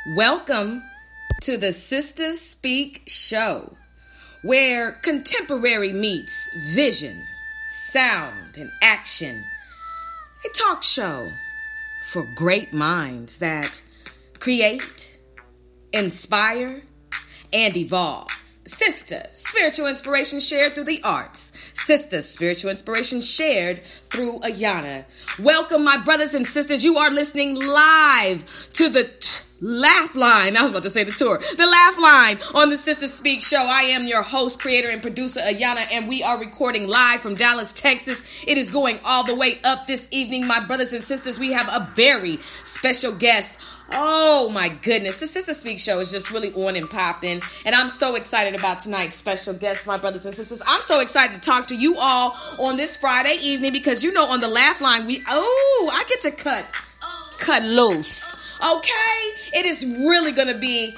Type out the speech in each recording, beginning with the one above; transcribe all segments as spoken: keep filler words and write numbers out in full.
Welcome to the Sisters Speak Show, where contemporary meets vision, sound, and action. A talk show for great minds that create, inspire, and evolve. Sister, spiritual inspiration shared through the arts. Sister, spiritual inspiration shared through Ayana. Welcome, my brothers and sisters. You are listening live to the t- Laugh Line. I was about to say the tour. The Laugh Line on the Sister Speak Show. I am your host, creator, and producer, Ayana, and we are recording live from Dallas, Texas. It is going all the way up this evening, my brothers and sisters. We have a very special guest. Oh my goodness, the Sister Speak Show is just really on and popping, and I'm so excited about tonight's special guest, my brothers and sisters. I'm so excited to talk to you all on this Friday evening because, you know, on the Laugh Line, we, oh, I get to cut, cut loose, okay? It is really going to be,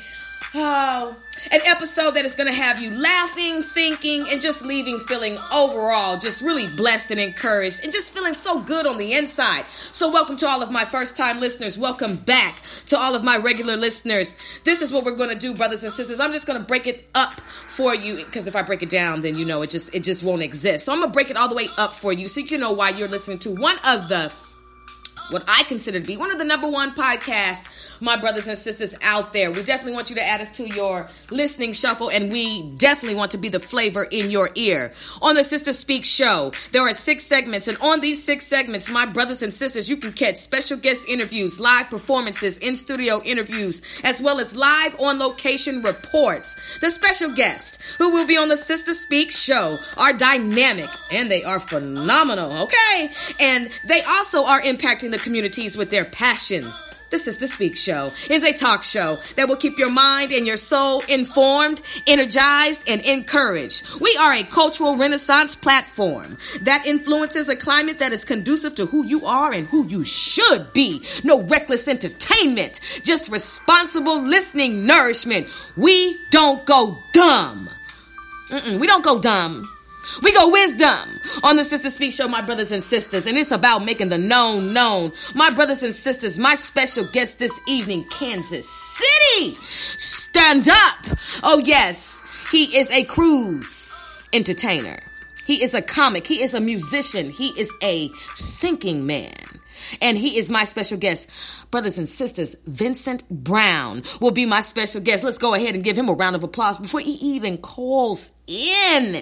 oh, an episode that is going to have you laughing, thinking, and just leaving feeling overall just really blessed and encouraged and just feeling so good on the inside. So welcome to all of my first-time listeners. Welcome back to all of my regular listeners. This is what we're going to do, brothers and sisters. I'm just going to break it up for you because if I break it down, then, you know, it just it just won't exist. So I'm going to break it all the way up for you so you know why you're listening to one of the what I consider to be one of the number one podcasts, my brothers and sisters out there. We definitely want you to add us to your listening shuffle, and we definitely want to be the flavor in your ear. On the Sister Speak Show, there are six segments, and on these six segments, my brothers and sisters, you can catch special guest interviews, live performances, in-studio interviews, as well as live on-location reports. The special guests who will be on the Sister Speak Show are dynamic, and they are phenomenal, okay? And they also are impacting the communities with their passions. The Sister Speak Show is a talk show that will keep your mind and your soul informed, energized, and encouraged. We are a cultural renaissance platform that influences a climate that is conducive to who you are and who you should be. No reckless entertainment, just responsible listening nourishment. We don't go dumb. Mm-mm, we don't go dumb. We go wisdom on the Sister Speak Show, my brothers and sisters, and it's about making the known known. My brothers and sisters, my special guest this evening, Kansas City. Stand up. Oh, yes, he is a cruise entertainer. He is a comic. He is a musician. He is a thinking man. And he is my special guest. Brothers and sisters, Vincent Brown will be my special guest. Let's go ahead and give him a round of applause before he even calls in.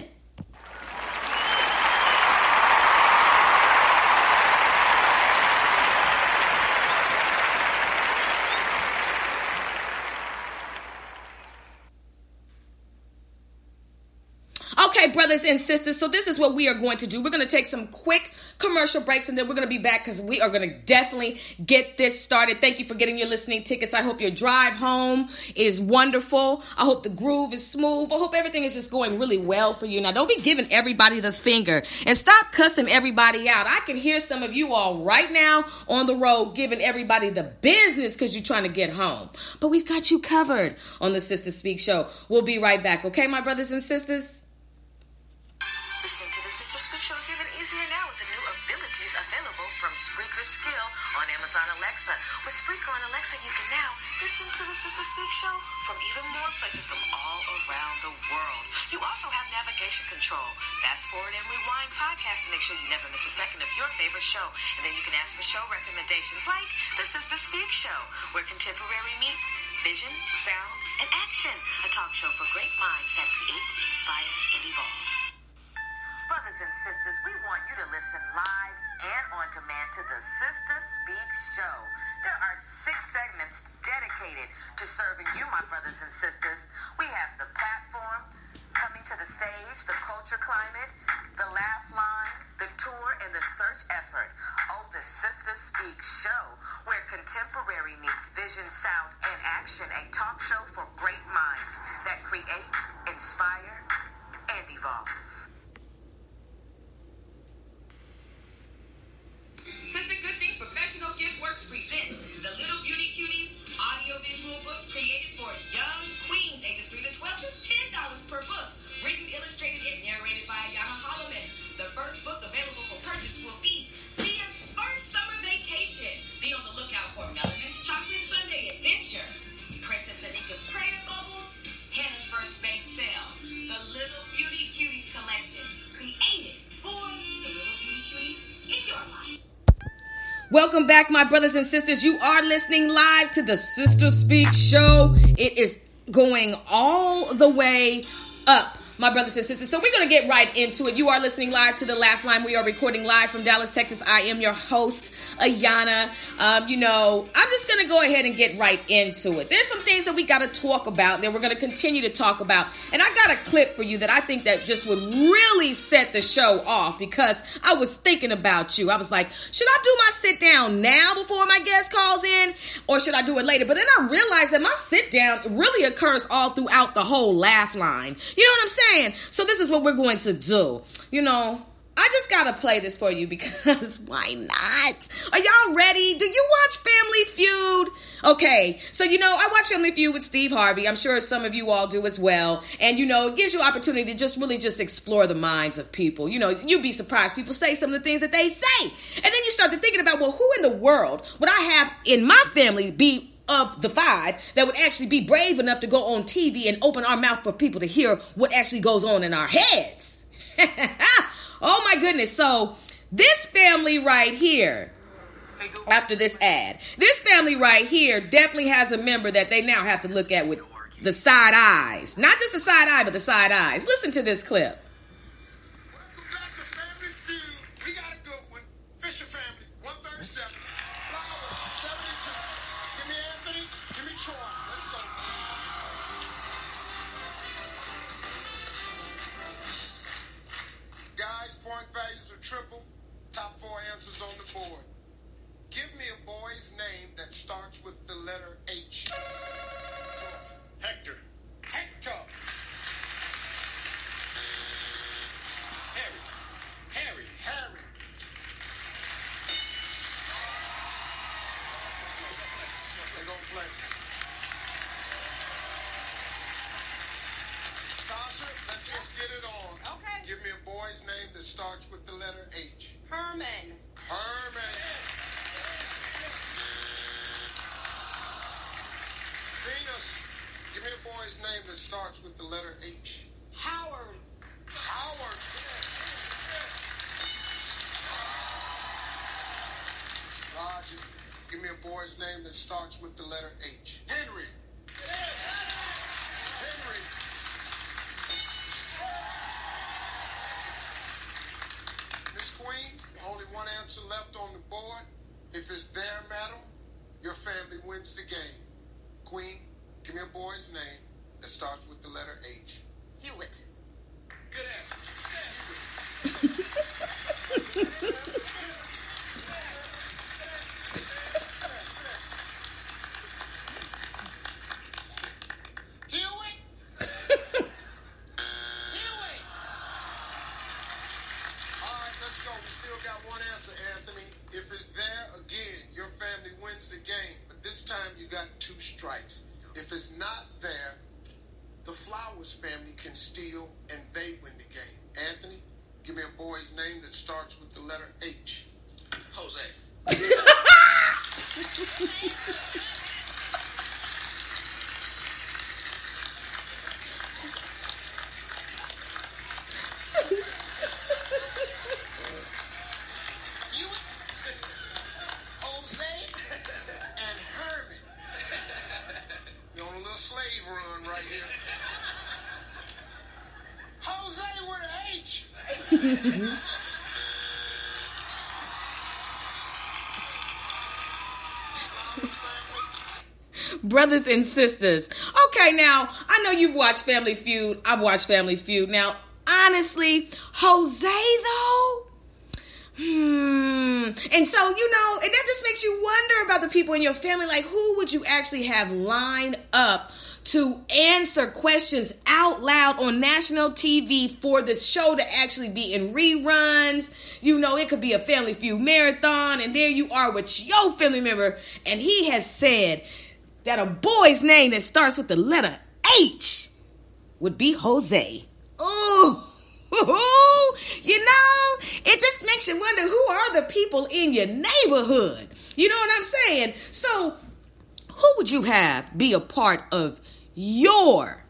Okay, brothers and sisters, so this is what we are going to do. We're going to take some quick commercial breaks, and then we're going to be back because we are going to definitely get this started. Thank you for getting your listening tickets. I hope your drive home is wonderful. I hope the groove is smooth. I hope everything is just going really well for you. Now, don't be giving everybody the finger and stop cussing everybody out. I can hear some of you all right now on the road giving everybody the business because you're trying to get home. But we've got you covered on the Sister Speak Show. We'll be right back. Okay, my brothers and sisters? Listening to the Sister Speak Show is even easier now with the new abilities available from Spreaker Skill on Amazon Alexa. With Spreaker on Alexa, you can now listen to the Sister Speak Show from even more places from all around the world. You also have navigation control, fast forward and rewind podcasts to make sure you never miss a second of your favorite show. And then you can ask for show recommendations like the Sister Speak Show, where contemporary meets vision, sound, and action. A talk show for great minds that create, inspire, and evolve. Brothers and sisters, we want you to listen live and on demand to the Sister Speak Show. There are six segments dedicated to serving you, my brothers and sisters. We have the platform, coming to the stage, the culture climate, the laugh line, the tour, and the search effort. Oh, the Sister Speak Show, where contemporary meets vision, sound, and action. A talk show for great minds that create, inspire, and evolve. Sister Good Things Professional Gift Works presents the Little Beauty Cuties audio-visual books created for young queens ages three to twelve, just ten dollars per book. Written, illustrated, and narrated by Ayana Holloman. The first Welcome back, my brothers and sisters. You are listening live to the Sister Speak Show. It is going all the way up, my brothers and sisters. So we're going to get right into it. You are listening live to the Laugh Line. We are recording live from Dallas, Texas. I am your host, Ayana. Um, you know, I'm just going to go ahead and get right into it. There's some things that we got to talk about that we're going to continue to talk about. And I got a clip for you that I think that just would really set the show off, because I was thinking about you. I was like, should I do my sit down now before my guest calls in, or should I do it later? But then I realized that my sit down really occurs all throughout the whole Laugh Line. You know what I'm saying? So this is what we're going to do. You know, I just gotta play this for you because why not? Are y'all ready? Do you watch Family Feud? Okay, so you know, I watch Family Feud with Steve Harvey. I'm sure some of you all do as well. And you know, it gives you opportunity to just really just explore the minds of people. You know, you'd be surprised. People say some of the things that they say. And then you start to thinking about, well, who in the world would I have in my family be of the five that would actually be brave enough to go on T V and open our mouth for people to hear what actually goes on in our heads? Oh my goodness. So this family right here, after this ad, this family right here definitely has a member that they now have to look at with the side eyes. Not just the side eye, but the side eyes. Listen to this clip. Welcome back to Family Feud. We got a good one. Fisher family, one thirty-seven. Flowers, seventy-two. Give me Anthony. Give me Troy. Let's go. Guys, point values are triple. Top four answers on the board. Give me a boy's name that starts with the letter H. Hector. Hector. Harry. Harry. Harry. They're going to play. Tasha, let's just get it on. Okay. Give me a boy's name that starts with the letter H. Herman. Herman. Venus, give me a boy's name that starts with the letter H. Howard. Howard. Roger, give me a boy's name that starts with the letter H. Henry. Henry. Miss Queen, only one answer left on the board. If it's there, madam, your family wins the game. Queen, give me a boy's name that starts with the letter H. Hewitt. Good answer. Hewitt. Hewitt. All right, let's go. We still got one answer, Anthony. If it's there, again, your family wins the game. But this time you got two strikes. If it's not there, the Flowers family can steal and they win the game. Anthony, give me a boy's name that starts with the letter H. Jose. Jose and Herman. You're on a little slave run right here. Jose with an H. Brothers and sisters. Okay, now, I know you've watched Family Feud. I've watched Family Feud. Now, honestly, Jose, though? Hmm. And so, you know, and that just makes you wonder about the people in your family. Like, who would you actually have lined up to answer questions out loud on national T V for the show to actually be in reruns? You know, it could be a Family Feud marathon, and there you are with your family member, and he has said that a boy's name that starts with the letter H would be Jose. Ooh. You know, it just makes you wonder, who are the people in your neighborhood? You know what I'm saying? So, who would you have be a part of your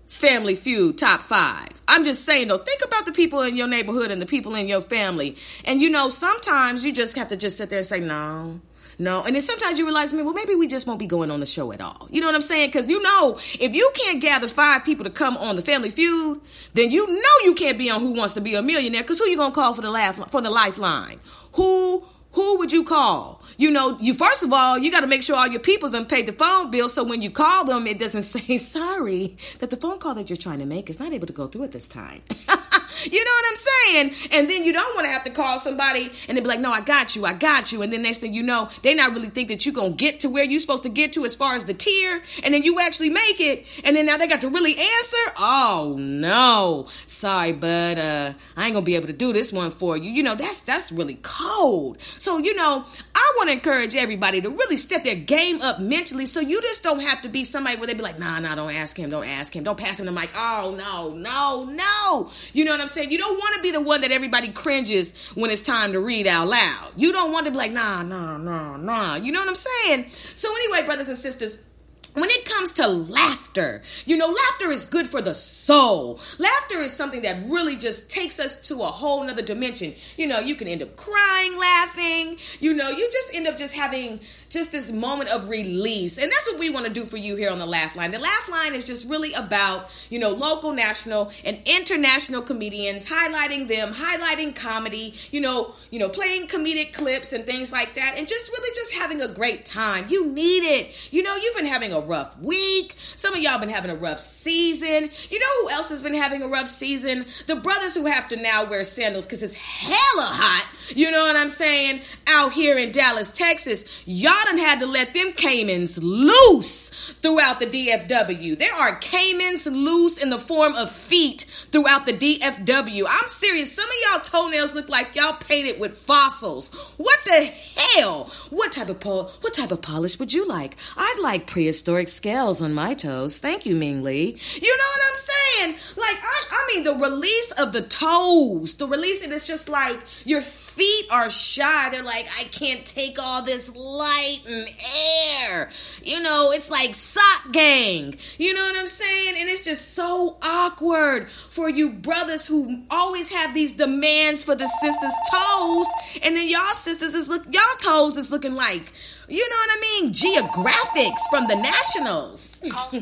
Family Feud top five. I'm just saying though, think about the people in your neighborhood and the people in your family. And you know, sometimes you just have to just sit there and say, no, no. And then sometimes you realize, well, maybe we just won't be going on the show at all. You know what I'm saying? Because you know, if you can't gather five people to come on the Family Feud, then you know you can't be on Who Wants to Be a Millionaire. Because who you going to call for the laugh, for the lifeline? Who Who would you call? You know, you first of all, you got to make sure all your people's done paid the phone bill, so when you call them, it doesn't say, sorry, that the phone call that you're trying to make is not able to go through at this time. You know what I'm saying? And then you don't want to have to call somebody and they be like, no, I got you, I got you. And then next thing you know, they not really think that you're going to get to where you're supposed to get to as far as the tier. And then you actually make it. And then now they got to really answer. Oh, no. Sorry, but uh, I ain't going to be able to do this one for you. You know, that's that's really cold. So, you know, I want to encourage everybody to really step their game up mentally so you just don't have to be somebody where they be like, nah, nah, don't ask him, don't ask him. Don't pass him the mic. Oh, no, no, no. You know what I'm saying? You don't want to be the one that everybody cringes when it's time to read out loud. You don't want to be like, nah, nah, nah, nah. You know what I'm saying? So anyway, brothers and sisters, when it comes to laughter, you know, laughter is good for the soul. Laughter is something that really just takes us to a whole nother dimension. You know, you can end up crying, laughing. You know, you just end up just having just this moment of release. And that's what we want to do for you here on the Laugh Line. The Laugh Line is just really about, you know, local, national, and international comedians, highlighting them, highlighting comedy, you know, you know, playing comedic clips and things like that, and just really just having a great time. You need it. You know, you've been having a rough week. Some of y'all been having a rough season. You know who else has been having a rough season? The brothers who have to now wear sandals because it's hella hot. You know what I'm saying? Out here in Dallas, Texas, y'all done had to let them Caymans loose throughout the D F W. There are Caymans loose in the form of feet throughout the D F W. I'm serious. Some of y'all toenails look like y'all painted with fossils. What the hell? What type of pol- what type of polish would you like? I'd like prehistoric scales on my toes. Thank you, Ming Lee. You know what I'm saying? Like, I, I mean, the release of the toes, the release, and it's just like your feet are shy. They're like, I can't take all this light and air. You know, it's like sock gang. You know what I'm saying? And it's just so awkward for you brothers who always have these demands for the sisters' toes, and then y'all sisters is look, y'all toes is looking like, you know what I mean? Geographics from the Nationals.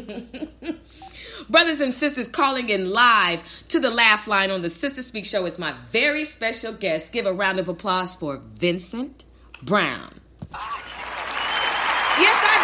Brothers and sisters, calling in live to the Laugh Line on the Sister Speak Show is my very special guest. Give a round of applause for Vincent Brown. Yes, I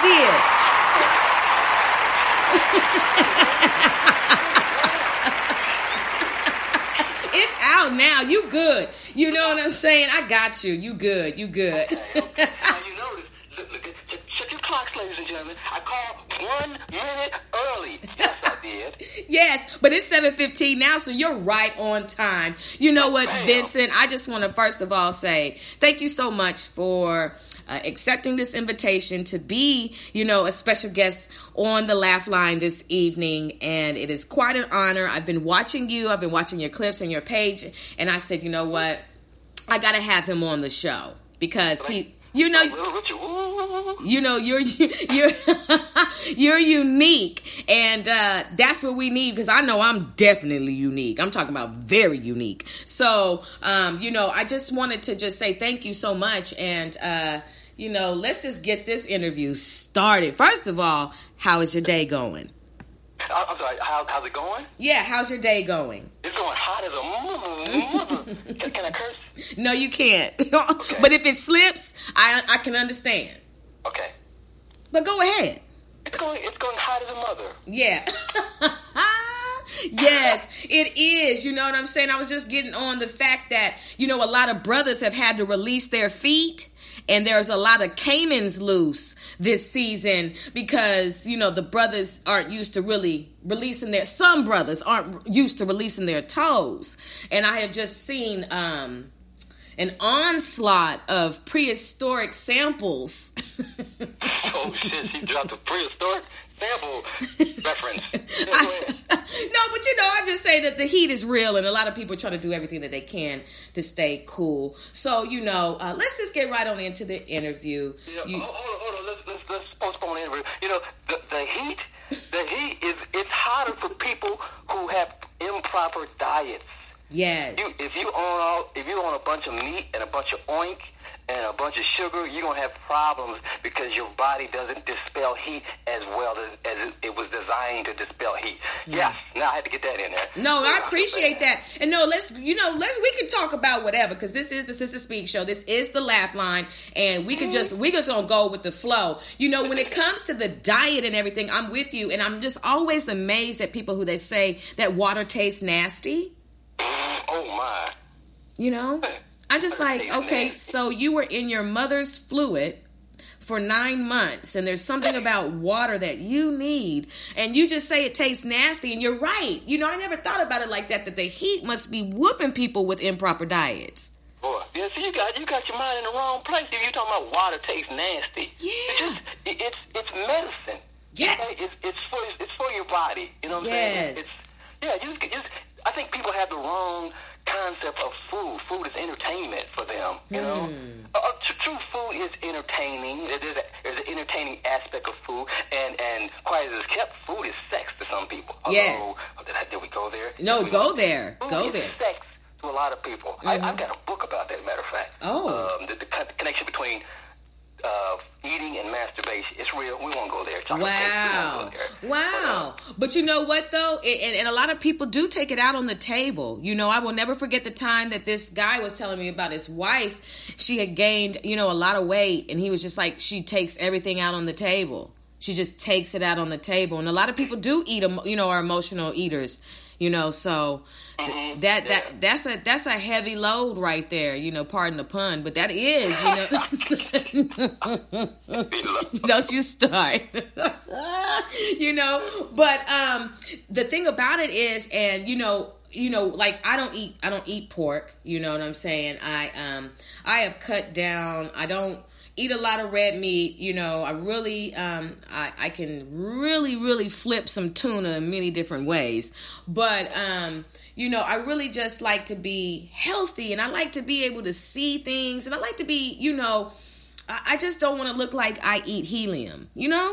did. It's out now. You good. You know what I'm saying? I got you. You good. You good. Okay, okay. Now you notice, look, look, check, check your clocks, ladies and gentlemen. I called one minute early. Yes, I did. Yes, but it's seven fifteen now, so you're right on time. You know what, Bam. Vincent? I just want to first of all say thank you so much for uh, accepting this invitation to be, you know, a special guest on the Laugh Line this evening, and it is quite an honor. I've been watching you. I've been watching your clips and your page, and I said, you know what? I got to have him on the show because he... You know, you know, you're you're you're unique, and uh, that's what we need. Because I know I'm definitely unique. I'm talking about very unique. So, um, you know, I just wanted to just say thank you so much, and uh, you know, let's just get this interview started. First of all, how is your day going? I'm sorry, how, how's it going? Yeah, how's your day going? It's going hot as a mother. can, can I curse? No, you can't. Okay. But if it slips, I I can understand. Okay. But go ahead. It's going, it's going hot as a mother. Yeah. Yes, it is. You know what I'm saying? I was just getting on the fact that, you know, a lot of brothers have had to release their feet. And there's a lot of Caymans loose this season because, you know, the brothers aren't used to really releasing their, some brothers aren't used to releasing their toes. And I have just seen um, an onslaught of prehistoric samples. Oh, shit, she dropped a prehistoric sample reference. I, no, but you know, I just say that the heat is real, and a lot of people are trying to do everything that they can to stay cool. So, you know, uh, let's just get right on into the interview. Yeah, you, hold on, hold on. Let's, let's, let's postpone the interview. You know, the, the heat, the heat is, it's hotter for people have improper diets. Yes. You, if you own all, if you own a bunch of meat and a bunch of oink and a bunch of sugar, you're gonna have problems because your body doesn't dispel heat as well as, as it was designed to dispel heat. Mm. Yeah. Now I had to get that in there. No, I appreciate that. And no, let's you know, let's we can talk about whatever because this is the Sister Speak show. This is the Laugh Line, and we can just we just gonna go with the flow. You know, when it comes to the diet and everything, I'm with you, and I'm just always amazed at people who they say that water tastes nasty. Oh my. You know? I'm just like, okay, so you were in your mother's fluid for nine months and there's something about water that you need and you just say it tastes nasty and you're right. You know, I never thought about it like that, that the heat must be whooping people with improper diets. Boy, yeah, so you got you got your mind in the wrong place if you're talking about water tastes nasty. Yeah. It's just, it, it's it's medicine. Yeah. Okay? It's it's for it's for your body. You know what I'm yes. saying? It's yeah, you just, just I think people have the wrong concept of food. Food is entertainment for them, you mm. know? Uh, tr- true food is entertaining. There's, a, there's an entertaining aspect of food, and, and quiet as it's kept, food is sex to some people. Yes. Oh, did, I, did we go there? No, we go there. Food go is there. sex to a lot of people. Mm-hmm. I, I've got a book about that, as a matter of fact. Oh. Um, the, the connection between uh, eating and masturbation. It's real. We won't go there. Talk wow. There. Wow. But, uh, but you know what, though? It, and, and a lot of people do take it out on the table. You know, I will never forget the time that this guy was telling me about his wife. She had gained, you know, a lot of weight. And he was just like, she takes everything out on the table. She just takes it out on the table. And a lot of people do eat, you know, are emotional eaters. You know, so mm-hmm. that that yeah. that's a that's a heavy load right there. You know, pardon the pun, but that is, you know. Don't you start. You know, but um, the thing about it is, and you know, you know, like I don't eat I don't eat pork. You know what I'm saying? I um I have cut down. I don't eat a lot of red meat. You know, I really, um, I, I can really, really flip some tuna in many different ways. But, um, you know, I really just like to be healthy and I like to be able to see things and I like to be, you know, I, I just don't want to look like I eat helium, you know?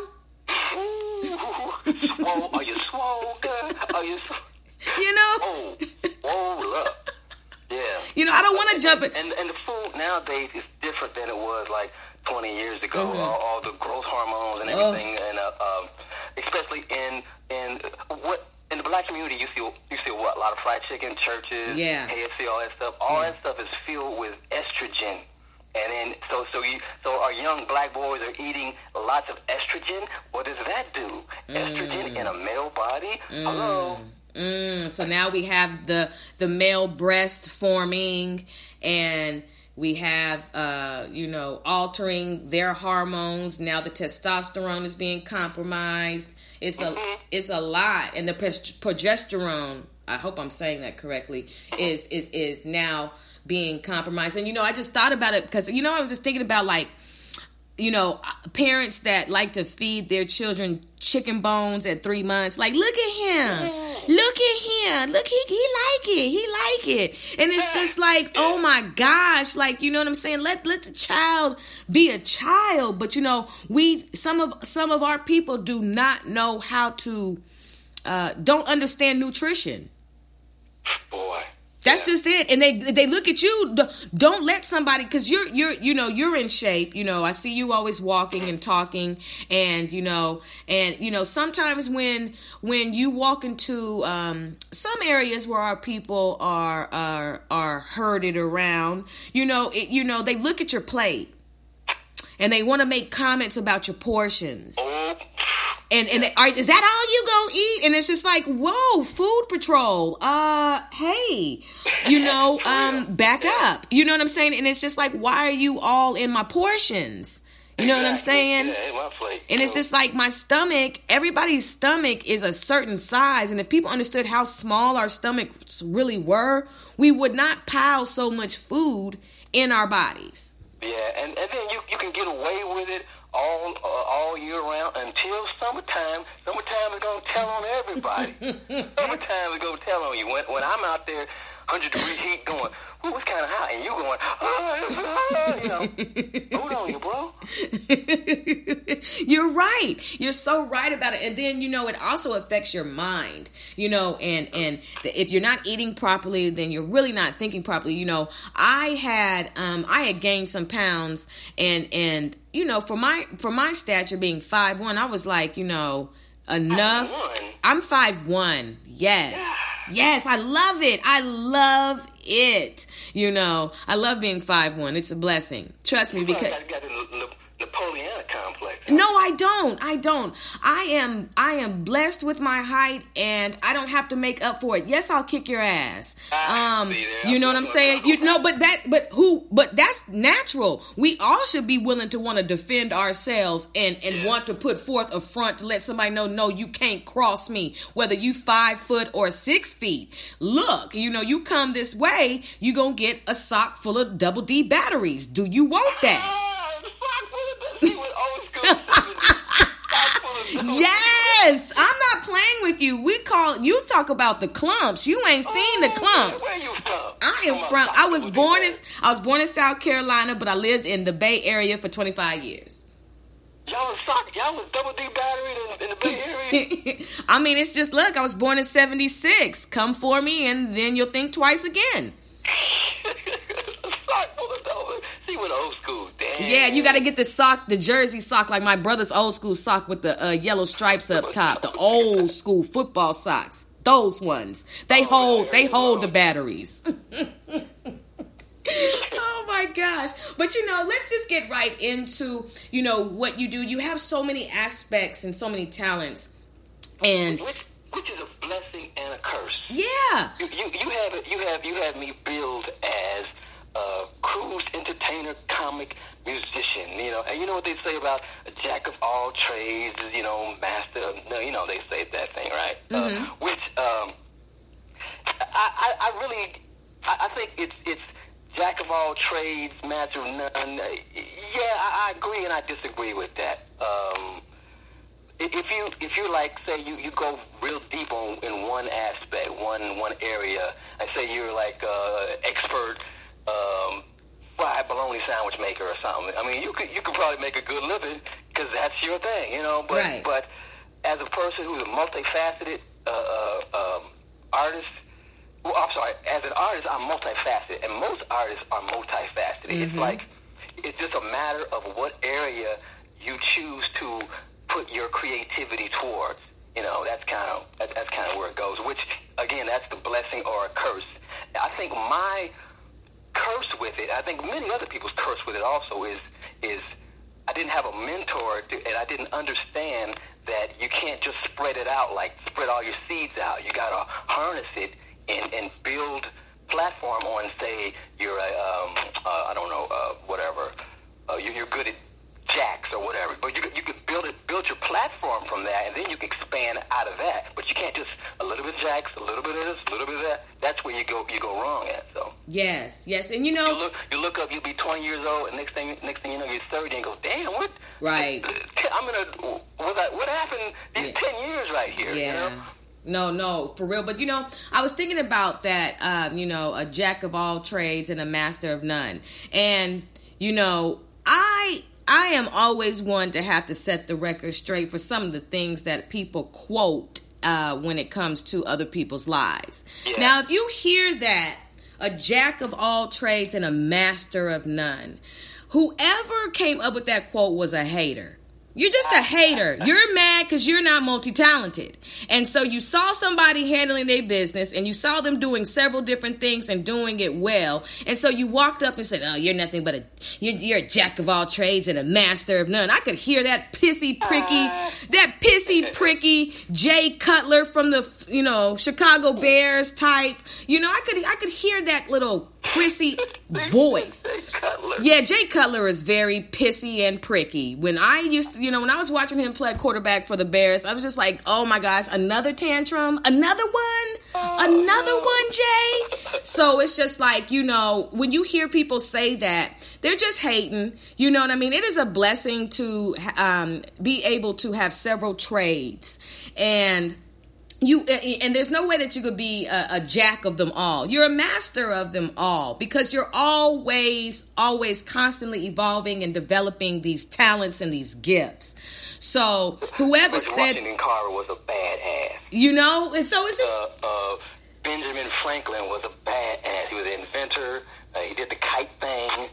Swole, are you swole, girl? Are you swole? You know? Oh, oh, look. Yeah. You know, I don't want to jump it. And, and the food nowadays is different than it was like twenty years ago. Mm-hmm. All, all the growth hormones and everything, oh. and uh, um, especially in in what in the black community, you see you see what a lot of fried chicken, churches, yeah, K F C, all that stuff. All yeah. that stuff is filled with estrogen. And then, so so you so our young black boys are eating lots of estrogen. What does that do? Mm. Estrogen in a male body? Mm. Hello. Mm, so now we have the the male breast forming, and we have uh, you know altering their hormones. Now the testosterone is being compromised. It's a mm-hmm. it's a lot, and the progesterone. I hope I'm saying that correctly. Is is is now being compromised, and you know I just thought about it because you know I was just thinking about like. You know, parents that like to feed their children chicken bones at three months. Like, look at him. Look at him. Look, he he like it. He like it. And it's just like, oh my gosh. Like, you know what I'm saying? Let let the child be a child. But, you know, we some of some of our people do not know how to, uh, don't understand nutrition. Boy. That's yeah. just it. And they they look at you. Don't let somebody, because you're you're you know you're in shape. You know I see you always walking and talking, and you know and you know sometimes when when you walk into um, some areas where our people are are are herded around, you know it, you know they look at your plate and they want to make comments about your portions. And and they, are, is that all you gonna eat? And it's just like, whoa, food patrol. Uh, hey, you know, um, back up. You know what I'm saying? And it's just like, why are you all in my portions? You know what I'm saying? And it's just like my stomach. Everybody's stomach is a certain size, and if people understood how small our stomachs really were, we would not pile so much food in our bodies. Yeah, and, and then you you can get away with it all uh, all year round until summertime. Summertime is gonna tell on everybody. Summertime is gonna tell on you. When when I'm out there hundred degree heat going, ooh, it's kind of hot, and you going, ah, you know, hold on, you bro. You're right. You're so right about it. And then, you know, it also affects your mind, you know, and, and the, if you're not eating properly, then you're really not thinking properly. You know, I had, um, I had gained some pounds and, and, you know, for my, for my stature being five one, I was like, you know, enough. I'm five one. Yes. Yes. I love it. I love it. You know, I love being five one. It's a blessing. Trust me, because you got the Napoleonic complex. No, I don't. I don't. I am I am blessed with my height, and I don't have to make up for it. Yes, I'll kick your ass. Um, you know what I'm saying? You know, but that but who but that's natural. We all should be willing to want to defend ourselves and and Yeah. want to put forth a front to let somebody know, no, you can't cross me, whether you five foot or six feet. Look, you know, you come this way, you gonna get a sock full of double D batteries. Do you want that? Ah, the sock full of he was old school. Sock full of Yes, I'm not playing with you. We call you talk about the clumps. You ain't seen the clumps. Where you from? I am from. I was born in. I was born in South Carolina, but I lived in the Bay Area for twenty-five years. Y'all was sock. Y'all was double D battery in, in the Bay Area. I mean, it's just look. I was born in seventy-six. Come for me, and then you'll think twice again. Sock full of double. See what old school. Damn. Yeah, you got to get the sock, the jersey sock, like my brother's old school sock with the uh, yellow stripes up top. The old school football socks. Those ones. They Oh, hold. there They you hold go. the batteries. Oh my gosh. But you know, let's just get right into, you know, what you do. You have so many aspects and so many talents. And Which, which is a blessing and a curse. yeah. You, you, you have it. You have you have me billed as a cruise entertainer, comic musician. You know, and you know what they say about a jack of all trades, is, you know, master. Of, no, you know they say that thing, right? Mm-hmm. Uh, which um, I, I, I really, I, I think it's it's jack of all trades, master of none. Yeah, I, I agree and I disagree with that. Um, if you if you like say you, you go real deep on in one aspect, one one area, and say you're like uh, expert um, fried bologna sandwich maker or something. I mean, you could you could probably make a good living because that's your thing, you know. But Right. but as a person who's a multifaceted uh, uh, um, artist. Well, I'm sorry. As an artist, I'm multifaceted, and most artists are multifaceted. It's like it's just a matter of what area you choose to put your creativity towards. You know, that's kind of that, that's kind of where it goes. Which, again, that's the blessing or a curse. I think my curse with it, I think many other people's curse with it also is is I didn't have a mentor, to, and I didn't understand that you can't just spread it out like spread all your seeds out. You gotta harness it. And, and build platform on, say, you're a, um, uh, I don't know, uh, whatever, uh, you, you're good at jacks or whatever, but you could, you could build it, build your platform from that, and then you can expand out of that. But you can't just a little bit of jacks, a little bit of this, a little bit of that. That's where you go, you go wrong at. So Yes, yes. And you know, you look, you look up, you'll be twenty years old, and next thing, next thing you know, you're thirty, and go, damn, what? Right. I'm gonna, what, I, what happened these Yeah. ten years right here? yeah. You know? No, no, for real. But, you know, I was thinking about that, um, you know, a jack of all trades and a master of none. And, you know, I I am always one to have to set the record straight for some of the things that people quote uh, when it comes to other people's lives. Yeah. Now, if you hear that, a jack of all trades and a master of none, whoever came up with that quote was a hater. You're just a hater. You're mad because you're not multi-talented. And so you saw somebody handling their business and you saw them doing several different things and doing it well. And so you walked up and said, oh, you're nothing but a, you're, you're a jack of all trades and a master of none. I could hear that pissy pricky, that pissy pricky Jay Cutler from the, you know, Chicago Bears type. You know, I could, I could hear that little prissy voice. Yeah, Jay Cutler is very pissy and pricky. When I used to, you know, when I was watching him play quarterback for the Bears, I was just like, oh my gosh, another tantrum, another one, another one, Jay. So it's just like, you know, when you hear people say that, they're just hating. You know what I mean? It is a blessing to um, be able to have several trades. And You and there's no way that you could be a, a jack of them all. You're a master of them all because you're always, always constantly evolving and developing these talents and these gifts. So whoever George said Washington Carver was a badass. You know, and so it's just uh, uh, Benjamin Franklin was a badass. He was an inventor. Uh, he did the kite thing.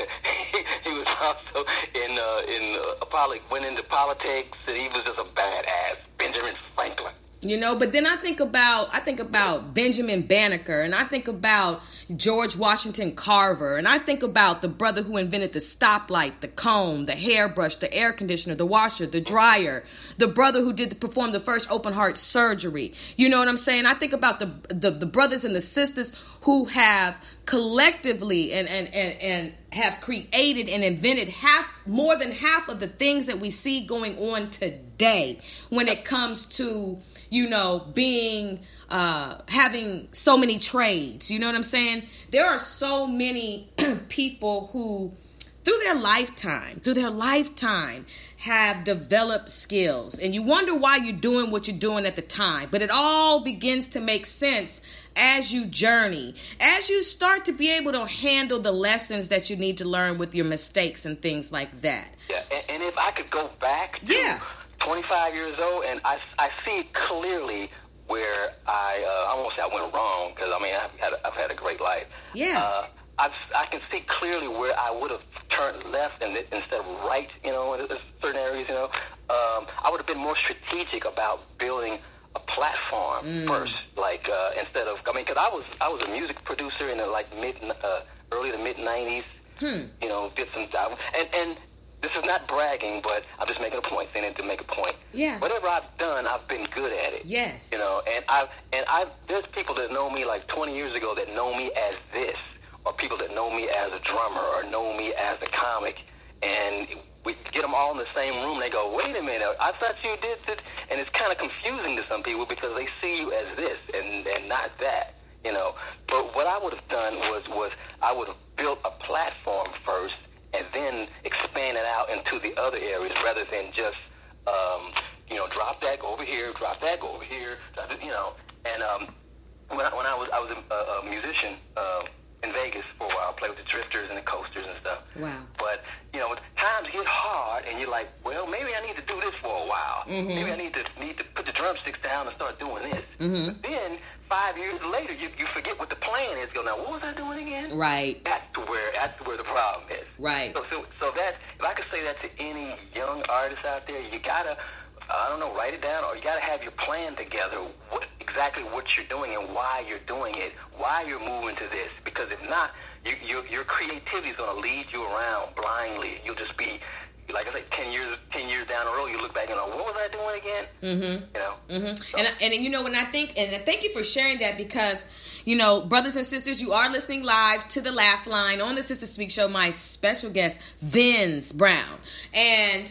he, he was also in uh, in uh, poli- went into politics. And he was just a badass, Benjamin Franklin. You know, but then I think about I think about Benjamin Banneker, and I think about George Washington Carver, and I think about the brother who invented the stoplight, the comb, the hairbrush, the air conditioner, the washer, the dryer, the brother who did the, perform the first open heart surgery. You know what I'm saying? I think about the the, the brothers and the sisters who have collectively and, and, and, and have created and invented half more than half of the things that we see going on today when it comes to, you know, being, uh, having so many trades. You know what I'm saying? There are so many people who, through their lifetime, through their lifetime, have developed skills. And you wonder why you're doing what you're doing at the time. But it all begins to make sense as you journey, as you start to be able to handle the lessons that you need to learn with your mistakes and things like that. Yeah, and, and if I could go back to yeah. twenty-five years old, and I, I see clearly where I, uh, I won't say I went wrong, because, I mean, I've had, a, I've had a great life. Yeah. Uh, I've, I can see clearly where I would have turned left and instead of right, you know, in certain areas, you know. Um, I would have been more strategic about building a platform mm. first, like uh, instead of, I mean, because I was I was a music producer in the like mid, uh, early to mid nineties. Hmm. You know, did some and and this is not bragging, but I'm just making a point, saying it to make a point. Yeah. Whatever I've done, I've been good at it. Yes. You know, and I and I there's people that know me like twenty years ago that know me as this, or people that know me as a drummer, or know me as a comic, and we get them all in the same room. They go, wait a minute, I thought you did this. And it's kind of confusing to some people because they see you as this and, and not that, you know. But what I would have done was, was I would have built a platform first and then expand it out into the other areas rather than just, um, you know, drop that, go over here, drop that, go over here, you know. And um, when, I, when I was I was a, a musician, uh, in Vegas for a while, play with the drifters and the coasters and stuff. Wow. But, you know, times get hard and you're like, well, maybe I need to do this for a while. Mm-hmm. Maybe I need to need to put the drumsticks down and start doing this. Mm-hmm. But then, five years later, you, you forget what the plan is. Go, now, what was I doing again? Right. That's where that's where the problem is. Right. So, so, so that, if I could say that to any young artist out there, you got to, I don't know, write it down, or you got to have your plan together, what, exactly what you're doing and why you're doing it, why you're moving to this. Because if not, you, you, your creativity is going to lead you around blindly. You'll just be, like I said, ten years ten years down the road, you look back and go, what was I doing again? Mm-hmm. You know? Mm-hmm. So. And, and, you know, when I think, and thank you for sharing that because, you know, brothers and sisters, you are listening live to the Laugh Line on the Sister Speak Show. My special guest, Vince Brown. And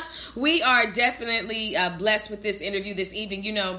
we are definitely uh, blessed with this interview this evening. You know,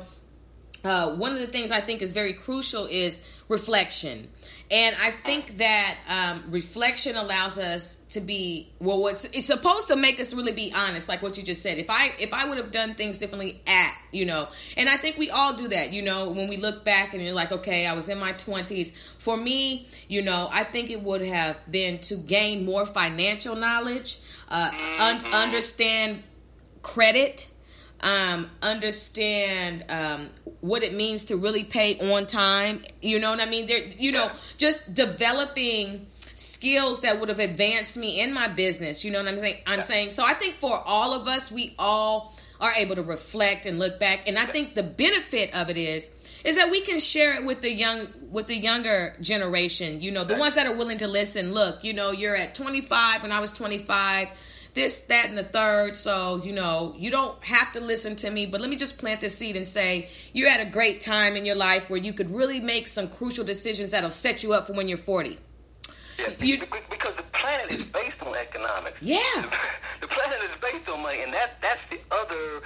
uh, one of the things I think is very crucial is reflection. And I think that um, reflection allows us to be, well, what's, it's supposed to make us really be honest, like what you just said. If I if I would have done things differently at, you know, and I think we all do that, you know, when we look back and you're like, okay, I was in my twenties. For me, you know, I think it would have been to gain more financial knowledge, uh, un- understand credit, um, understand um, what it means to really pay on time. You know what I mean? There, you know, just developing skills that would have advanced me in my business. You know what I'm saying? I'm saying. So I think for all of us, we all are able to reflect and look back. And I think the benefit of it is, is that we can share it with the young, with the younger generation. You know, the ones that are willing to listen. Look, you know, you're at twenty-five when I was twenty-five. This, that, and the third. So, you know, you don't have to listen to me, but let me just plant the seed and say you're at a great time in your life where you could really make some crucial decisions that'll set you up for when you're forty. Yeah, you, because the planet is based on economics. Yeah. The planet is based on money, and that that's the other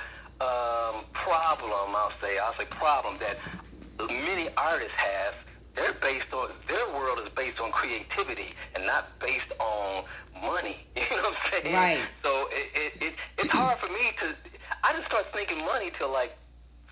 um, problem, I'll say, I'll say problem that many artists have. They're based on, their world is based on creativity and not based on money. You know what I'm saying? Right. So it, it, it it's hard for me to, I didn't start thinking money till like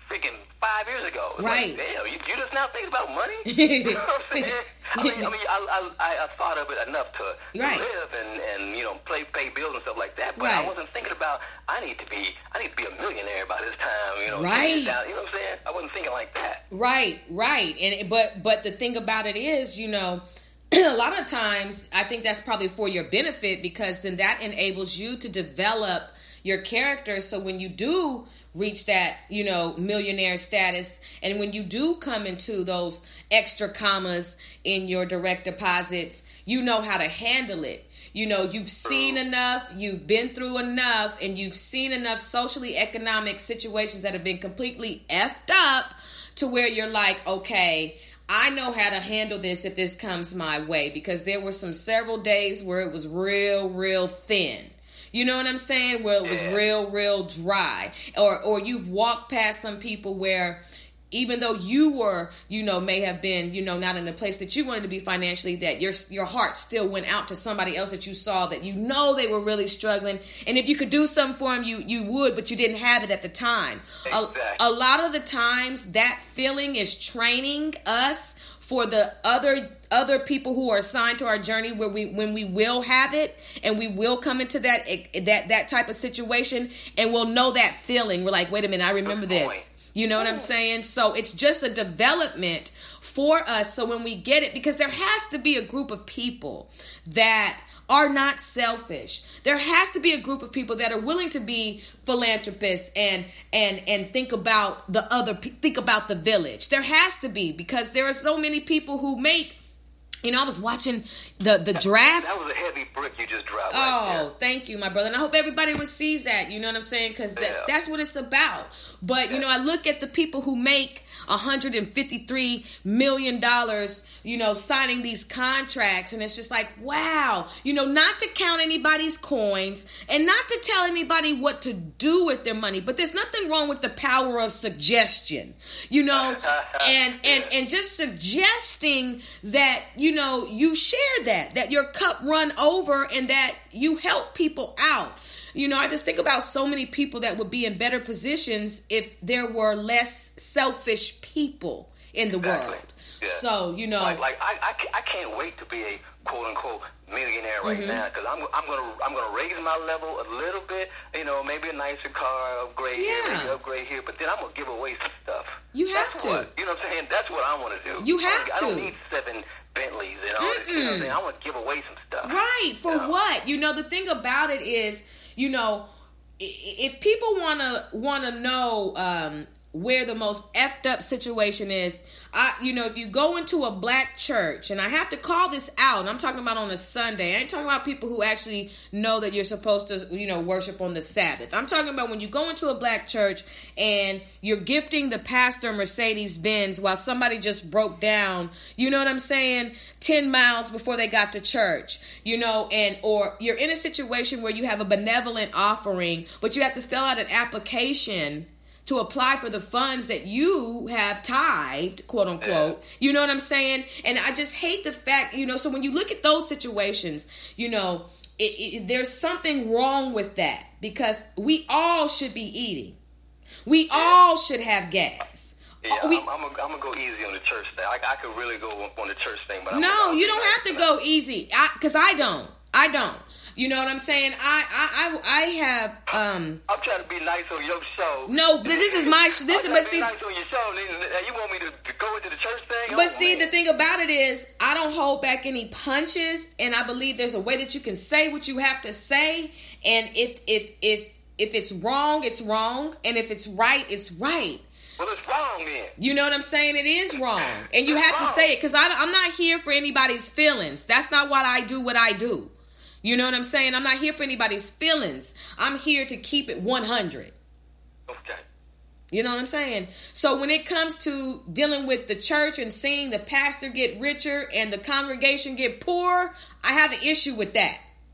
freaking five years ago. It's Right. Like, damn, you, you just now thinking about money? You know what I'm saying? I mean, I, mean I, I, I thought of it enough to, to Right. live and, and, you know, play, pay bills and stuff like that. But Right. I wasn't thinking about, I need to be, I need to be a millionaire by this time, you know. Right. Down, you know what I'm saying? I wasn't thinking like that. Right, right. And but but the thing about it is, you know, a lot of times I think that's probably for your benefit, because then that enables you to develop your character. So when you do reach that, you know, millionaire status, and when you do come into those extra commas in your direct deposits, you know how to handle it. You know, you've seen enough, you've been through enough, and you've seen enough socially economic situations that have been completely effed up to where you're like, okay, I know how to handle this if this comes my way, because there were some several days where it was real, real thin. You know what I'm saying? Where it was Yeah. real, real dry. Or or you've walked past some people where even though you were, you know, may have been, you know, not in the place that you wanted to be financially, that your your heart still went out to somebody else that you saw that you know they were really struggling. And if you could do something for them, you, you would, but you didn't have it at the time. Exactly. A, a lot of the times that feeling is training us for the other other people who are assigned to our journey, where we when we will have it and we will come into that that that type of situation, and we'll know that feeling. We're like, wait a minute, I remember Good this. point. You know what I'm saying? So it's just a development for us. So when we get it, because there has to be a group of people that are not selfish. There has to be a group of people that are willing to be philanthropists and and and think about the other think about the village. There has to be, because there are so many people who make. You know, I was watching the, the draft. That was a heavy brick you just dropped Oh, right there. thank you, my brother. And I hope everybody receives that. You know what I'm saying? Because that, Yeah. that's what it's about. But, you know, I look at the people who make one hundred fifty-three million dollars, you know, signing these contracts. And it's just like, wow. You know, not to count anybody's coins and not to tell anybody what to do with their money. But there's nothing wrong with the power of suggestion, you know, and, and, and just suggesting that, you know, you share that, that your cup run over and that you help people out. You know, I just think about so many people that would be in better positions if there were less selfish people in the Exactly. world. Yeah. So, you know, Like, like I, I, ca- I can't wait to be a quote unquote millionaire right Mm-hmm. now, because I'm I'm gonna I'm gonna raise my level a little bit. You know, maybe a nicer car, upgrade here, Yeah. maybe upgrade here, but then I'm gonna give away some stuff. You have That's to. What, you know what I'm saying? That's what I want to do. You have I don't to. need seven Bentleys and all this. You know what I'm saying? I want to give away some stuff. right. For Yeah. what? You know, the thing about it is, you know, i- if people want to want to know um, where the most effed up situation is, I, you know, if you go into a black church, and I have to call this out, and I'm talking about on a Sunday. I ain't talking about people who actually know that you're supposed to, you know, worship on the Sabbath. I'm talking about when you go into a black church and you're gifting the pastor Mercedes Benz while somebody just broke down, you know what I'm saying, ten miles before they got to church, you know, and or you're in a situation where you have a benevolent offering, but you have to fill out an application to apply for the funds that you have tithed, quote unquote. You know what I'm saying? And I just hate the fact, you know, so when you look at those situations, you know, it, it, there's something wrong with that, because we all should be eating. We all should have gas. Yeah, We- I'm, I'm, gonna, I'm gonna go easy on the church thing. I, I could really go on the church thing, but I'm no, gonna, you don't have to go easy, because I, I don't. I don't. You know what I'm saying? I I I, I have um. I'm trying to be nice on your show. No, but this is my sh- this is I'm but trying to see. be nice on your show, and you want me to, to go into the church thing? But Oh, see, man. the thing about it is, I don't hold back any punches, and I believe there's a way that you can say what you have to say, and if if if if it's wrong, it's wrong, and if it's right, it's right. Well, it's wrong then. You know what I'm saying? It is wrong, and you It's have to wrong. say it, because I'm not here for anybody's feelings. That's not why I do what I do. You know what I'm saying? I'm not here for anybody's feelings. I'm here to keep it one hundred. Okay. You know what I'm saying? So when it comes to dealing with the church and seeing the pastor get richer and the congregation get poor, I have an issue with that.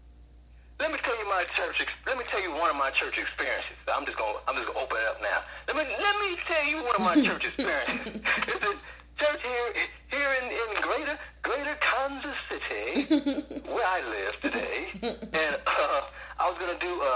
Let me tell you my church. ex- Let me tell you one of my church experiences. I'm just gonna. I'm just gonna open it up now. Let me. Let me tell you one of my church experiences. It's a church here, here in, in Greater Greater Kansas City, where I live today, and uh, I was gonna do um,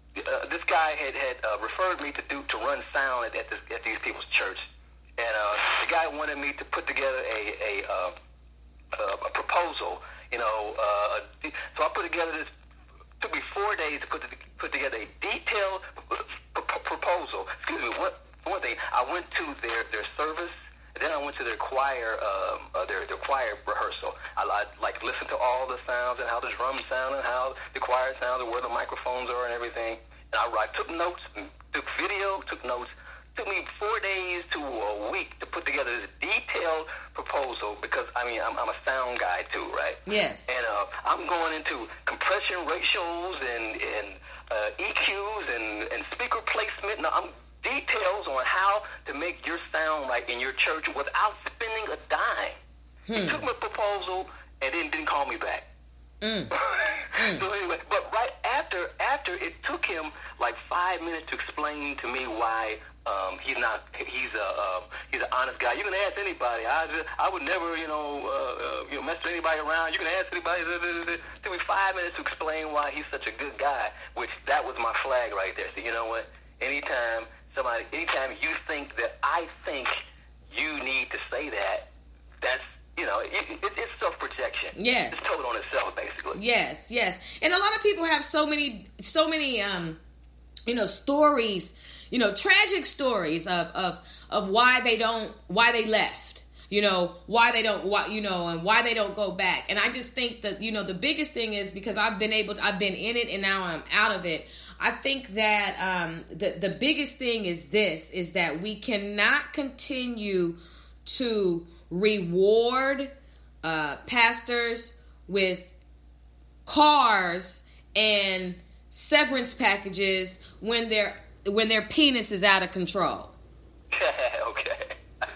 uh, this guy had had uh, referred me to do to run sound at at, this, at these people's church, and uh, the guy wanted me to put together a a, uh, a, a proposal. You know, uh, so I put together this. It took me four days to put the, put together a detailed p- p- proposal. Excuse me. What one thing? I went to their their service. Then I went to their choir, um, uh, their their choir rehearsal. I, I like listened to all the sounds and how the drums sound and how the choir sounded, where the microphones are and everything. And I, I took notes, took video, took notes. It took me four days to a week to put together this detailed proposal because I mean I'm, I'm a sound guy too, right? Yes. And uh, I'm going into compression ratios and and uh, E Qs and and speaker placement. Now I'm details on how to make your sound right in your church without spending a dime. Hmm. He took my proposal and then didn't call me back. Mm. mm. So anyway, but right after after it took him like five minutes to explain to me why um, he's not he's a uh, he's an honest guy. You can ask anybody. I just, I would never you know uh, uh, you know mess with anybody around. You can ask anybody. It took me five minutes to explain why he's such a good guy. Which that was my flag right there. So you know what? Anytime. Somebody, anytime you think that I think you need to say that, that's, you know, it, it, it's self-protection. Yes. It's told on itself, basically. Yes, yes. And a lot of people have so many, so many, um, you know, stories, you know, tragic stories of, of, of why they don't, why they left, you know, why they don't, why, you know, and why they don't go back. And I just think that, you know, the biggest thing is because I've been able to, I've been in it and now I'm out of it. I think that um, the, the biggest thing is this, is that we cannot continue to reward uh, pastors with cars and severance packages when their when their penis is out of control. okay.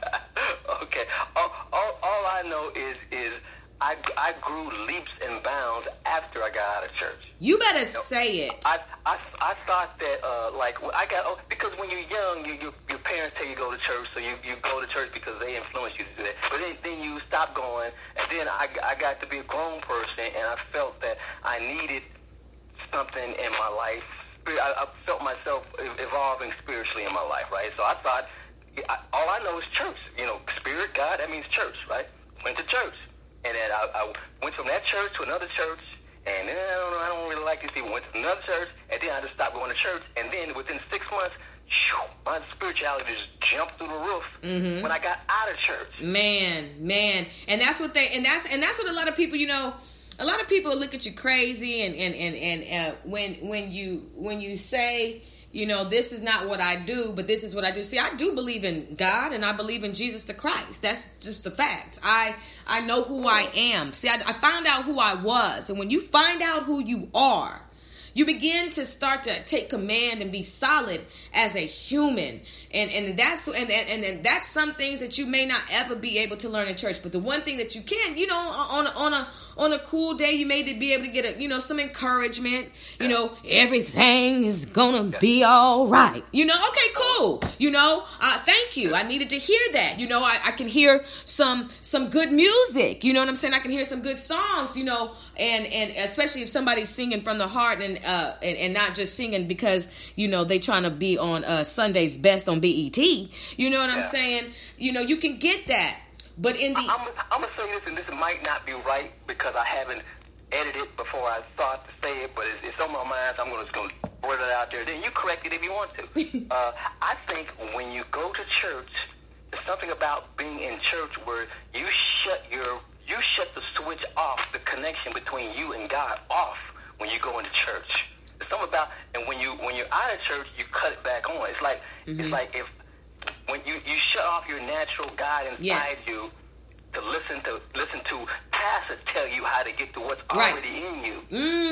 okay. All, all, all I know is is I, I grew leaps and bounds after I got out of church. You better you know, say it. I, I, I thought that, uh, like, I got, oh, because when you're young, you, you, your parents tell you to go to church, so you, you go to church because they influence you to do that. But then, then you stop going, and then I, I got to be a grown person, and I felt that I needed something in my life. I, I felt myself evolving spiritually in my life, right? So I thought, I, all I know is church. You know, spirit, God, that means church, right? Went to church. And then I, I went from that church to another church, and then I don't know, I don't really like these people. Went to another church, and then I just stopped going to church. And then within six months, shoo, my spirituality just jumped through the roof mm-hmm. when I got out of church. Man, man, and that's what they, and that's and that's what a lot of people, you know, a lot of people look at you crazy, and and and and uh, when when you when you say, you know, this is not what I do, but this is what I do. See, I do believe in God, and I believe in Jesus the Christ. That's just the fact. I I know who I am. See, I, I found out who I was. And when you find out who you are, you begin to start to take command and be solid as a human. And and that's and, and, and that's some things that you may not ever be able to learn in church. But the one thing that you can, you know, on, on a on a cool day, you may be able to get a, you know, some encouragement. You know, everything is gonna be all right. You know, okay, cool. You know, uh, thank you. I needed to hear that. You know, I, I can hear some some good music. You know what I'm saying? I can hear some good songs. You know, and and especially if somebody's singing from the heart and uh and, and not just singing because you know they trying to be on uh, Sunday's Best on B E T. You know what I'm yeah. saying? You know, you can get that. But in the... I'm, I'm going to say this, and this might not be right because I haven't edited before I thought to say it, but it's, it's on my mind, so I'm gonna, just going to word it out there. Then you correct it if you want to. uh, I think when you go to church, there's something about being in church where you shut your you shut the switch off, the connection between you and God off when you go into church. There's something about, and when you when you're out of church, you cut it back on. It's like mm-hmm. it's like if when you, you shut off your natural God inside yes. you to listen to listen to pastors tell you how to get to what's right. already in you.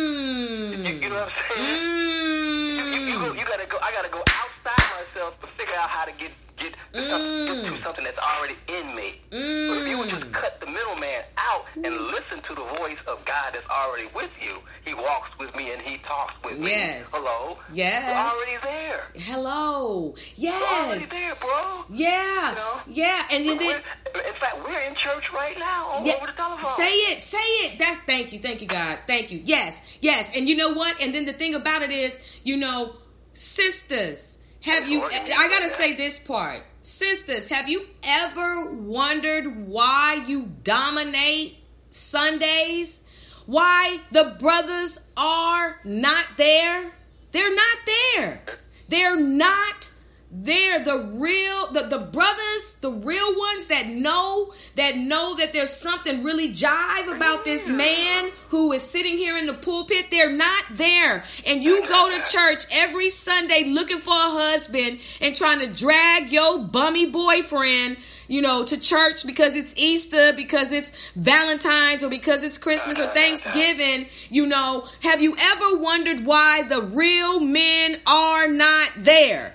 Mm. You, you know what I'm saying? Mm. You, you, you, go, you gotta go. I gotta go outside myself to figure out how to get get to, mm. something, get to something that's already in me. Mm. But if you would just cut the middleman out and listen to the voice of God that's already with you, He walks with me and He talks with me. Yes. Hello. Yes. You're already there. Hello. Yes. You're already there, bro. Yeah. You know? Yeah. And then, when, then in fact, we're in church right now on, Yeah, over the telephone. say it, say it. That's thank you, thank you, God, thank you. Yes, yes, and you know what? And then the thing about it is, you know, sisters, have you? I gotta say this part, sisters, have you ever wondered why you dominate Sundays? Why the brothers are not there? They're not there. They're not there. The real, the, the brothers, the real ones that know, that know that there's something really jive about this man who is sitting here in the pulpit, they're not there. And you go to church every Sunday looking for a husband and trying to drag your bummy boyfriend, you know, to church because it's Easter, because it's Valentine's, or because it's Christmas or Thanksgiving. You know, have you ever wondered why the real men are not there?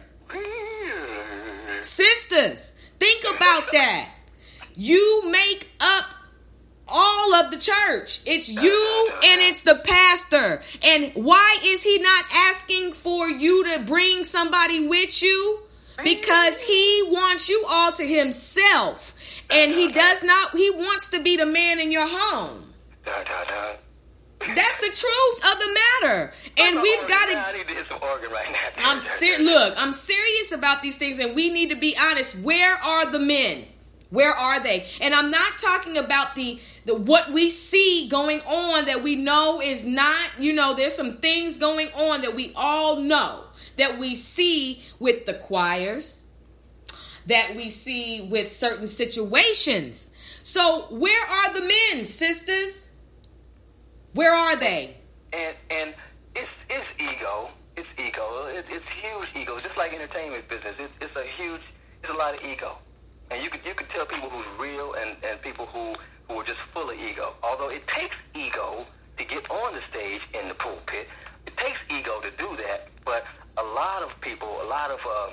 Sisters, think about that. You make up all of the church. It's you and it's the pastor. And why is he not asking for you to bring somebody with you? Because he wants you all to himself. And he does not, he wants to be the man in your home. That's the truth of the matter. And we've got to. I need to hit some organ right now. I'm ser- Look, I'm serious about these things, and we need to be honest. Where are the men? Where are they? And I'm not talking about the, the what we see going on that we know is not, you know, there's some things going on that we all know, that we see with the choirs, that we see with certain situations. So where are the men, sisters? Where are they? And and it's it's ego. It's ego. It's, it's huge ego. Just like entertainment business, it's it's a huge. It's a lot of ego. And you could you could tell people who's real and, and people who, who are just full of ego. Although it takes ego to get on the stage in the pulpit, it takes ego to do that. But a lot of people, a lot of uh,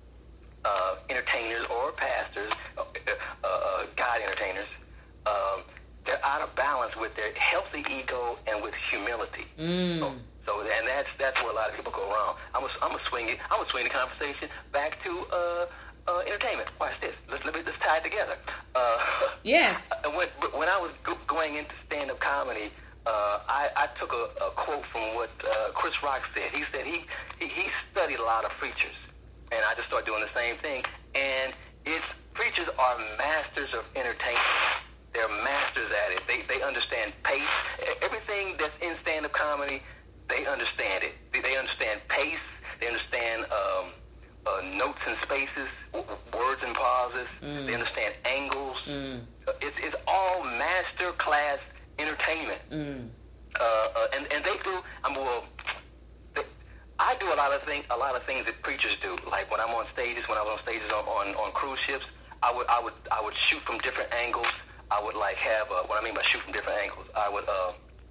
uh, entertainers or pastors, uh, uh, God entertainers. Um, They're out of balance with their healthy ego and with humility. Mm. So, so, and that's that's where a lot of people go wrong. I'm gonna I'm gonna swing it. I'm gonna swing the conversation back to uh, uh, entertainment. Watch this. Let's let me let's tie it together. Uh, yes. When when I was go- going into stand-up comedy, uh, I, I took a, a quote from what uh, Chris Rock said. He said he, he he studied a lot of preachers, and I just started doing the same thing. And it's preachers are masters of entertainment. They're masters at it. They they understand pace. Everything that's in stand-up comedy, they understand it. They, they understand pace. They understand um, uh, notes and spaces, w- words and pauses. Mm. They understand angles. Mm. Uh, it's it's all master class entertainment. Mm. Uh, uh, and and they do. I'm well. They, I do a lot of things. A lot of things that preachers do. Like when I'm on stages. When I was on stages on, on, on cruise ships, I would I would I would shoot from different angles. I would like have, uh, what I mean by shoot from different angles, I would, uh,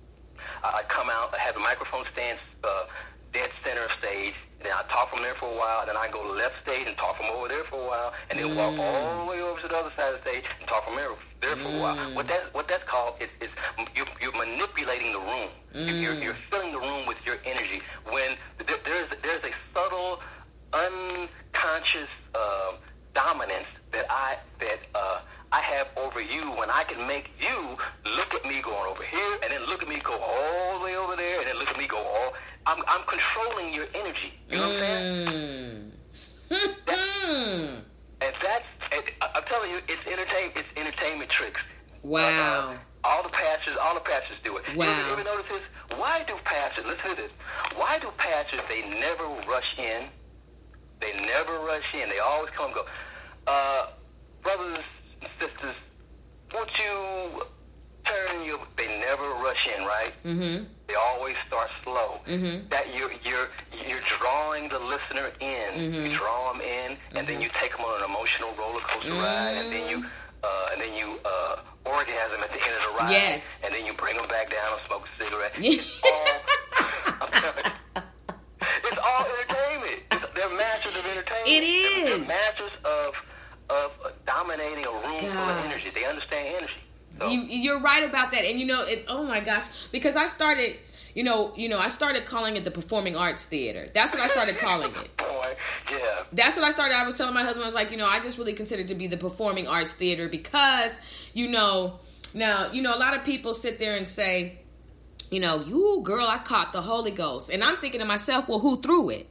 I'd come out, have a microphone stand uh, dead center of stage, and then I'd talk from there for a while, and then I'd go left stage and talk from over there for a while, and then mm. walk all the way over to the other side of the stage and talk from there, there for mm. a while. What that what that's called is, is you're, you're manipulating the room. Mm. You're, you're filling the room with your energy. When there, there's, there's a subtle, unconscious uh, dominance that I, that, uh, I have over you when I can make you look at me going over here and then look at me go all the way over there and then look at me go all... I'm I'm controlling your energy. You know mm. what I'm saying? that, and that's... And I'm telling you, it's entertain, it's entertainment tricks. Wow. Uh, all the pastors, all the pastors do it. Wow. You ever, you ever notice this? Why do pastors... Listen to this. Why do pastors, they never rush in? They never rush in. They always come and go, uh, brothers... sisters, won't you turn your... They never rush in, right? Mm-hmm. They always start slow. Mm-hmm. That you're you're you're drawing the listener in. Mm-hmm. You draw them in, mm-hmm. and then you take them on an emotional roller coaster mm-hmm. ride, and then you uh, and then you uh, orgasm at the end of the ride. Yes. And then you bring them back down and smoke a cigarette. It's all. I'm telling you, it's all entertainment. It's, they're masters of entertainment. It is. They're, they're masters of. of dominating a room Gosh. full of energy. They understand energy. So. You, you're right about that. And you know, it, oh my gosh, because I started, you know, you know, I started calling it the Performing Arts Theater. That's what I started calling it. Boy, yeah. That's what I started. I was telling my husband, I was like, you know, I just really consider it to be the performing arts theater because, you know, now, you know, a lot of people sit there and say, you know, you girl, I caught the Holy Ghost. And I'm thinking to myself, well, who threw it?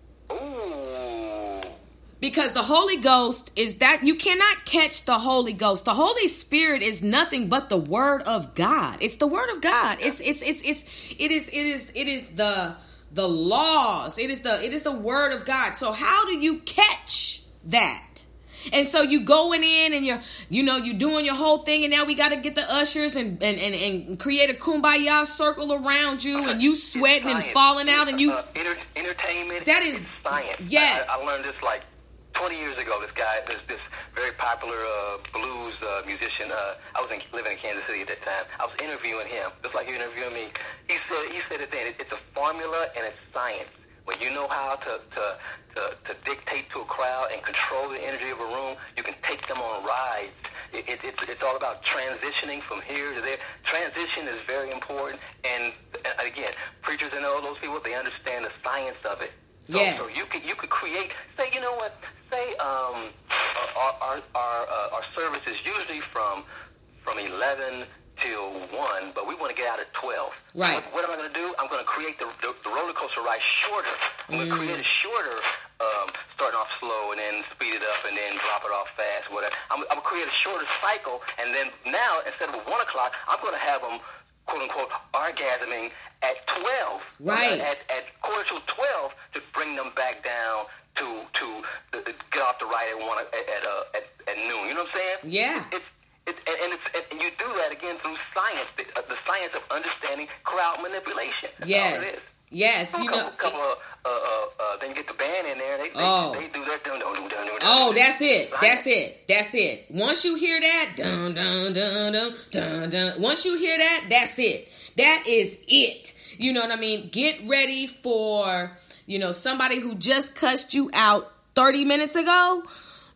Ooh. Because the Holy Ghost is that you cannot catch the Holy Ghost. The Holy Spirit is nothing but the Word of God. It's the Word of God. It's it's it's it's it is it is it is the the laws. It is the it is the Word of God. So how do you catch that? And so you going in and you're, you know, you're doing your whole thing, and now we got to get the ushers and, and, and, and create a kumbaya circle around you, and you sweating and falling out, and you uh, enter, entertainment. That is science. Yes, I, I learned this like twenty years ago. This guy, this this very popular uh, blues uh, musician. Uh, I was in, living in Kansas City at that time. I was interviewing him, just like you're interviewing me. He said he said it then. It, it's a formula and it's science. When you know how to, to to to dictate to a crowd and control the energy of a room, you can take them on rides. It, it, it's it's all about transitioning from here to there. Transition is very important, and, and again, preachers and all those people, they understand the science of it. So, yes. so you could you could create. Say, you know what? Say um our our our, uh, our service is usually from from eleven till one, but we want to get out at twelve. Right. What, what am I going to do? I'm going to create the, the, the roller coaster ride shorter. I'm going to Mm. create it shorter, um, starting off slow and then speed it up and then drop it off fast, whatever. I'm, I'm going to create a shorter cycle, and then now, instead of one o'clock, I'm going to have them, quote-unquote, orgasming at twelve. Right. At, at quarter to twelve to bring them back down to to uh, get off the ride at one at at, uh, at at noon. You know what I'm saying? Yeah. It's It, and, it's, and you do that again through science, the, uh, the science of understanding crowd manipulation. That's all it is. Yes. Yes. A You couple, know. couple of, uh, uh, uh, then you get the band in there. They, they, Oh. they do their dun dun dun dun dun. Oh, that's it. Science. That's it. That's it. Once you hear that, dun dun dun dun dun dun. Once you hear that, that's it. That is it. You know what I mean? Get ready for, you know, somebody who just cussed you out thirty minutes ago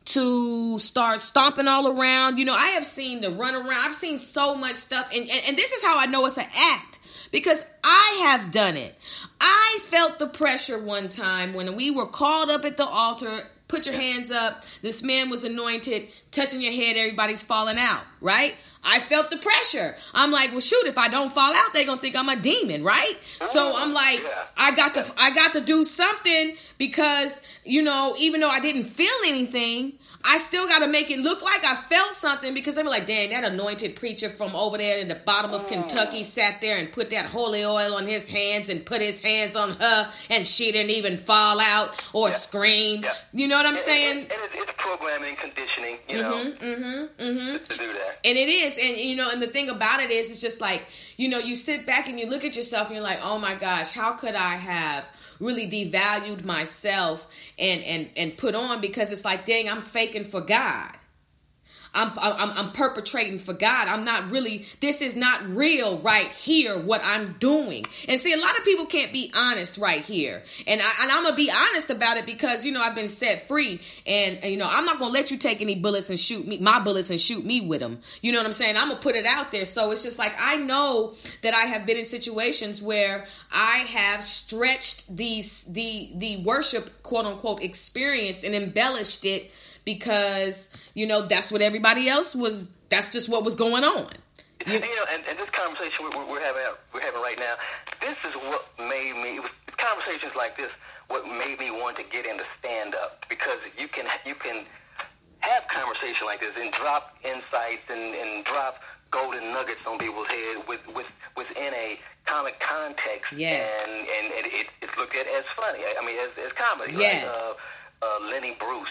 to start stomping all around. You know, I have seen the run around. I've seen so much stuff. And, and, and this is how I know it's an act, because I have done it. I felt the pressure one time when we were called up at the altar. Put your hands up. This man was anointed, touching your head. Everybody's falling out, right? I felt the pressure. I'm like, well, shoot, if I don't fall out, they're going to think I'm a demon, right? So I'm like, Yeah. I got to, I got to do something because, you know, even though I didn't feel anything, I still got to make it look like I felt something, because they were like, dang, that anointed preacher from over there in the bottom of Kentucky sat there and put that holy oil on his hands and put his hands on her, and she didn't even fall out or scream. Yeah. You know what I'm And, saying? and, and it's, it's programming and conditioning, you know, Mm-hmm, mm-hmm. to do that. And it is. And, you know, and the thing about it is, it's just like, you know, you sit back and you look at yourself and you're like, oh my gosh, how could I have really devalued myself and, and, and put on, because it's like, dang, I'm faking for God. I'm, I'm I'm perpetrating for God. I'm not really, this is not real right here, what I'm doing. And see, a lot of people can't be honest right here. And, I, and I'm going to be honest about it because, you know, I've been set free. And, and you know, I'm not going to let you take any bullets and shoot me, my bullets and shoot me with them. You know what I'm saying? I'm going to put it out there. So it's just like, I know that I have been in situations where I have stretched these, the, the worship, quote unquote, experience and embellished it, because, you know, that's what everybody else was, that's just what was going on. You, You know, and, and this conversation we're, we're having we're having right now, this is what made me. It was conversations like this what made me want to get into stand up, because you can you can have conversation like this and drop insights and, and drop golden nuggets on people's head with, with within a comic context. Yes. And and, and it, it's looked at as funny. I mean, as, as comedy. Yes. Like, uh, uh, Lenny Bruce.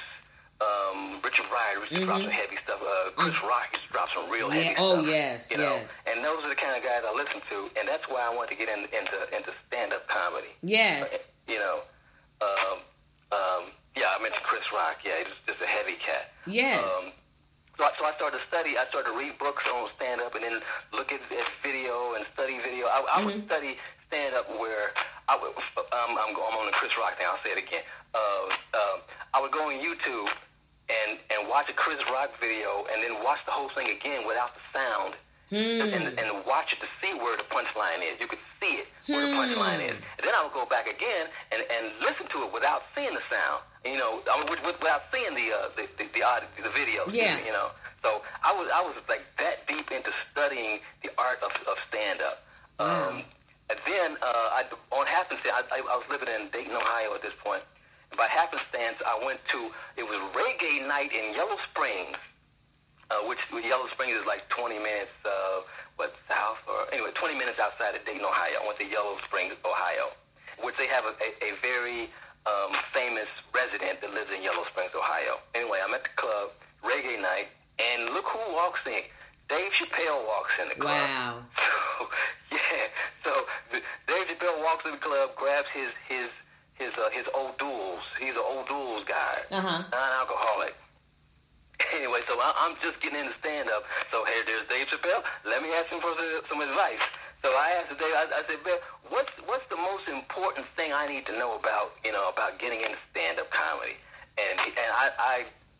Um, Richard Pryor used to Mm-hmm. drop some heavy stuff. Uh, Chris Mm. Rock used to drop some real Yeah. heavy Oh, stuff. yes, you know? yes. And those are the kind of guys I listen to, and that's why I want to get in, into into stand up comedy. Yes. Uh, you know, um, um, yeah, I mentioned Chris Rock. Yeah, he's just a heavy cat. Yes. Um, so, I, so I started to study. I started to read books on stand up, and then look at, at video and study video. I, I would study stand up where I would. Um, I'm, I'm on the Chris Rock now. I'll say it again. Uh, um, I would go on YouTube and and watch a Chris Rock video, and then watch the whole thing again without the sound, Hmm. and, and watch it to see where the punchline is. You could see it where the punchline is. And then I would go back again and, and listen to it without seeing the sound. You know, I mean, with, with, without seeing the uh, the the, the, audio, the video. Yeah. You know, so I was I was like that deep into studying the art of, of stand up. Wow. Um, and then uh, I, on happenstance, I, I, I was living in Dayton, Ohio at this point. By happenstance, I went to it was reggae night in Yellow Springs, uh, which Yellow Springs is like twenty minutes. Uh, what south or anyway, twenty minutes outside of Dayton, Ohio. I went to Yellow Springs, Ohio, which they have a, a, a very um, famous resident that lives in Yellow Springs, Ohio. Anyway, I'm at the club, reggae night, and look who walks in. Dave Chappelle walks in the club. Wow. So, yeah. So the, Dave Chappelle walks in the club, grabs his his his uh, his old duels. He's an old duels guy, Uh-huh. non-alcoholic. Anyway, so I, I'm just getting into stand-up. So here, there's Dave Chappelle. Let me ask him for the, some advice. So I asked Dave. I, I said, "Ben, what's what's the most important thing I need to know about you know about getting into stand-up comedy?" And he, and I, I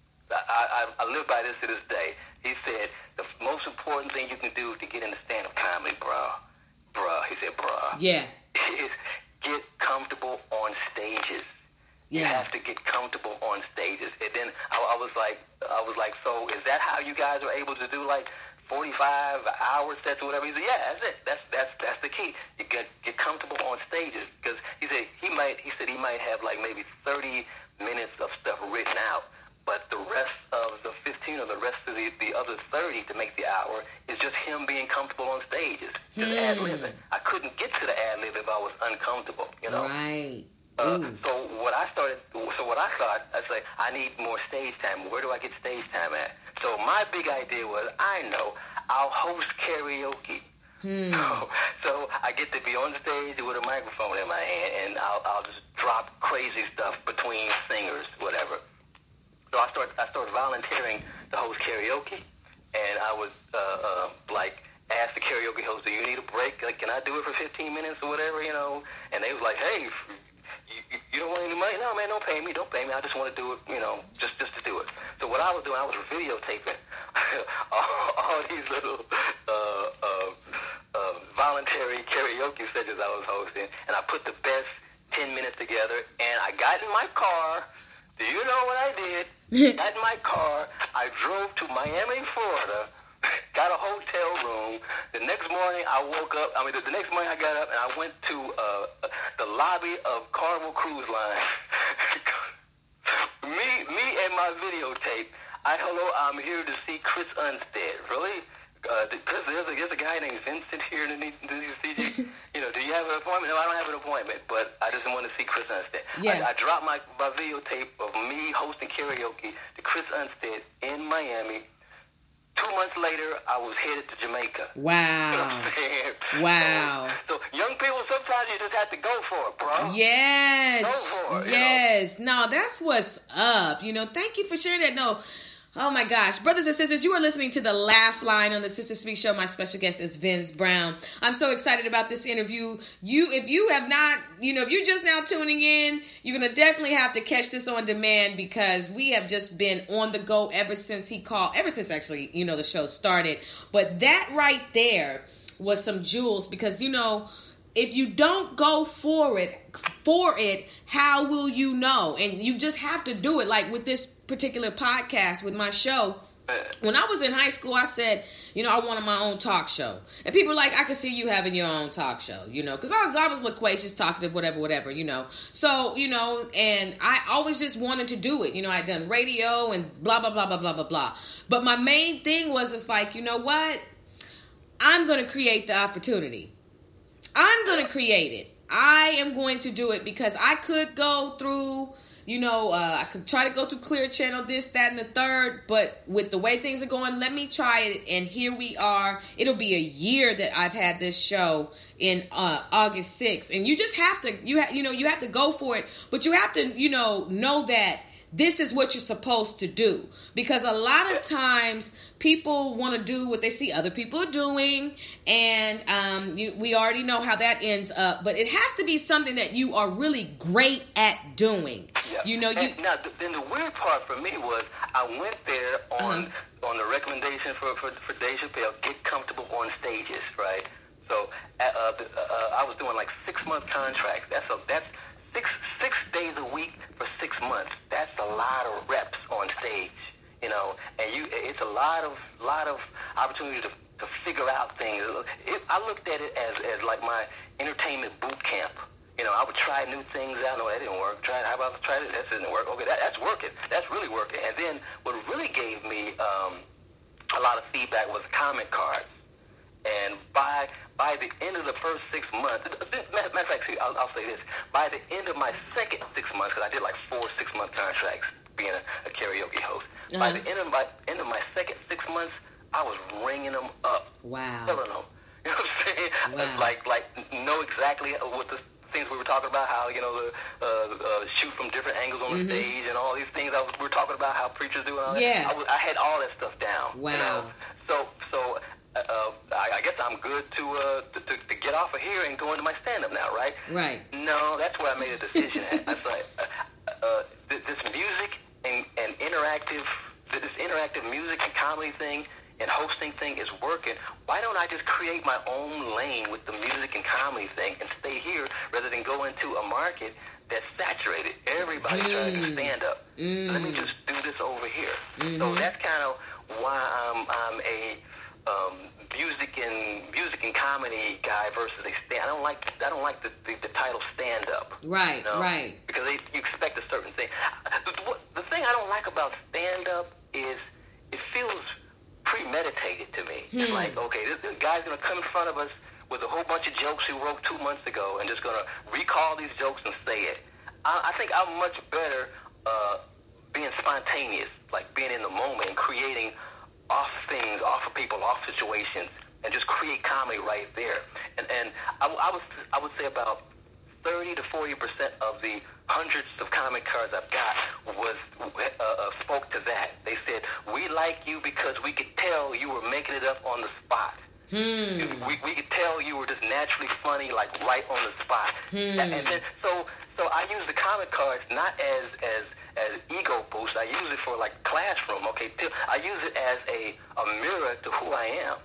I I live by this to this day. He said the most important thing you can do to get into stand-up comedy, bruh, bruh. He said, bruh. Yeah. Is get comfortable on stages. You Yeah. have to get comfortable on stages. And then I, I was like, I was like, so is that how you guys are able to do like forty-five hour sets or whatever? He said, yeah, that's it. That's that's that's the key. You get get comfortable on stages because he said he might. He said he might have like maybe thirty minutes of stuff written out, but the rest of the fifteen or the rest of the, the other thirty to make the hour is just him being comfortable on stages, just Hmm. ad-libbing. I couldn't get to the ad-lib if I was uncomfortable, you know. Right. Uh, Ooh. so what I started, so what I thought, I was like, I need more stage time. Where do I get stage time at? So my big idea was, I know, I'll host karaoke. Hmm. So, so I get to be on stage with a microphone in my hand, and I'll, I'll just drop crazy stuff between singers, whatever. So I started, I started volunteering to host karaoke, and I was uh, uh, like, ask the karaoke host, do you need a break? Like, can I do it for fifteen minutes or whatever, you know? And they was like, hey, you, you, you don't want any money? No, man, don't pay me, don't pay me. I just want to do it, you know, just just to do it. So what I was doing, I was videotaping all, all these little uh, uh, uh, voluntary karaoke sessions I was hosting, and I put the best ten minutes together, and I got in my car. Do you know what I did? Got in my car, I drove to Miami, Florida, got a hotel room. The next morning, I woke up. I mean, the, the next morning, I got up and I went to uh, the lobby of Carnival Cruise Line. me, me, and my videotape. I hello, I'm here to see Chris Unstead. Really? Uh, Chris, there's a, there's a guy named Vincent here to need to see you. You know, do you have an appointment? No, I don't have an appointment, but I just want to see Chris Unstead. Yeah. I, I dropped my, my videotape of me hosting karaoke to Chris Unstead in Miami. Two months later, I was headed to Jamaica. Wow. You know what I'm saying? Wow. So, so young people, sometimes you just have to go for it, bro. Yes. Go for it, you Yes. No, that's what's up. You know, thank you for sharing that. No. Oh my gosh. Brothers and sisters, you are listening to the Laugh Line on the Sister Speak Show. My special guest is Vince Brown. I'm so excited about this interview. You, if you have not, you know, if you're just now tuning in, you're going to definitely have to catch this on demand because we have just been on the go ever since he called, ever since actually, you know, the show started. But that right there was some jewels because, you know, if you don't go for it, for it, how will you know? And you just have to do it. Like with this particular podcast, with my show, when I was in high school, I said, you know, I wanted my own talk show. And people were like, I could see you having your own talk show, you know, because I was, I was loquacious, talkative, whatever, whatever, you know. So, you know, and I always just wanted to do it. You know, I'd done radio and blah, blah, blah, blah, blah, blah, blah. But my main thing was just like, you know what? I'm going to create the opportunity. I'm going to create it. I am going to do it because I could go through, you know, uh, I could try to go through Clear Channel, this, that, and the third. But with the way things are going, let me try it. And here we are. It'll be a year that I've had this show in uh, August sixth. And you just have to, you, ha- you know, you have to go for it. But you have to, you know, know that this is what you're supposed to do. Because a lot of times people want to do what they see other people are doing. And um, you, we already know how that ends up. But it has to be something that you are really great at doing. Yeah. You know, you... And now, th- then the weird part for me was I went there on Uh-huh. on the recommendation for, for, for Dave Chappelle, get comfortable on stages, right? So uh, uh, uh, I was doing like six month contracts. That's a, that's six six days a week for six months. That's a lot of reps on stage, you know. And you, it's a lot of lot of opportunity to to figure out things. It, I looked at it as as like my entertainment boot camp. You know, I would try new things out. No, that didn't work. Try, how about try this? That didn't work. Okay, that, that's working. That's really working. And then what really gave me um, a lot of feedback was comment cards. And by by the end of the first six months, matter of fact, I'll, I'll say this: by the end of my second six months, because I did like four six-month contracts being a, a karaoke host. Uh-huh. By the end of my end of my second six months, I was ringing them up. Wow. Telling them, you know what I'm saying? Wow. Like like know exactly what the things we were talking about, how, you know, the uh, uh, shoot from different angles on the mm-hmm. stage and all these things. I was, we were talking about how preachers do and all yeah. that. I, was, I had all that stuff down. Wow. You know? So, so uh, I, I guess I'm good to, uh, to, to to get off of here and go into my stand-up now, right? Right. No, that's where I made a decision at. I was like, uh, uh, this music and, and interactive, this interactive music and comedy thing and hosting thing is working. Why don't I just create my own lane with the music and comedy thing and stay here rather than go into a market that's saturated? Everybody's mm. trying to do stand-up. Mm. Let me just do this over here. Mm-hmm. So that's kind of why I'm, I'm a um, music and music and comedy guy versus a stand. I don't like I don't like the, the, the title stand-up. Right, you know? Right. Because they, you expect a certain thing. The, the thing I don't like about stand-up is it feels premeditated to me. Hmm. It's like, okay, this, this guy's going to come in front of us with a whole bunch of jokes he wrote two months ago and just going to recall these jokes and say it. I, I think I'm much better uh, being spontaneous, like being in the moment and creating off things, off of people, off situations, and just create comedy right there. And and I, I, was, I would say about thirty to forty percent of the hundreds of comic cards I've got was uh, uh, spoke to that. They said, we like you because we could tell you were making it up on the spot. Hmm. We, we could tell you were just naturally funny, like right on the spot. Hmm. And, and then, so so I use the comic cards not as as as ego boost. I use it for like classroom. Okay, I use it as a a mirror to who I am.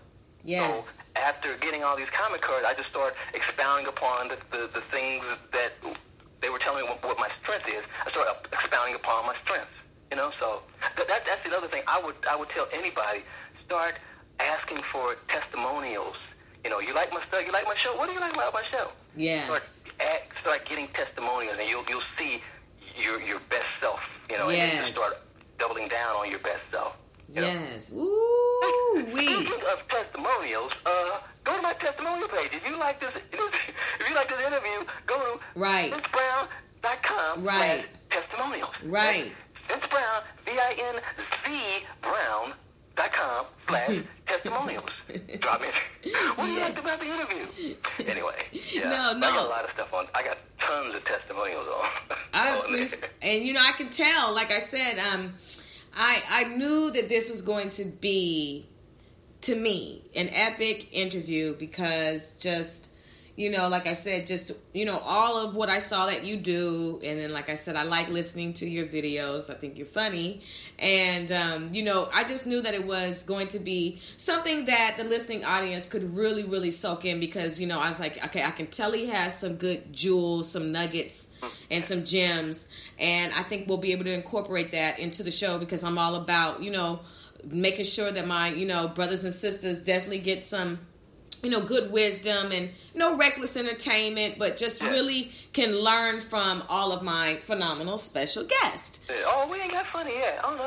Yes. So after getting all these comic cards, I just start expounding upon the, the, the things that they were telling me what, what my strength is. I start expounding upon my strengths. You know, so that, that that's the other thing. I would I would tell anybody, start asking for testimonials. You know, you like my stuff, you like my show. What do you like about my show? Yes. Start at, start getting testimonials, and you'll you'll see your your best self. You know, yes. and then you start doubling down on your best self. You yes. Know? Ooh, wee. Speaking of testimonials, uh, go to my testimonial page. If you like this, if you like this interview, go to right. vince brown dot com right. testimonials. Right. Vince Brown, V I N Z Brown dot com slash testimonials. Drop in. What do you yeah. like about the interview? Anyway, yeah. No, no. I got a lot of stuff on. I got tons of testimonials on. I on appreciate, there. and you know, I can tell. Like I said, um. I, I knew that this was going to be, to me, an epic interview because just, you know, like I said, just, you know, all of what I saw that you do. And then, like I said, I like listening to your videos. I think you're funny. And, um, you know, I just knew that it was going to be something that the listening audience could really, really soak in because, you know, I was like, okay, I can tell he has some good jewels, some nuggets, and some gems, and I think we'll be able to incorporate that into the show because I'm all about, you know, making sure that my, you know, brothers and sisters definitely get some, you know, good wisdom and no reckless entertainment, but just really can learn from all of my phenomenal special guests. Oh, we ain't got funny yet. Oh,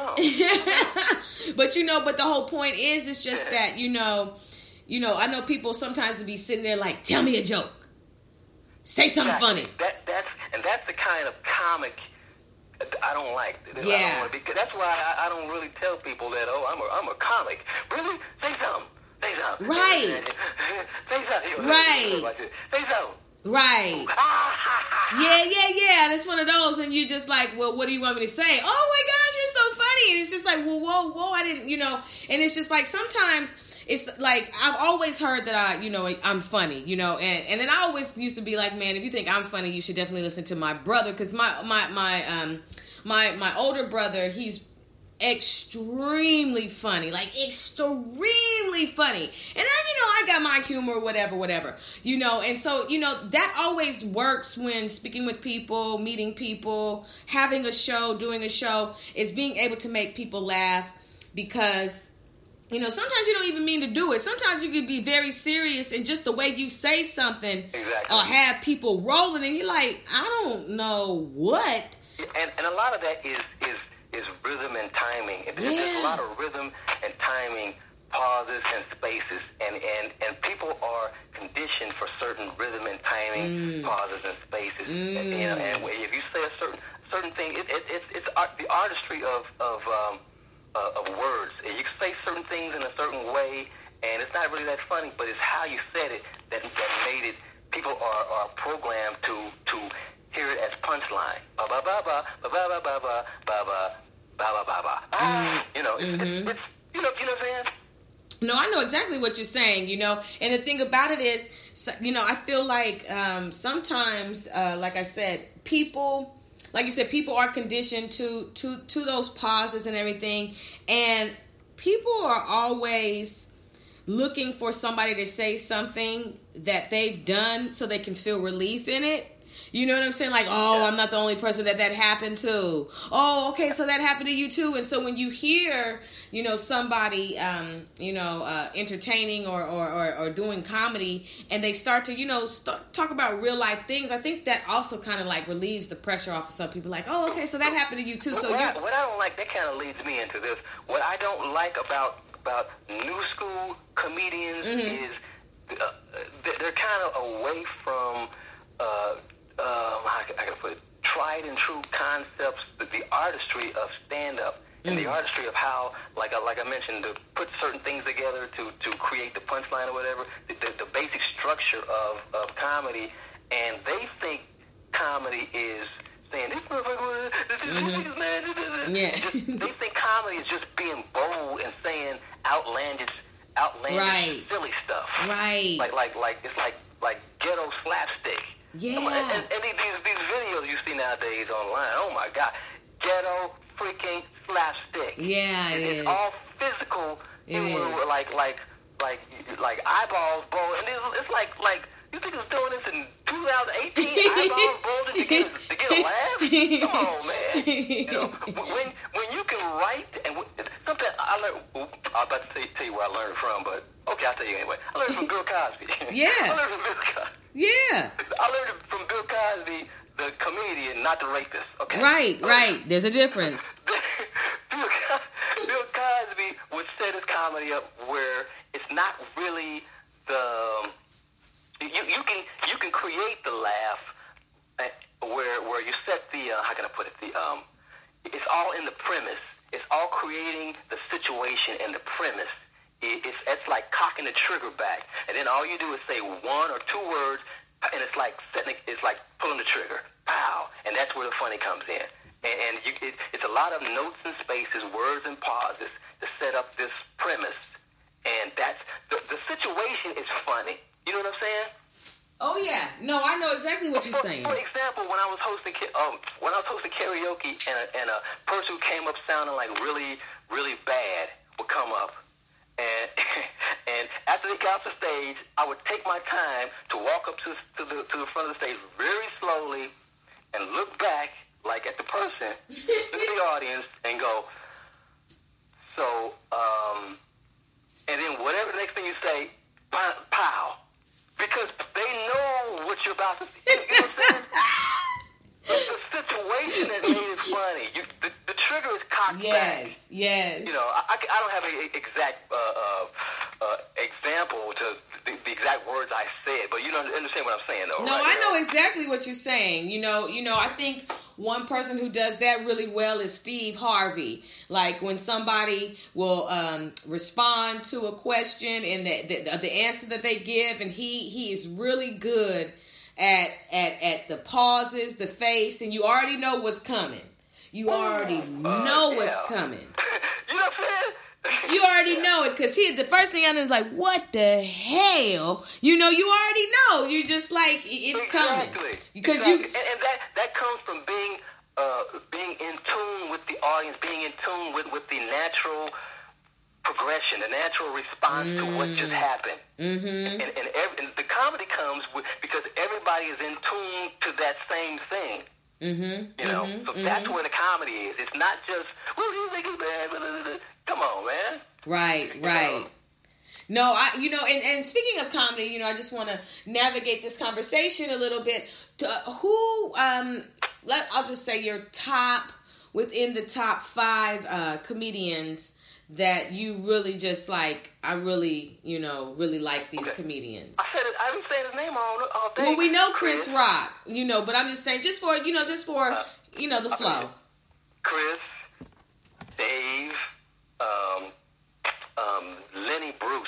no. But, you know, but the whole point is, it's just that, you know, you know, I know people sometimes be sitting there like, tell me a joke. Say something exactly. funny. That that's and that's the kind of comic I don't like. Yeah. I don't because that's why I, I don't really tell people that. Oh, I'm a I'm a comic. Really? Say something. Say something. Right. Say something. Right. Say something. Right. Yeah, yeah, yeah. That's one of those, and you're just like, well, what do you want me to say? Oh my gosh, you're so funny. And it's just like, well, whoa, whoa, I didn't, you know. And it's just like sometimes. It's like, I've always heard that I, you know, I'm funny, you know, and, and then I always used to be like, man, if you think I'm funny, you should definitely listen to my brother, because my, my, my, um, my, my older brother, he's extremely funny, like extremely funny. And I, you know, I got my humor, whatever, whatever, you know. And so, you know, that always works when speaking with people, meeting people, having a show, doing a show, is being able to make people laugh because, you know, sometimes you don't even mean to do it. Sometimes you could be very serious and just the way you say something exactly. uh, have people rolling and you're like, I don't know what. And and a lot of that is is, is rhythm and timing. Yeah. There's a lot of rhythm and timing, pauses and spaces, and, and, and people are conditioned for certain rhythm and timing, mm. pauses and spaces. Mm. And, you know, and if you say a certain certain thing, it, it, it's it's art, the artistry of of um, Uh, of words. You can say certain things in a certain way, and it's not really that funny, but it's how you said it that, that made it. People are, are programmed to to hear it as punchline. Ba ba ba ba ba ba ba ba ba ba ba ba ba ba. You know, it's, mm-hmm. it's, it's you know you know what I'm saying. No, I know exactly what you're saying, you know, and the thing about it is, you know, I feel like um, sometimes, uh, like I said, people. Like you said, people are conditioned to, to, to those pauses and everything. And people are always looking for somebody to say something that they've done so they can feel relief in it. You know what I'm saying? Like, oh, I'm not the only person that that happened to. Oh, okay, so that happened to you too. And so when you hear, you know, somebody, um, you know, uh, entertaining or, or, or, or doing comedy, and they start to, you know, start, talk about real life things, I think that also kind of like relieves the pressure off of some people. Like, oh, okay, so that happened to you too. So what, you I, what I don't like, that kind of leads me into this. What I don't like about about new school comedians mm-hmm. is uh, they're kind of away from. Uh, Um, I, I gotta put it, tried and true concepts, the, the artistry of stand-up, and mm. the artistry of how, like I, like I mentioned, to put certain things together to, to create the punchline or whatever, the, the, the basic structure of, of comedy, and they think comedy is saying, this motherfucker, this is mm-hmm. man, this is yeah. just, they think comedy is just being bold and saying outlandish, outlandish, right. silly stuff. Right. Like, like, like, it's like, like ghetto slapstick. Yeah. And, and, and these, these videos you see nowadays online, oh my God, ghetto freaking slapstick. Yeah, it it's is. all physical, it you know, is. like like like like eyeballs bulging, and it's, it's like like you think it's doing this in two thousand eighteen, eyeballs bulging to get to get a laugh? Come on, man. You know, when when you can write and something I learned. I'm about to tell you, tell you where I learned it from, but okay, I'll tell you anyway. I learned it from Bill Cosby. Yeah. I learned it from Bill Cosby. Yeah. I learned it from Bill Cosby, the comedian, not the rapist. Okay. Right, right. There's a difference. Bill, Bill Cosby would set his comedy up where it's not really the you you can you can create the laugh where where you set the uh, how can I put it the um it's all in the premise. It's all creating the situation and the premise. It's, it's like cocking the trigger back, and then all you do is say one or two words, and it's like setting, it's like pulling the trigger, pow, and that's where the funny comes in. And, and you, it, it's a lot of notes and spaces, words and pauses to set up this premise, and that's the, the situation is funny. You know what I'm saying? Oh yeah, no, I know exactly what you're for, saying. For example, when I was hosting um, when I was hosting karaoke, and a, and a person who came up sounding like really, really bad would come up. And and after they got off the stage, I would take my time to walk up to, to the to the front of the stage very slowly and look back, like at the person, look at the audience, and go, so, um, and then whatever the next thing you say, pow, pow. Because they know what you're about to say. You know what I'm saying? The, the situation that made it funny. You, the, the trigger is cocked yes, back. Yes, yes. You know, I, I don't have an exact uh, uh, uh, example to the, the exact words I said, but you don't understand what I'm saying, though. No, right? I know exactly what you're saying. You know, you know. I think one person who does that really well is Steve Harvey. Like when somebody will um, respond to a question and the, the the answer that they give, and he he is really good at at at the pauses, the face, and you already know what's coming. You already know uh, what's yeah. coming. You know what I'm saying? You already know it because he the first thing I know is like, what the hell? You know, you already know. You're just like, it's exactly. coming because exactly. you and, and that that comes from being uh, being in tune with the audience, being in tune with, with the natural progression, the natural response mm. to what just happened. Mm-hmm. And, and, every, and the comedy comes with, because everybody is in tune to that same thing. Mm-hmm. You know, mm-hmm. so mm-hmm. that's where the comedy is. It's not just, well, you think it's bad. Come on, man. Right, you right. know? No, I, you know, and, and speaking of comedy, you know, I just want to navigate this conversation a little bit. To, uh, who, um, let I'll just say your top, within the top five uh, comedians that you really just like, I really, you know, really like these okay. comedians. I said it, I didn't say his name all, all day. Well, we know Chris, Chris Rock, you know, but I'm just saying, just for, you know, just for, uh, you know, the flow. Chris, Dave, um, um, Lenny Bruce.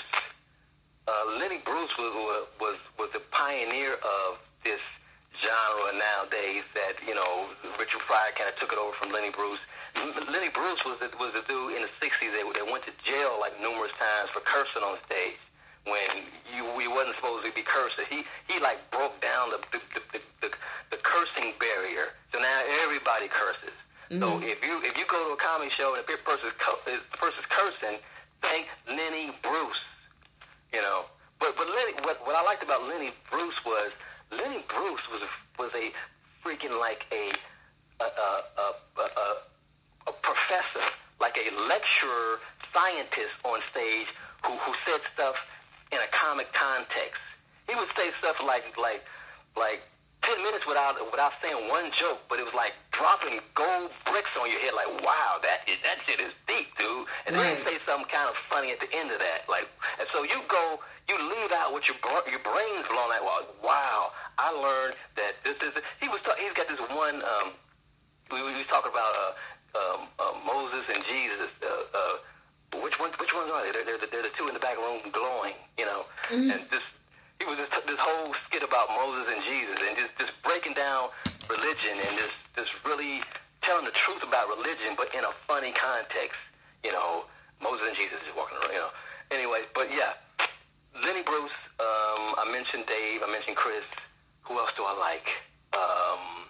Uh, Lenny Bruce was, was, was the pioneer of this genre nowadays that, you know, Richard Pryor kind of took it over from Lenny Bruce. Lenny Bruce was the, was the dude in the sixties that, that went to jail like numerous times for cursing on stage when you we wasn't supposed to be cursing. He he like broke down the the, the, the, the cursing barrier. So now everybody curses. Mm-hmm. So if you if you go to a comedy show and a person's the person's cursing, thank Lenny Bruce. You know, but but Lenny, what what I liked about Lenny Bruce was Lenny Bruce was a, was a freaking like a a a a, a, a professor, like a lecturer, scientist on stage who who said stuff in a comic context. He would say stuff like like like ten minutes without without saying one joke, but it was like dropping gold bricks on your head. Like, wow, that is, that shit is deep, dude. And right. then he'd say something kind of funny at the end of that. Like, and so you go, you leave out with your your brains blown out. Well, wow, I learned that this is. He was talk, he's got this one. Um, we, we was talking about uh, um, uh, Moses and Jesus. Uh, uh, which ones? Which ones are they? They're, they're, they're the two in the back room glowing, you know. Mm-hmm. And this. He was just this whole skit about Moses and Jesus, and just, just breaking down religion, and just, just really telling the truth about religion, but in a funny context. You know, Moses and Jesus just walking around. You know. Anyway, but yeah, Lenny Bruce. Um, I mentioned Dave. I mentioned Chris. Who else do I like? Um,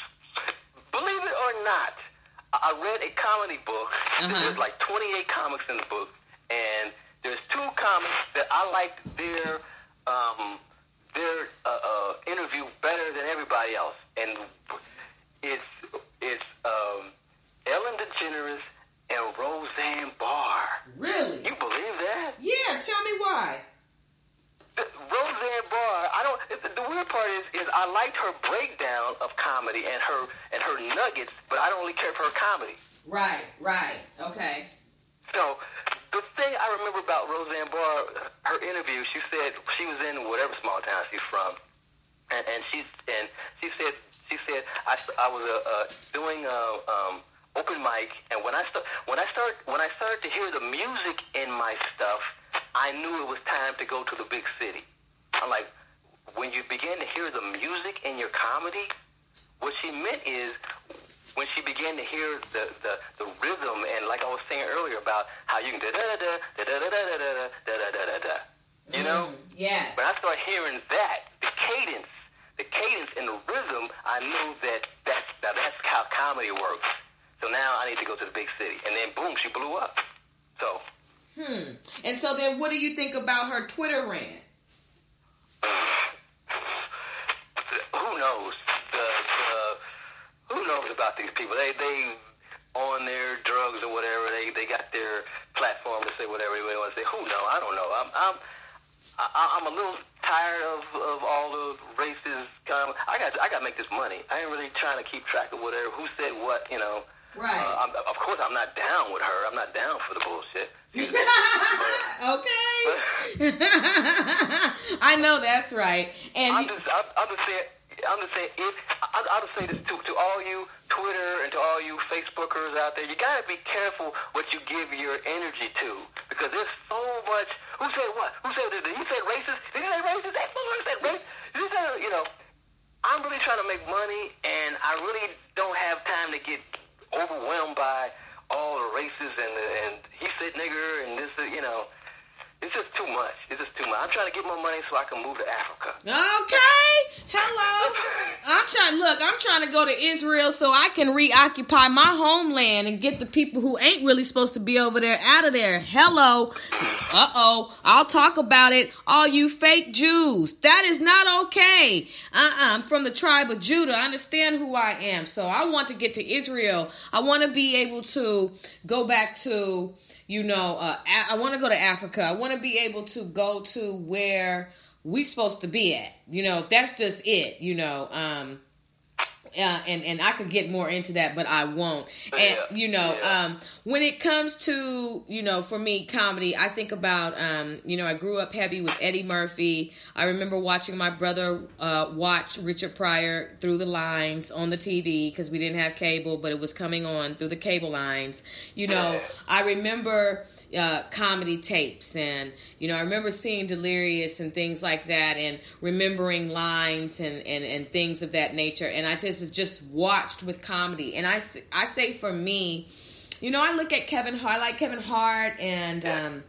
believe it or not, I read a comedy book. Uh-huh. There's like twenty-eight comics in the book, and there's two comics that I liked their Um, their uh, uh, interview better than everybody else, and it's it's um, Ellen DeGeneres and Roseanne Barr. Really? You believe that? Yeah. Tell me why. The, Roseanne Barr. I don't. The, the weird part is, is I liked her breakdown of comedy and her and her nuggets, but I don't really care for her comedy. Right. Right. Okay. So. The thing I remember about Roseanne Barr, her interview, she said she was in whatever small town she's from, and, and she and she said she said I, I was uh, uh, doing a um, open mic, and when I start when I start when I started to hear the music in my stuff, I knew it was time to go to the big city. I'm like, when you begin to hear the music in your comedy, what she meant is, when she began to hear the, the, the rhythm, and like I was saying earlier about how you can da da da da da da da da da da da da da, you know? Yes. When I started hearing that, the cadence, the cadence and the rhythm, I knew that that's that that's how comedy works. So now I need to go to the big city, and then boom, she blew up. So. Hmm. And so then, what do you think about her Twitter rant? Who knows? The, the Who knows about these people? They they on their drugs or whatever. They they got their platform to say whatever they want to say. Who knows? I don't know. I'm I'm I, I'm a little tired of, of all the racist. Kind of, I got I got to make this money. I ain't really trying to keep track of whatever who said what. You know. Right. Uh, I'm, of course, I'm not down with her. I'm not down for the bullshit. Okay. I know that's right. And I'm just I'm, I'm just saying. I'm just saying, if I, I'll just say this to, to all you Twitter and to all you Facebookers out there, you gotta be careful what you give your energy to, because there's so much. Who said what? Who said? Did he say racist? Did he say racist? That motherfucker said racist. Did he say, you know? I'm really trying to make money, and I really don't have time to get overwhelmed by all the racists and the, and he said nigger and this, you know. It's just too much. It's just too much. I'm trying to get more money so I can move to Africa. Okay. Hello. I'm trying, look, I'm trying to go to Israel so I can reoccupy my homeland and get the people who ain't really supposed to be over there out of there. Hello. Uh-oh. I'll talk about it. All you fake Jews. That is not okay. Uh-uh. I'm from the tribe of Judah. I understand who I am. So I want to get to Israel. I want to be able to go back to... You know, uh, I want to go to Africa. I want to be able to go to where we supposed to be at. You know, that's just it, you know. Um, uh, and, and I could get more into that, but I won't. And, yeah. you know, yeah. um, when it comes to, you know, for me, comedy, I think about, um, you know, I grew up heavy with Eddie Murphy. I remember watching my brother uh, watch Richard Pryor Through the Lines on the T V because we didn't have cable, but it was coming on through the cable lines. You know, Yeah. I remember... Uh, comedy tapes, and you know I remember seeing Delirious and things like that, and remembering lines and, and, and things of that nature, and I just just watched with comedy. And I I say for me, you know I look at Kevin Hart, I like Kevin Hart, and um,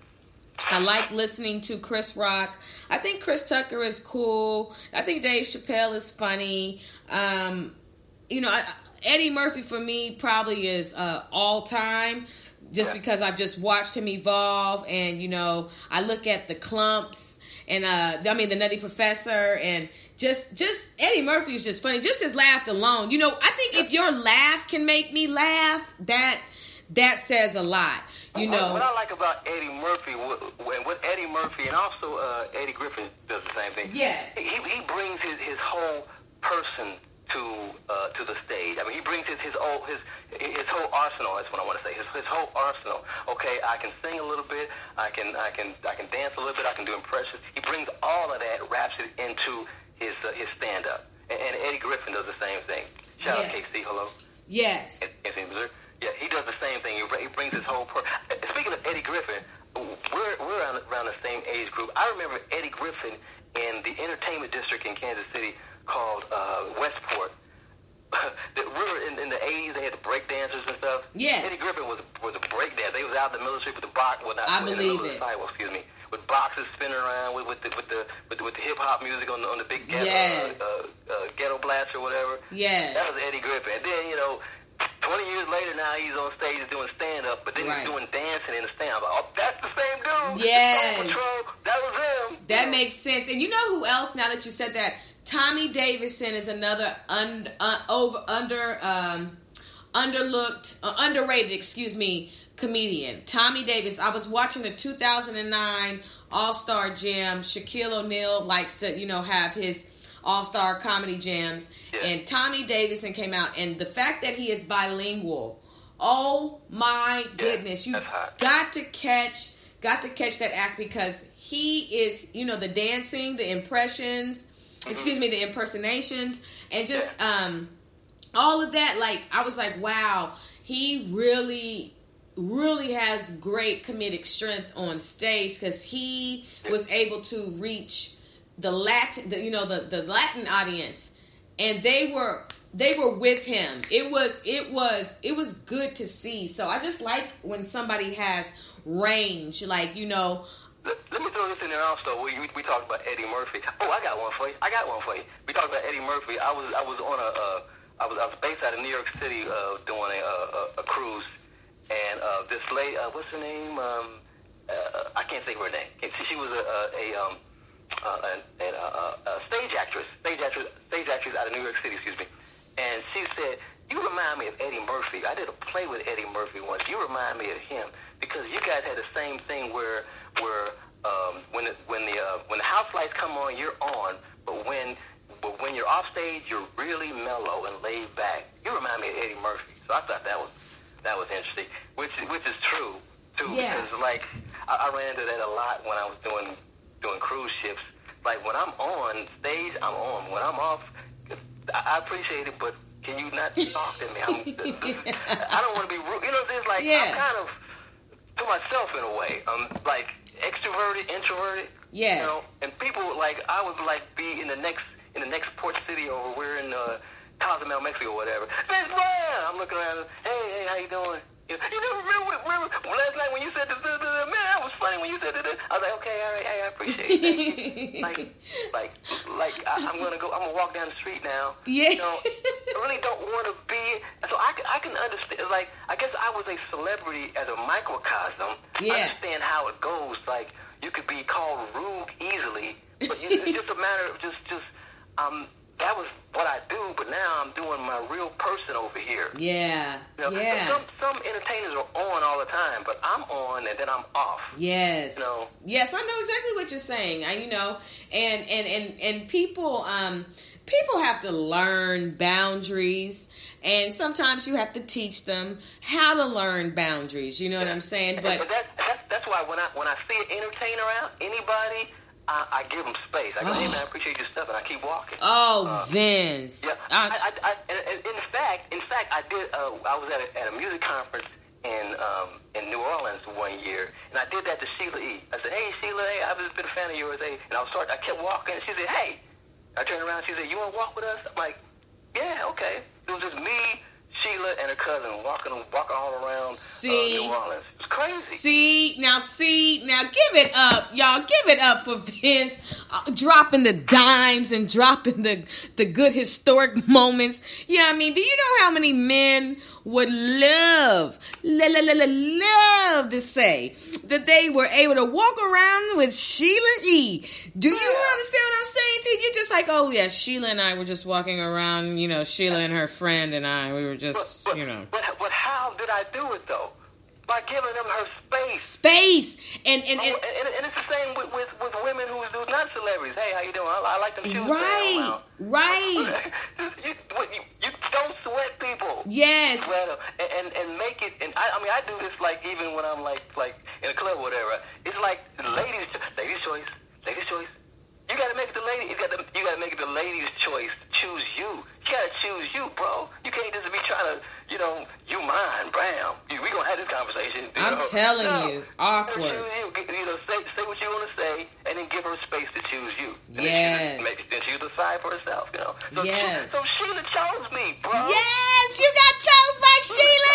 I like listening to Chris Rock. I think Chris Tucker is cool. I think Dave Chappelle is funny. Um, you know I, Eddie Murphy for me probably is uh, all time. Just yeah. because I've just watched him evolve, and you know, I look at the Clumps, and uh, I mean the Nutty Professor, and just just Eddie Murphy is just funny. Just his laugh alone, you know. I think if your laugh can make me laugh, that that says a lot, you know. What I like about Eddie Murphy, and what Eddie Murphy, and also uh, Eddie Griffin does the same thing. Yes, he he brings his his whole person to uh, to the stage. I mean, he brings his his whole his his whole arsenal. That's what I want to say. His his whole arsenal. Okay, I can sing a little bit. I can I can I can dance a little bit. I can do impressions. He brings all of that, wraps it into his uh, his stand up. And, and Eddie Griffin does the same thing. Shout yes. out K C. Hello. Yes. In Missouri. Yeah, he does the same thing. He, he brings his whole. Per- Speaking of Eddie Griffin, we're we're around, around the same age group. I remember Eddie Griffin in the entertainment district in Kansas City called uh, Westport. The river in, in the eighties, they had the break dancers and stuff. Yes. Eddie Griffin was was a break dancer. They was out in the military with the box. Well, not, I in believe the it. Sidewalk, excuse me, with boxes spinning around with with the with the with the, with the hip hop music on the on the big ghetto, Yes. uh, uh, ghetto blast or whatever. Yes. That was Eddie Griffin. And then you know, twenty years later, now he's on stage doing stand up, but then Right. he's doing dancing in the stand up. Oh, that's the same dude. Yes. Soul Patrol, that was him. That makes sense. And you know who else? Now that you said that, Tommy Davidson is another un, uh, over under um, underlooked, uh, underrated, excuse me, comedian. Tommy Davis. I was watching the two thousand nine All-Star Jam. Shaquille O'Neal likes to, you know, have his All-Star comedy jams, Yeah. and Tommy Davidson came out, and the fact that he is bilingual. Oh my goodness! You've that's hot. got to catch, got to catch that act because he is, you know, the dancing, the impressions. Excuse me, the impersonations, and just um, all of that. Like, I was like, wow, he really, really has great comedic strength on stage because he was able to reach the Latin, the, you know, the, the Latin audience, and they were they were with him. It was it was it was good to see. So I just like when somebody has range, like, you know. Let, let me throw this in there also. We, we we talked about Eddie Murphy. Oh, I got one for you. I got one for you. We talked about Eddie Murphy. I was I was on a uh, I was I was based out of New York City uh, doing a, a a cruise, and uh, this lady, uh, what's her name? Um, uh, I can't think of her name. She, she was a a, a um uh, a, a, a, a stage actress, stage actress, stage actress out of New York City. Excuse me. And she said, "You remind me of Eddie Murphy. I did a play with Eddie Murphy once. You remind me of him because you guys had the same thing where." Where um, when it, when the uh, when the house lights come on, you're on, but when but when you're off stage, you're really mellow and laid back. You remind me of Eddie Murphy, so I thought that was that was interesting, which which is true too. Yeah. Because like I, I ran into that a lot when I was doing doing cruise ships. Like when I'm on stage, I'm on. When I'm off, I, I appreciate it, but can you not talk to me? I'm, I don't want to be rude. You know, it's like Yeah. I'm kind of to myself in a way. I'm like extroverted, introverted. Yes. You know, and people like I would like be in the next in the next port city, or we're in uh, Cozumel, Mexico, or whatever. Miss Brown, I'm looking around. Hey, hey, how you doing? You know, you know remember, remember last night when you said this, this, this, man, that was funny when you said this. I was like, okay, all right, hey, I appreciate it. Thank you. like, like, like, I, I'm gonna go. I'm gonna walk down the street now. Yeah. You know, I really don't want to be. So I can, I can understand. Like, I guess I was a celebrity as a microcosm. Yeah. I understand how it goes. Like, you could be called rude easily, but it's just a matter of just, just, um. That was what I do, but now I'm doing my real person over here. Yeah, you know, yeah. Some some entertainers are on all the time, but I'm on and then I'm off. Yes. You know? Yes, I know exactly what you're saying. I, you know, and and and and people, um, people have to learn boundaries, and sometimes you have to teach them how to learn boundaries. You know what I'm saying? But, but that, that's that's why when I when I see an entertainer out, anybody. I, I give them space. I go, oh. hey, man, I appreciate your stuff, and I keep walking. Oh, uh, Vince. Yeah. I, I, I, I, in fact, in fact, I did. Uh, I was at a, at a music conference in um, in New Orleans one year, and I did that to Sheila E. I said, hey, Sheila, hey, I've just been a fan of yours, hey. And I was start, I kept walking, and she said, hey. I turned around, and she said, you want to walk with us? I'm like, yeah, okay. It was just me, Sheila, and her cousin walking walking all around see, uh, New Orleans. It's crazy. See, now see, now give it up, y'all. Give it up for Vince uh, dropping the dimes and dropping the, the good historic moments. Yeah, I mean, do you know how many men would love, la, la, la, la, love to say that they were able to walk around with Sheila E. Do you Yeah. understand what I'm saying to you? You're just like, oh yeah, Sheila and I were just walking around, you know, Sheila and her friend and I, we were just, But, but, you know. But, but how did I do it, though? By giving them her space. Space. And, and, Oh, and, and, and it's the same with, with, with women who's, who's not celebrities. Hey, how you doing? I, I like them shoes. right, right. you, you, you don't sweat people. Yes. Sweat them and, and, and make it. And I, I mean, I do this like even when I'm like like in a club or whatever. It's like ladies, ladies' choice, ladies' choice. You gotta make it the lady. You gotta you gotta make it the lady's choice to choose you. You gotta choose you, bro. You can't just be trying to, you know, you mine, bam. You, we gonna have this conversation. You I'm know? telling no, you, awkward. Choose you. You know, say say what you want to say, and then give her space to choose you. And Yes. Then she, make, then she decide for herself. You know. So Yes. She, so Sheila chose me, bro. Yes, you got chose by Sheila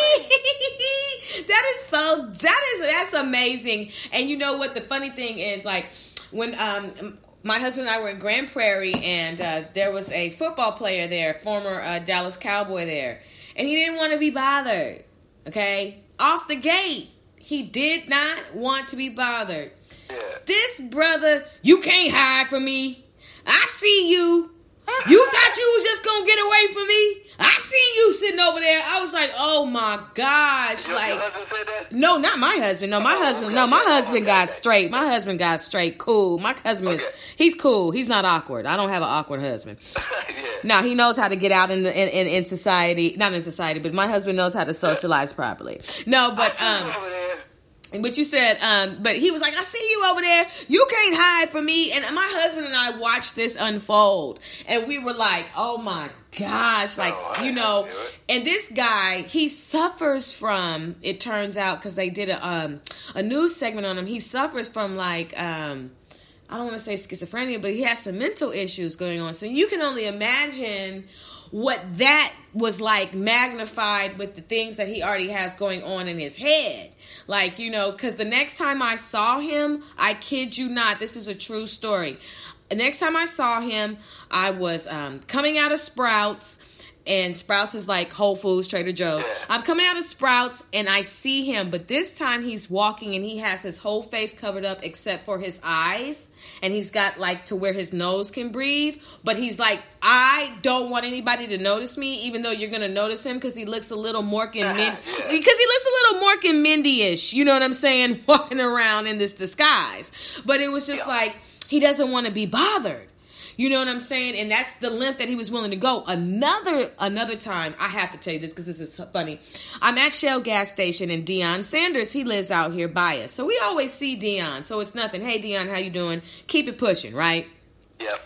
E. That is so. That is that's amazing. And you know what? The funny thing is, like, when um. my husband and I were in Grand Prairie, and uh, there was a football player there, former uh, Dallas Cowboy there, and he didn't want to be bothered, okay? Off the gate, he did not want to be bothered. Yeah. This brother, you can't hide from me. I see you. You thought you was just going to get away from me? I seen you sitting over there. I was like, oh my gosh. Your, like, your husband said that? No, not my husband. No, my Oh, husband. okay, No, my okay, husband okay, got okay. straight. My husband got straight. Cool. My husband is, Okay. he's cool. He's not awkward. I don't have an awkward husband. Yeah. Now, he knows how to get out in the in, in, in society. Not in society, but my husband knows how to socialize properly. No, but um Over there. But you said, um, but he was like, I see you over there. You can't hide from me. And my husband and I watched this unfold. And we were like, oh my gosh. Like, Oh, I you know, knew it. and this guy, he suffers from, it turns out, because they did a, um, a news segment on him. He suffers from like, um, I don't want to say schizophrenia, but he has some mental issues going on. So you can only imagine what that was like magnified with the things that he already has going on in his head. Like, you know, because the next time I saw him, I kid you not, this is a true story. The next time I saw him, I was um, coming out of Sprouts. And Sprouts is like Whole Foods, Trader Joe's. I'm coming out of Sprouts and I see him, but this time he's walking and he has his whole face covered up except for his eyes. And he's got like to where his nose can breathe. But he's like, I don't want anybody to notice me, even though you're going to notice him because he looks a little Mork and Mindy. Because he looks a little Mork and Mindy-ish, you know what I'm saying? Walking around in this disguise. But it was just like, he doesn't want to be bothered. You know what I'm saying? And that's the length that he was willing to go. Another another time, I have to tell you this because this is funny. I'm at Shell gas station and Deion Sanders, he lives out here by us. So we always see Deion. So it's nothing. Hey, Deion, how you doing? Keep it pushing, right? Yep.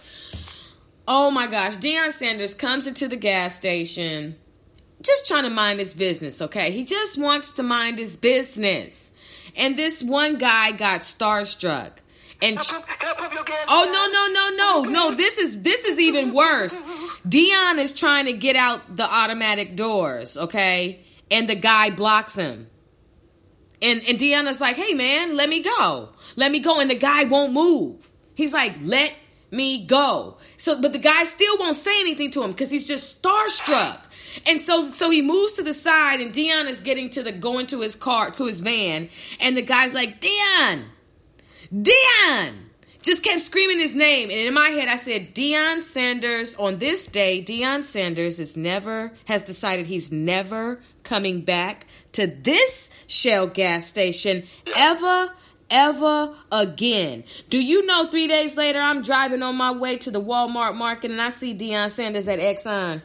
Oh my gosh. Deion Sanders comes into the gas station just trying to mind his business, okay? He just wants to mind his business. And this one guy got starstruck. And Can I pump your gas? oh no no no no no! This is this is even worse. Deion is trying to get out the automatic doors, okay, and the guy blocks him. And, and Deanna's like, hey, man, let me go. Let me go. And the guy won't move. He's like, let me go. So, but the guy still won't say anything to him because he's just starstruck. And so, so he moves to the side, and Deanna's getting to the, going to his car, to his van. And the guy's like, Deion, Deion, just kept screaming his name. And in my head, I said, Deion Sanders, on this day, Deion Sanders is never, has decided he's never coming back to this Shell gas station ever, ever again. Do you know three days later, I'm driving on my way to the Walmart market and I see Deion Sanders at Exxon.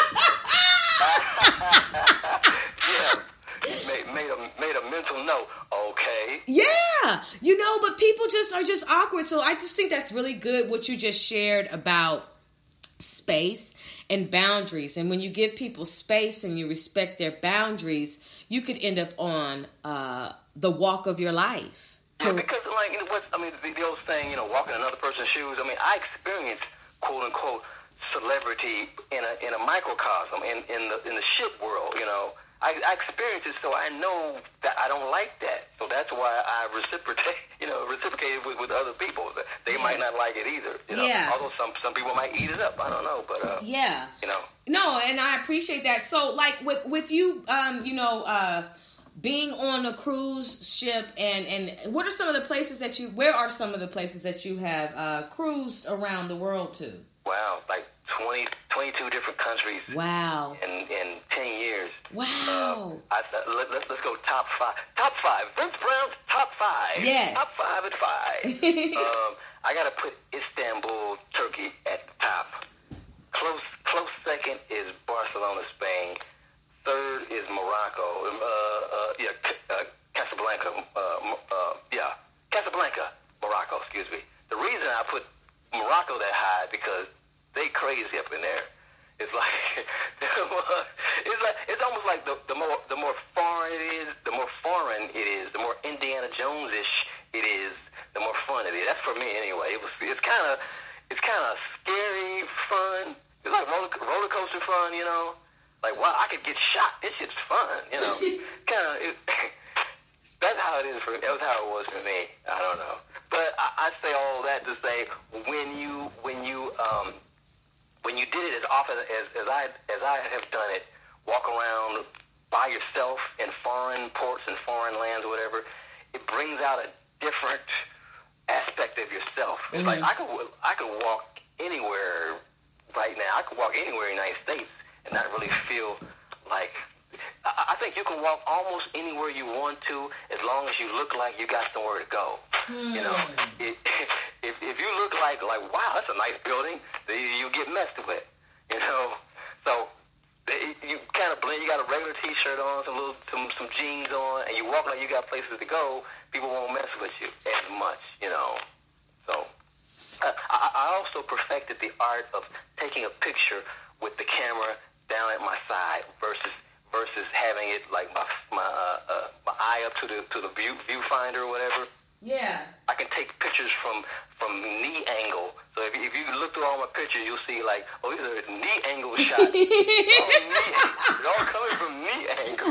Yeah, made, made, a, made a mental note. Okay. Yeah, you know, but people just are just awkward. So I just think that's really good what you just shared about space and boundaries. And when you give people space and you respect their boundaries, you could end up on uh, the walk of your life. Yeah, because like you know, what I mean, the, the old saying, you know, walking in another person's shoes. I mean, I experienced quote unquote celebrity in a in a microcosm in in the in the ship world. You know, I, I experienced it, so I know that I don't like that. So that's why I reciprocate. You know, reciprocated with, with other people. They yeah. might not like it either. You know? Yeah. Although some some people might eat it up. I don't know, but uh, yeah. You know. No, and I appreciate that. So, like with with you, um, you know, uh, being on a cruise ship, and and what are some of the places that you? Where are some of the places that you have uh, cruised around the world to? Wow, like twenty, twenty-two different countries. Wow. In in ten years. Wow. Uh, I, let, let's let's go top five. Top five. Vince Brown's top five. Yes. Top five at five. um, I gotta put Istanbul, Turkey at the top. Close close second is Barcelona, Spain. Third is Morocco. Uh, uh, yeah, uh, Casablanca. Uh, uh, yeah, Casablanca, Morocco. Excuse me. The reason I put Morocco that high because they crazy up in there. It's like it's like it's almost like the, the more the more foreign it is, the more foreign it is, the more Indiana Jones-ish it is, the more fun it is. That's for me anyway. It was it's kind of it's kind of scary fun. It's like roller, roller coaster fun, you know. Like wow, I could get shot. This shit's fun, you know. kind of. It, that's how it is for. That was how it was for me. I don't know, but I, I say all that to say when you when you um. When you did it as often as, as I as I have done it, walk around by yourself in foreign ports and foreign lands or whatever, it brings out a different aspect of yourself. It's mm-hmm. like I could I could walk anywhere right now. I could walk anywhere in the United States and not really feel like. I, I think you can walk almost anywhere you want to as long as you look like you got somewhere to go. Hmm. You know, it, if if you look like like wow, that's a nice building, you get messed with. You know, so it, you kind of blend. You got a regular T-shirt on, some little some some jeans on, and you walk like you got places to go. People won't mess with you as much. You know, so uh, I, I also perfected the art of taking a picture with the camera down at my side versus. versus having it like my my uh, uh, my eye up to the to the view viewfinder or whatever. Yeah. I can take pictures from from knee angle. So if if you look through all my pictures, you'll see like, oh, these are knee angle shots. all knee, it's all coming from knee angle.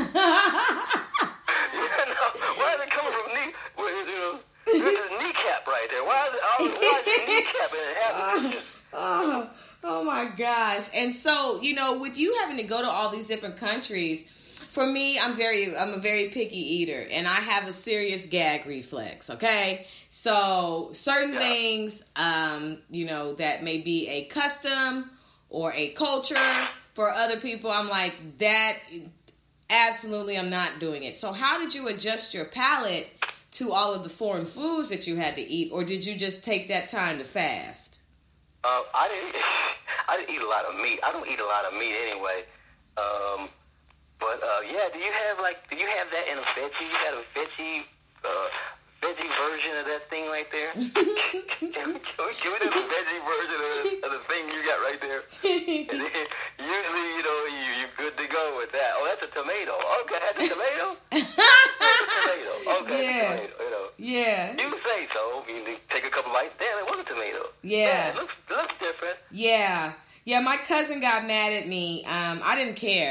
you know, why is it coming from knee? Well, you know, there's a kneecap right there. Why is it? Why is it kneecap and it has Oh, oh my gosh. And so, you know, with you having to go to all these different countries, for me, I'm very, I'm a very picky eater and I have a serious gag reflex. Okay. So certain yeah. things, um, you know, that may be a custom or a culture for other people. I'm like that. Absolutely. I'm not doing it. So how did you adjust your palate to all of the foreign foods that you had to eat? Or did you just take that time to fast? Uh, I didn't. I didn't eat a lot of meat. I don't eat a lot of meat anyway. Um, but uh, yeah, do you have like? Do you have that in a veggie? You got a veggie, uh, veggie version of that thing right there? can, we, can, we, can we do the veggie version of the, of the thing you got right there? And then, usually, you know, you you're good to go with that. Oh, that's a tomato. Okay, that's a tomato. That's a tomato. Okay, yeah. That's a tomato. You know. Yeah. You say so. You take a couple bites. Damn, it was a tomato. Yeah. yeah it looks, it looks different. Yeah. Yeah, my cousin got mad at me. Um, I didn't care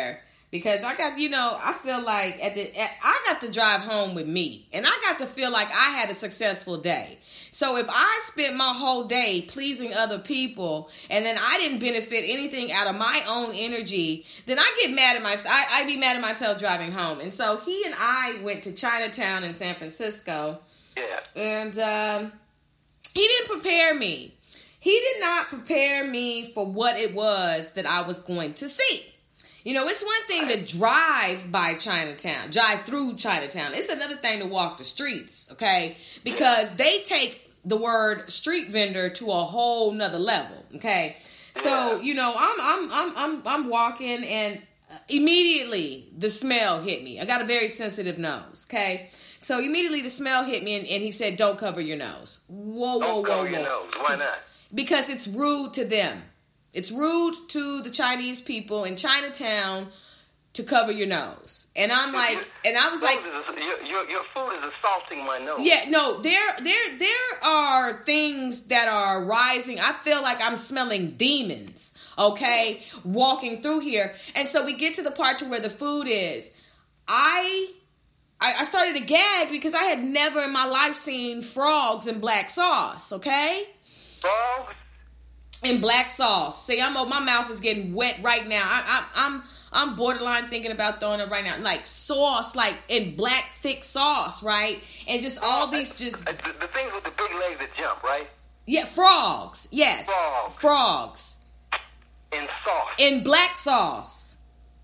Because I got, you know, I feel like at the at, I got to drive home with me, and I got to feel like I had a successful day. So if I spent my whole day pleasing other people, and then I didn't benefit anything out of my own energy, then I get mad at myself. I, I'd be mad at myself driving home. And so he and I went to Chinatown in San Francisco. Yeah. And um, he didn't prepare me. He did not prepare me for what it was that I was going to see. You know, it's one thing to drive by Chinatown, drive through Chinatown. It's another thing to walk the streets, okay? Because they take the word street vendor to a whole nother level, okay? So, you know, I'm I'm I'm I'm I'm walking, and immediately the smell hit me. I got a very sensitive nose, okay? So immediately the smell hit me, and, and he said, "Don't cover your nose." Whoa, whoa, Don't whoa, cover whoa. your nose. Why not? Because it's rude to them. It's rude to the Chinese people in Chinatown to cover your nose. And I'm like, and I was like, your, your, your food is assaulting my nose. yeah, no, there, there, there are things that are rising. I feel like I'm smelling demons, okay, walking through here. And so we get to the part to where the food is. I, I, I started to gag because I had never in my life seen frogs in black sauce, okay? Frogs? In black sauce. See, I'm my mouth is getting wet right now. I, I, I'm I'm borderline thinking about throwing it right now. Like sauce, like in black thick sauce, right? And just all these just the, the things with the big legs that jump, right? yeah, frogs. Yes, Frogs. frogs In sauce. in black sauce.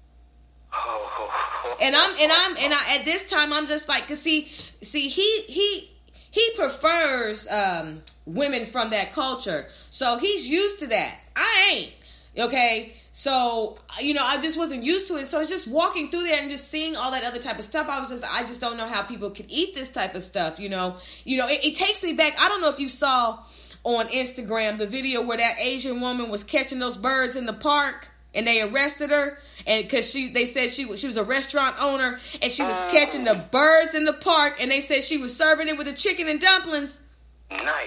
Oh. And I'm and I'm and I at this time I'm just like, cause see, see he he he prefers um, women from that culture, so he's used to that. I ain't, okay. So you know, I just wasn't used to it. So it's just walking through there and just seeing all that other type of stuff. I was just, I just don't know how people can eat this type of stuff. You know, you know, it, it takes me back. I don't know if you saw on Instagram the video where that Asian woman was catching those birds in the park. And they arrested her, and because she, they said she was she was a restaurant owner, and she was catching the birds in the park, and they said she was serving it with the chicken and dumplings. Nice.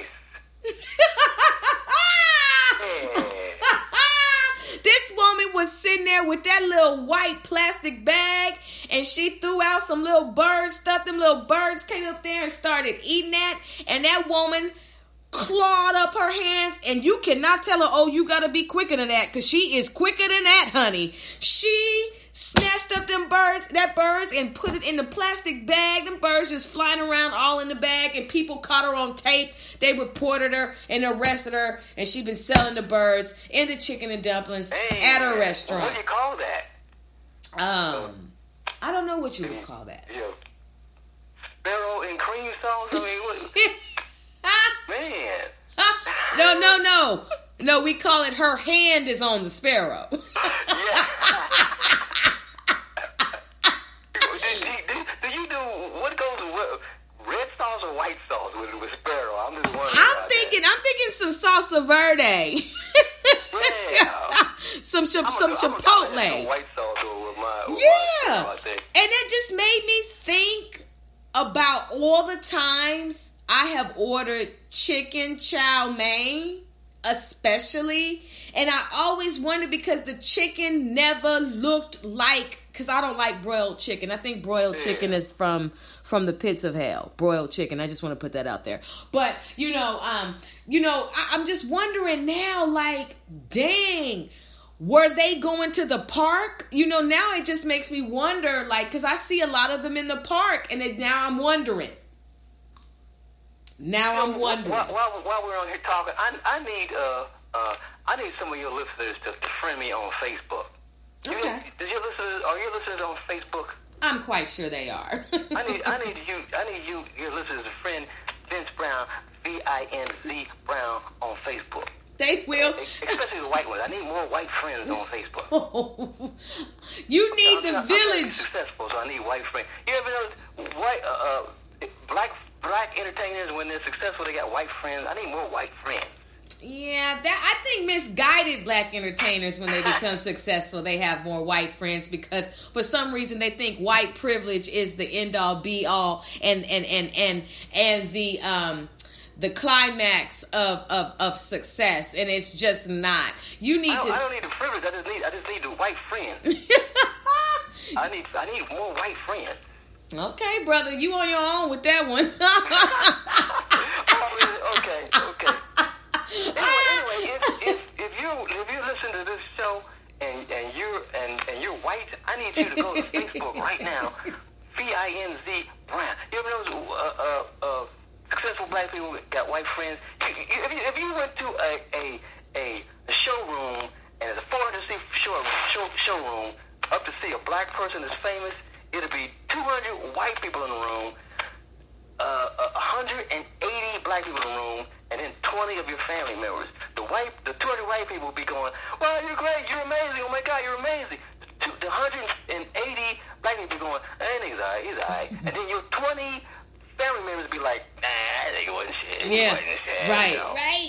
This woman was sitting there with that little white plastic bag, and she threw out some little bird stuff. Them little birds came up there and started eating that, and that woman clawed up her hands, and you cannot tell her, oh, you gotta be quicker than that, because she is quicker than that, honey. She snatched up them birds, that birds, and put it in the plastic bag. Them birds just flying around all in the bag, and people caught her on tape. They reported her and arrested her, and she been selling the birds and the chicken and dumplings Hey, at a restaurant. What do you call that? Um, I don't know what you would call that. Yeah. Sparrow and cream sauce? I mean, what? Man. No, no, no. No, we call it her hand is on the sparrow. Yeah. do, do, do, do you do, what goes with red sauce or white sauce with, with sparrow? I'm just wondering. I'm about thinking, that. I'm thinking some salsa verde. Yeah. some some I'm some gonna- I'm gonna- I'm chipotle. gonna have some white sauce with my, with Yeah. my, I think. And it just made me think about all the times I have ordered chicken chow mein, especially. And I always wondered because the chicken never looked like, because I don't like broiled chicken. I think broiled Yeah. chicken is from from the pits of hell. Broiled chicken. I just want to put that out there. But, you know, um, you know, I, I'm just wondering now, like, dang, were they going to the park? You know, now it just makes me wonder, like, because I see a lot of them in the park, and it, now I'm wondering. Now I'm wondering. While, while, while we're on here talking, I, I need uh, uh, I need some of your listeners to, to friend me on Facebook. You, Okay. Did your listeners, are your listeners on Facebook? I'm quite sure they are. I need I need you I need you your listeners to friend Vince Brown, V I N Z Brown on Facebook. They will. Especially the white ones. I need more white friends on Facebook. You need I'm the trying- I'm trying to be village. successful, so I need white friends. You ever notice white uh, uh, black black entertainers when they're successful they got white friends? I need more white friends. Yeah, that I think misguided black entertainers when they become successful, they have more white friends because for some reason they think white privilege is the end all be all and and and and and the um the climax of, of, of success, and it's just not. You need I don't, to. I don't need the privilege. I just need I just need the white friends. I need I need more white friends. Okay, brother, you on your own with that one. Oh, okay, okay. Anyway, anyway, if, if if you if you listen to this show and and you're and, and you're white, I need you to go to Facebook right now. V I N Z Brown. You ever know uh, uh, uh, successful black people got white friends? You, you, if, you, if you went to a a, a, a showroom and it's a four hundred seat show, show, showroom up to see a black person that's famous, it'll be two hundred white people in the room, uh, one hundred eighty black people in the room, and then twenty of your family members. The white, the two hundred white people will be going, "Well, you're great, you're amazing, oh my God, you're amazing." The, the one hundred eighty black people going, "Hey, he's alright, he's alright," and then your twenty family members be like, "Nah, they wasn't shit." Yeah, wasn't shit, right, you know? right.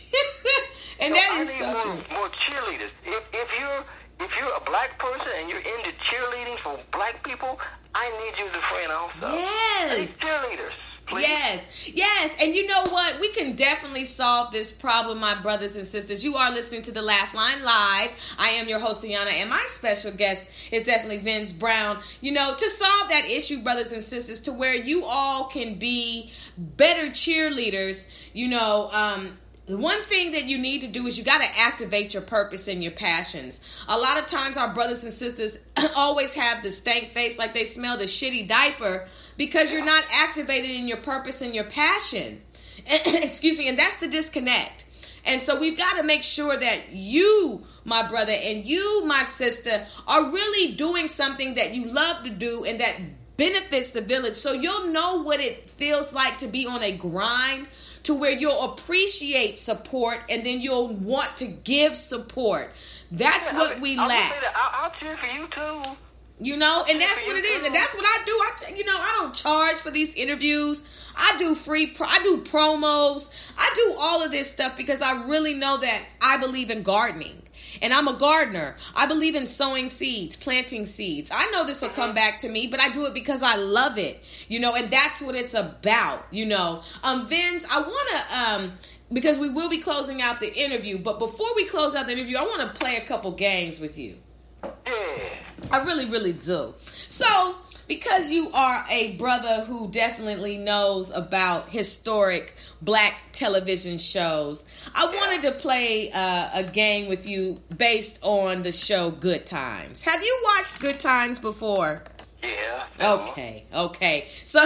And So that I is need so more, true. more cheerleaders. If if you're if you're a black person and you're into cheerleading for black people, I need you as a friend also. I need Yes. cheerleaders. Please. Yes, yes, and you know what? We can definitely solve this problem, my brothers and sisters. You are listening to the Laugh Line Live. I am your host, Tiana, and my special guest is definitely Vince Brown. You know, to solve that issue, brothers and sisters, to where you all can be better cheerleaders, you know, um, the one thing that you need to do is you got to activate your purpose and your passions. A lot of times our brothers and sisters always have the stank face like they smelled a shitty diaper because you're not activated in your purpose and your passion. Excuse me. And that's the disconnect. And so we've got to make sure that you, my brother, and you, my sister, are really doing something that you love to do and that benefits the village. So you'll know what it feels like to be on a grind, to where you'll appreciate support and then you'll want to give support. That's Yeah, what I mean, we I'll lack. Say that. I'll, I'll cheer for you too. You know, and cheer that's for what you it is, too. and that's what I do. I, you know, I don't charge for these interviews. I do free, pro- I do promos. I do all of this stuff because I really know that I believe in gardening, and I'm a gardener. I believe in sowing seeds, planting seeds. I know this will come back to me, but I do it because I love it. You know, and that's what it's about. You know, um, Vince, I want to um. because we will be closing out the interview, but before we close out the interview, I want to play a couple games with you. Yeah. I really, really do. So, because you are a brother who definitely knows about historic black television shows, I Yeah. wanted to play uh, a game with you based on the show Good Times. Have you watched Good Times before? Yeah. Okay, okay. So,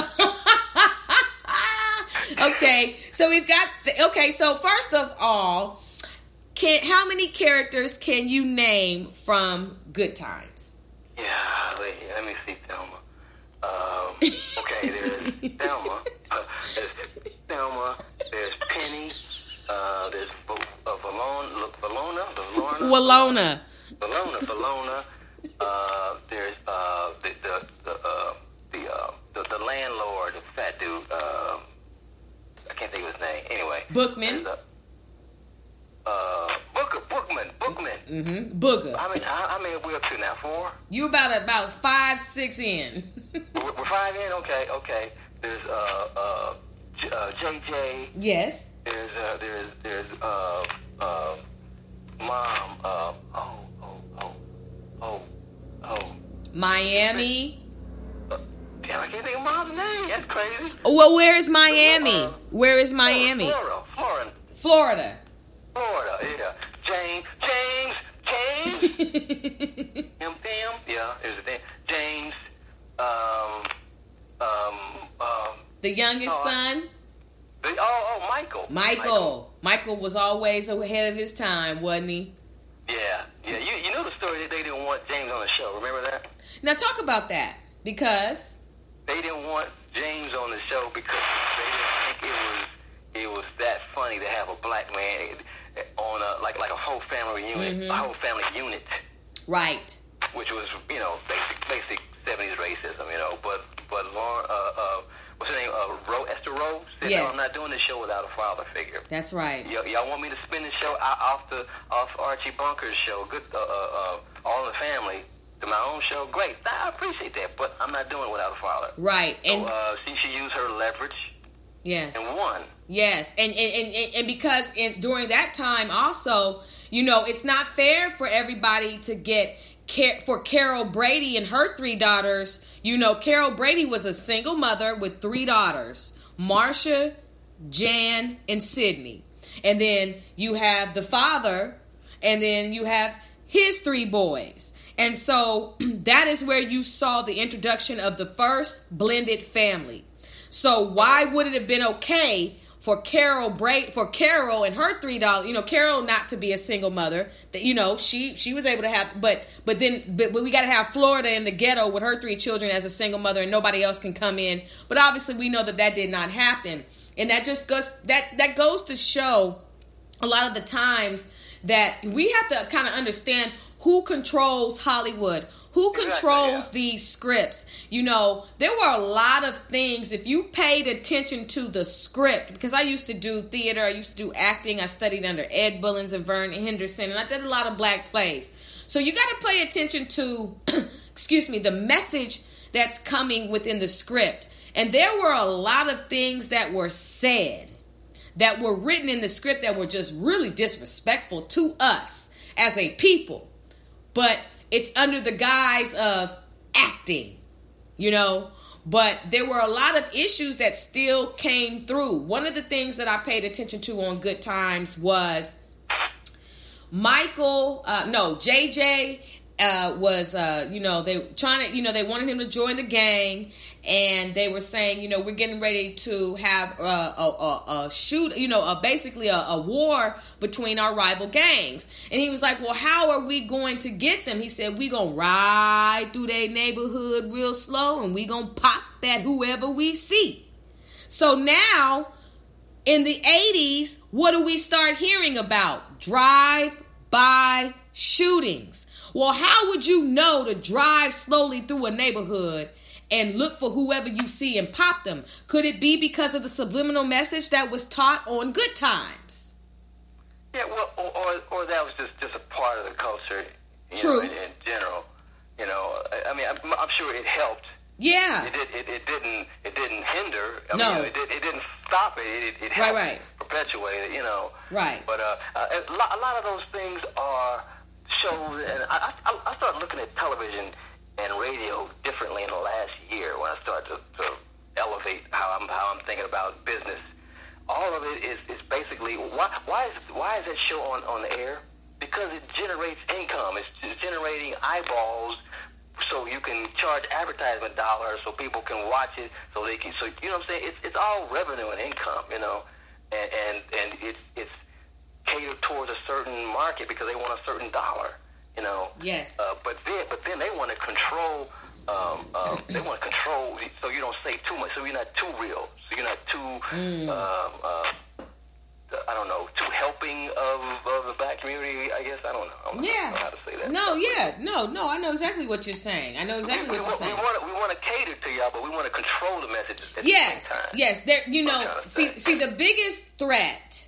okay, so we've got, th- okay, so first of all, can how many characters can you name from Good Times? Yeah. Let, let me see, Thelma. Um, okay, there's Thelma. Uh, there's Thelma. There's Penny. Uh, there's v- uh, Valona. Valona. Valona. Walona. Valona. Valona. Uh, there's uh, the the the uh, the, uh, the the landlord, the fat dude. Uh, I can't think of his name. Anyway. Bookman. There's, Uh, uh, Booker. Bookman. Bookman. Mm-hmm. Booger. How many? How, how many are we up to now? Four. You about about five, six in. We're, we're five in. Okay. Okay. There's uh uh, J- uh J J. Yes. There's uh there's there's uh uh mom. Uh oh oh oh oh oh. Miami. Uh, damn, I can't think of mom's name. That's crazy. Well, where is Miami? Uh, Where is Miami? Florida. Florida. Florida. Florida. Yeah. James. James. James. Him. Them. Yeah. There's a thing. James. Um. Um. Um. The youngest Oh, I- son. The, oh, oh, Michael. Michael. Michael was always ahead of his time, wasn't he? Yeah, yeah. You you know the story that they didn't want James on the show. Remember that? Now talk about that, because They didn't want James on the show because they didn't think it was it was that funny to have a black man on a like like a whole family unit, Mm-hmm. a whole family unit, right. which was you know basic basic seventies racism, you know. But but Lauren, uh, uh, what's her name? Uh, Ro, Esther Rowe said, Yes. "No, I'm not doing this show without a father figure." That's right. Y- y'all want me to spin the show out off the off Archie Bunker's show, good, uh, uh, uh, All in the Family, to my own show? Great, I appreciate that, but I'm not doing it without a father. Right. And So uh, she should use her leverage yes. and won. Yes, and and, and, and because in, during that time also, you know, it's not fair for everybody to get for Carol Brady and her three daughters, you know, Carol Brady was a single mother with three daughters, Marsha, Jan, and Sydney. And then you have the father, and then you have his three boys. And so that is where you saw the introduction of the first blended family. So why would it have been okay for Carol Bra- for Carol and her three daughters, you know, Carol not to be a single mother, that, you know, she she was able to have, but but then but, but we got to have Florida in the ghetto with her three children as a single mother, and nobody else can come in. But obviously we know that that did not happen, and that just goes that that goes to show a lot of the times that we have to kind of understand who controls Hollywood. Who controls exactly, yeah. these scripts? You know, there were a lot of things, if you paid attention to the script, because I used to do theater, I used to do acting, I studied under Ed Bullins and Vern Henderson, and I did a lot of black plays. So you got to pay attention to, excuse me, the message that's coming within the script. And there were a lot of things that were said, that were written in the script that were just really disrespectful to us as a people. But it's under the guise of acting, you know, but there were a lot of issues that still came through. One of the things that I paid attention to on Good Times was Michael, uh, no, J J uh, was, uh, you know, they trying to, you know, they wanted him to join the gang, and they were saying, you know, we're getting ready to have uh, a, a, a shoot, you know, a, basically a, a war between our rival gangs. And he was like, well, how are we going to get them? He said, we going to ride through their neighborhood real slow, and we going to pop at whoever we see. So now in the eighties, what do we start hearing about? Drive-by shootings. Well, how would you know to drive slowly through a neighborhood and look for whoever you see and pop them? Could it be because of the subliminal message that was taught on Good Times? Yeah, well, or or, or that was just, just a part of the culture. You True. Know, in, in general, you know, I, I mean, I'm, I'm sure it helped. Yeah. It, did, it, it didn't. It didn't hinder. I no. mean, it, did, it didn't stop it. It, it helped right, right. perpetuate it. You know. Right. But uh, a, lot, a lot of those things are shows, and I, I, I started looking at television and radio differently in the last year when I started to, to elevate how I'm how I'm thinking about business. All of it is, is basically why why is why is that show on, on the air? Because it generates income. It's, it's generating eyeballs, so you can charge advertisement dollars so people can watch it. So they can so you know what I'm saying. It's it's all revenue and income, you know, and and, and it's it's catered towards a certain market because they want a certain dollar, you know. Yes. Uh, but then, but then they want to control. Um, um, they want to control, so you don't say too much, so you're not too real, so you're not too. Mm. Um, uh, I don't know, too helping of, of the black community. I guess I don't know. I don't yeah. know how to say that. No. Yeah. No. No. I know exactly what you're saying. I know exactly we, what we, you're saying. We want to we want to cater to y'all, but we want to control the message at yes. the same time. Yes. There. You know. See. Say. See. The biggest threat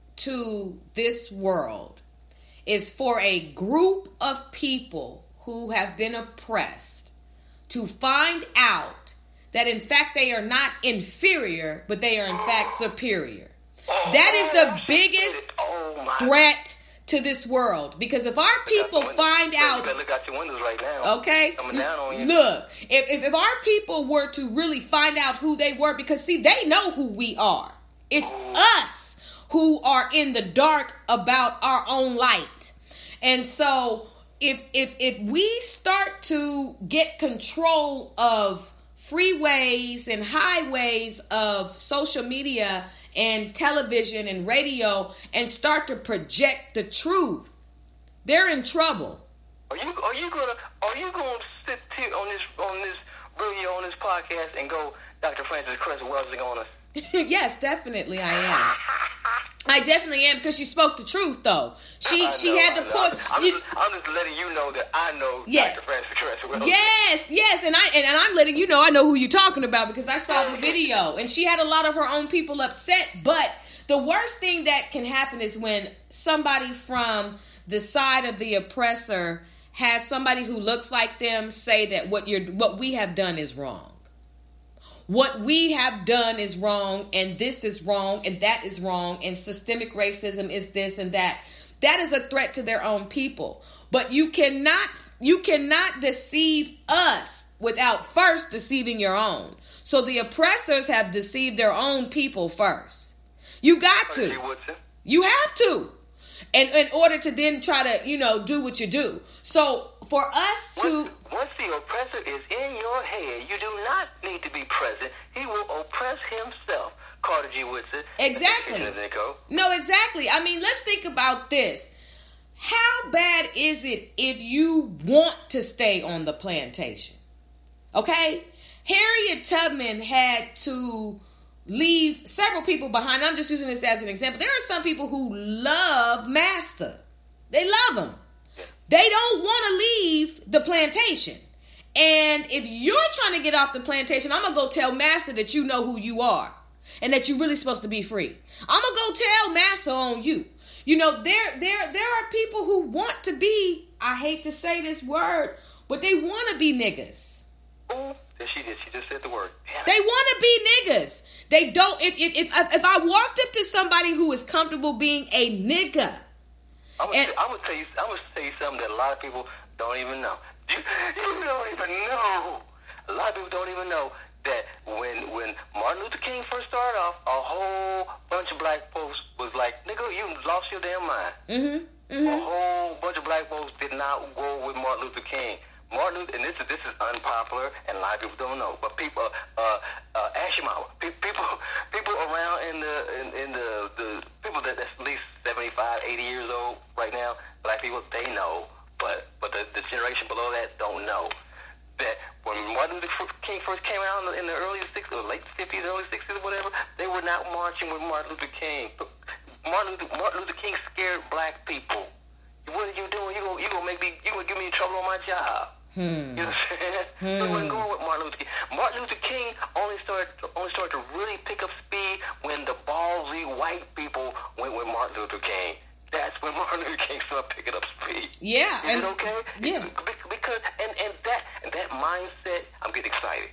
to this world is for a group of people who have been oppressed to find out that in fact they are not inferior, but they are in fact superior. Oh, that is the biggest oh, threat to this world, because if our people find out, you better look out your windows right now. Okay, coming down on you. Look, if, if if our people were to really find out who they were, because see, they know who we are. It's Ooh. us who are in the dark about our own light. And so if if if we start to get control of freeways and highways of social media and television and radio and start to project the truth, they're in trouble. Are you are you gonna are you gonna sit here on this on this radio on this podcast and go Doctor Frances Cress Welsing on us? Yes, definitely I am. I definitely am, because she spoke the truth, though. She I she know, had to I'm, put. I'm, you, just, I'm just letting you know that I know yes. Doctor Frances Cress Welsing. Yes, yes, and I and, and I'm letting you know I know who you're talking about, because I saw the video, and she had a lot of her own people upset. But the worst thing that can happen is when somebody from the side of the oppressor has somebody who looks like them say that what you're what we have done is wrong. What we have done is wrong, and this is wrong, and that is wrong, and systemic racism is this and that. That is a threat to their own people. But you cannot you cannot deceive us without first deceiving your own. So the oppressors have deceived their own people first. You got to. You have to. And in order to then try to, you know, do what you do. So for us to... Once, once the oppressor is in your head, you do not need to be present. He will oppress himself. Carter G. Woodson. Exactly. No, exactly. I mean, let's think about this. How bad is it if you want to stay on the plantation? Okay? Harriet Tubman had to leave several people behind. I'm just using this as an example. There are some people who love Master. They love him. They don't want to leave the plantation. And if you're trying to get off the plantation, I'm going to go tell Master that you know who you are and that you're really supposed to be free. I'm going to go tell Master on you. You know, there, there, there are people who want to be, I hate to say this word, but they want to be niggas. Oh, there she did. She just said the word. Yeah. They want to be niggas. They don't. If if if, if I walked up to somebody who is comfortable being a nigga, I'm gonna, and, I'm gonna tell you. I'm gonna tell you something that a lot of people don't even know. You, you don't even know. A lot of people don't even know that when when Martin Luther King first started off, a whole bunch of black folks was like, "Nigga, you lost your damn mind." Mm-hmm. Mm-hmm. A whole bunch of black folks did not go with Martin Luther King. Martin Luther, and this is this is unpopular, and a lot of people don't know. But people, uh, uh, Ashimau, people, people around in the in, in the, the people that that's at least seventy-five, eighty years old right now, black people, they know, but but the, the generation below that don't know that when Martin Luther King first came out in the, in the early sixties, or late fifties, early sixties, or whatever, they were not marching with Martin Luther King. But Martin Luther, Martin Luther King scared black people. What are you doing? You gonna you gonna make me? You gonna give me trouble on my job? Hmm. You know what I'm saying? Hmm. They wasn't going with Martin Luther King. Martin Luther King only started only started to really pick up speed when the ballsy white people went with Martin Luther King. That's when Martin Luther King started picking up speed. Yeah. Is and, it okay? Yeah. Because and and that and that mindset, I'm getting excited.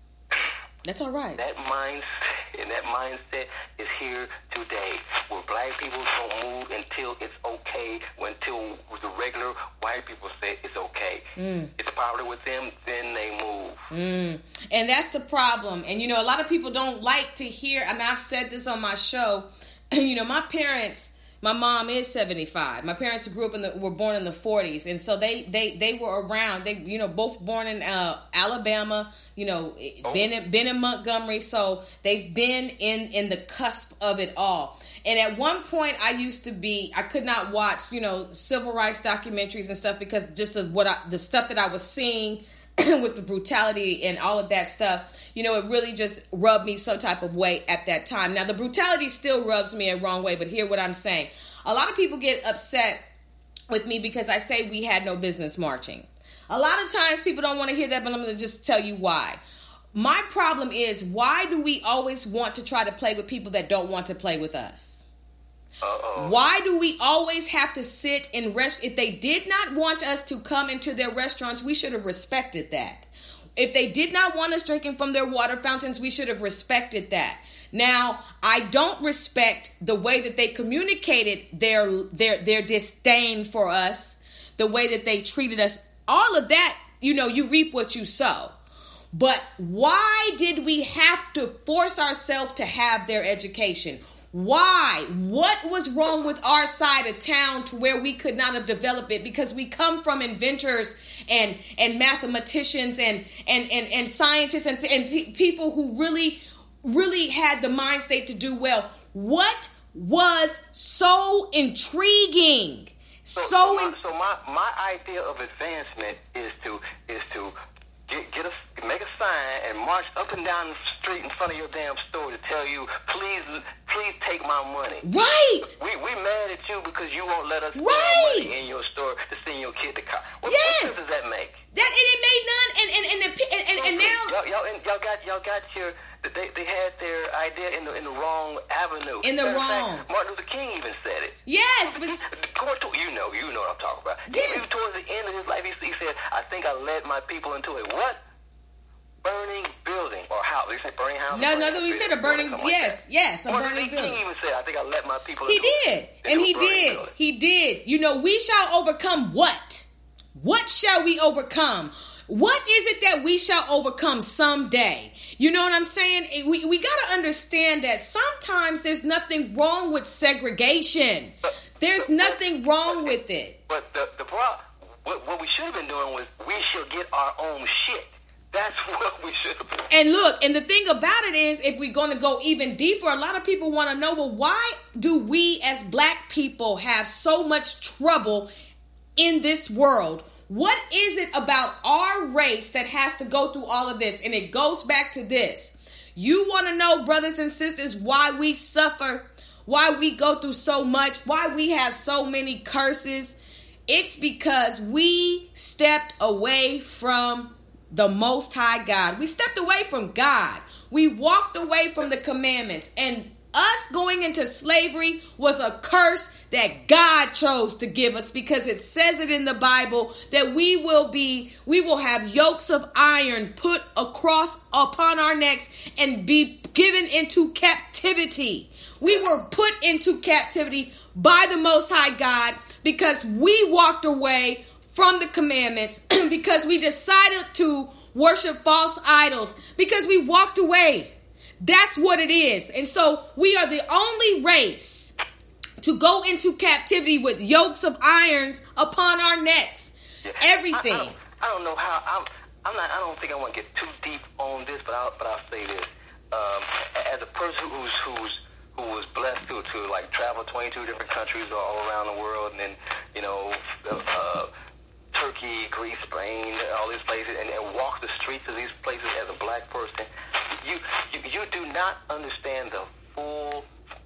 That's all right. That mindset and that mindset is here today, where black people don't move until it's okay, until the regular white people say it's okay. Mm. It's popular with them, then they move. Mm. And that's the problem. And, you know, a lot of people don't like to hear, I mean, I've said this on my show, you know, my parents, my mom is seventy-five. My parents grew up in the, were born in the forties. And so they, they, they were around, they, you know, both born in uh, Alabama, you know, oh. been in, been in Montgomery. So they've been in, in the cusp of it all. And at one point I used to be, I could not watch, you know, civil rights documentaries and stuff because just of what I, the stuff that I was seeing with the brutality and all of that stuff, you know, it really just rubbed me some type of way at that time. Now, the brutality still rubs me a wrong way, but hear what I'm saying. A lot of people get upset with me because I say we had no business marching. A lot of times people don't want to hear that, but I'm going to just tell you why. My problem is, why do we always want to try to play with people that don't want to play with us? Uh-oh. Why do we always have to sit in rest? If they did not want us to come into their restaurants, we should have respected that. If they did not want us drinking from their water fountains, we should have respected that. Now, I don't respect the way that they communicated their their their disdain for us, the way that they treated us. All of that, you know, you reap what you sow. But why did we have to force ourselves to have their education? Why? What was wrong with our side of town to where we could not have developed it? Because we come from inventors and and mathematicians and and and, and scientists and, and pe- people who really, really had the mind state to do well. What was so intriguing? So, so, so, my, in- so my, my idea of advancement is to is to get get a make a sign and march up and down the street in front of your damn store to tell you, please, please take my money. Right. We we mad at you because you won't let us put right. our money in your store to send your kid to college. What, yes. what sense does that make? That and it made none. And and and and, and, and, and now y'all, y'all y'all got y'all got your. They they had their idea in the in the wrong avenue. In the Matter wrong. Fact, Martin Luther King even said it. Yes, but to, you know, you know what I'm talking about. Yes. Even towards the end of his life, he, he said, "I think I led my people into a what? Burning building or house." They said burning house. No, no, we said a burning. Yes, like yes, a Martin burning Luther building. King even said, "I think I led my people." He into did, a, and into he did. Building. He did. You know, we shall overcome what? What shall we overcome? What is it that we shall overcome someday? You know what I'm saying? We, we got to understand that sometimes there's nothing wrong with segregation. There's nothing wrong with it. But the, the problem, what, what we should have been doing was we should get our own shit. That's what we should have been. And look, and the thing about it is, if we're going to go even deeper, a lot of people want to know, well, why do we as black people have so much trouble in this world? What is it about our race that has to go through all of this? And it goes back to this. You want to know, brothers and sisters, why we suffer, why we go through so much, why we have so many curses? It's because we stepped away from the Most High God. We stepped away from God. We walked away from the commandments. And us going into slavery was a curse that God chose to give us, because it says it in the Bible that we will be, we will have yokes of iron put across upon our necks and be given into captivity. We were put into captivity by the Most High God because we walked away from the commandments, because we decided to worship false idols, because we walked away. That's what it is. And so we are the only race to go into captivity with yokes of iron upon our necks. Yeah. Everything. I, I, don't, I don't know how. I'm. I'm not. I don't think I want to get too deep on this, but I'll. But I'll say this. Um, as a person who's who's who was blessed to to like travel twenty-two different countries all around the world, and then you know. Uh, Turkey, Greece, Spain, all these places, and, and walk the streets of these places as a black person, you you, you do not understand the full,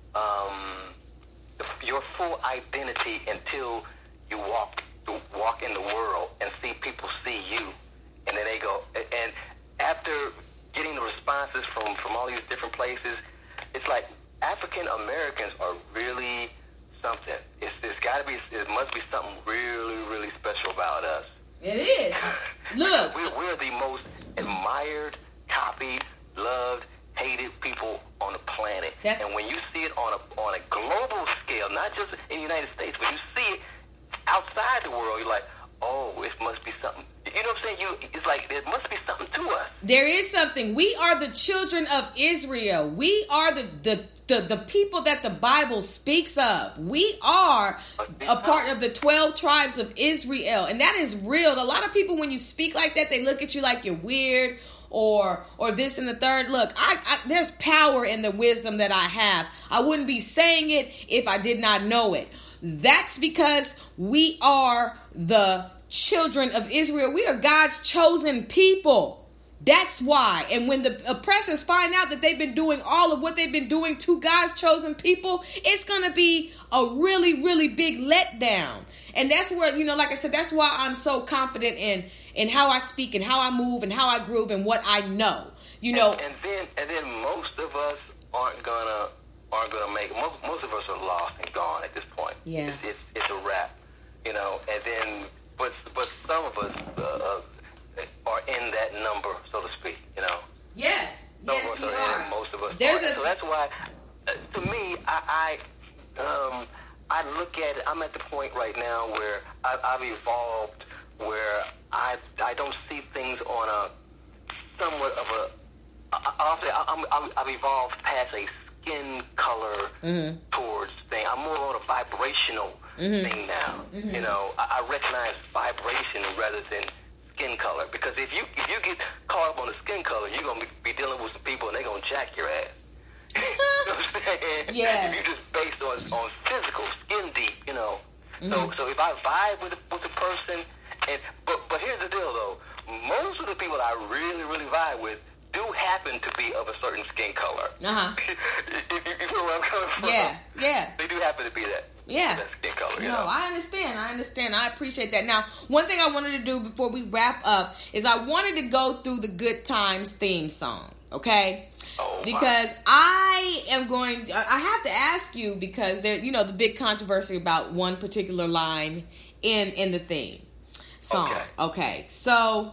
um, the, your full identity until you walk walk in the world and see people see you, and then they go. And after getting the responses from from all these different places, it's like African Americans are really something. It's, it's got to be. It must be something really, really special about us. It is. Look, we're, we're the most admired, copied, loved, hated people on the planet. That's, and when you see it on a on a global scale, not just in the United States, when you see it outside the world, you're like, oh, it must be something. You know what I'm saying? You, it's like there must be something to us. There is something. We are the children of Israel. We are the the. The, the people that the Bible speaks of. We are a part of the twelve tribes of Israel. And that is real. A lot of people, when you speak like that, they look at you like you're weird or or this and the third. Look, I, I there's power in the wisdom that I have. I wouldn't be saying it if I did not know it. That's because we are the children of Israel. We are God's chosen people. That's why. And when the oppressors find out that they've been doing all of what they've been doing to God's chosen people, it's going to be a really, really big letdown. And that's where, you know, like I said, that's why I'm so confident in, in how I speak and how I move and how I groove and what I know, you know. And, and then, and then most of us aren't gonna, aren't gonna make, most, most of us are lost and gone at this point. Yeah. It's, it's, it's a wrap, you know, and then, but, but some of us, uh, are in that number, so to speak, you know. Yes, Some yes, of us we are. are. In, most of us There's are. a... So that's why, uh, to me, I, I, um, I look at it. I'm at the point right now where I, I've evolved, where I, I don't see things on a somewhat of a. I, I'll say I'm, I'm, I've evolved past a skin color mm-hmm. towards thing. I'm more on a vibrational mm-hmm. thing now. Mm-hmm. You know, I, I recognize vibration rather than skin color, because if you if you get caught up on the skin color, you're gonna be, be dealing with some people and they're gonna jack your ass. You know what I'm saying? Yes. If you're just based on on physical, skin deep, you know. Mm-hmm. So so if I vibe with with a person, and but but here's the deal though, most of the people I really really vibe with do happen to be of a certain skin color. Uh huh. you, you, you feel where I'm coming from? Yeah, yeah. They do happen to be that. Yeah. That skin color, you no, know? I understand. I understand. I appreciate that. Now, one thing I wanted to do before we wrap up is I wanted to go through the Good Times theme song, okay? Oh, because my. I am going, I have to ask you, because there, you know, the big controversy about one particular line in in the theme song. Okay. Okay. So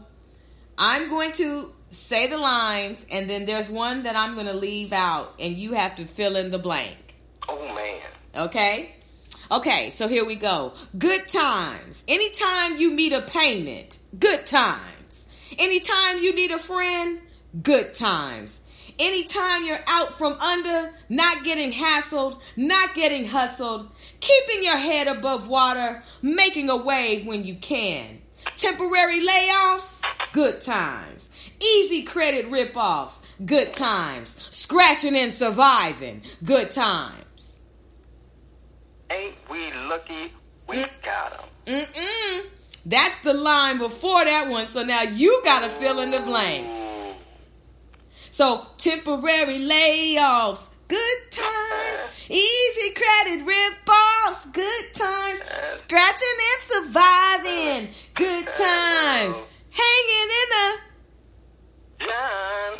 I'm going to say the lines, and then there's one that I'm going to leave out, and you have to fill in the blank. Oh, man. Okay? Okay, so here we go. Good times. Anytime you meet a payment, good times. Anytime you need a friend, good times. Anytime you're out from under, not getting hassled, not getting hustled, keeping your head above water, making a wave when you can. Temporary layoffs, good times. Easy credit ripoffs, good times. Scratching and surviving, good times. Ain't we lucky we mm. got them? Mm-mm. That's the line before that one, so now you gotta fill in the blank. So, temporary layoffs, good times. Easy credit rip-offs, good times. Scratching and surviving, good times. Hanging in a... John.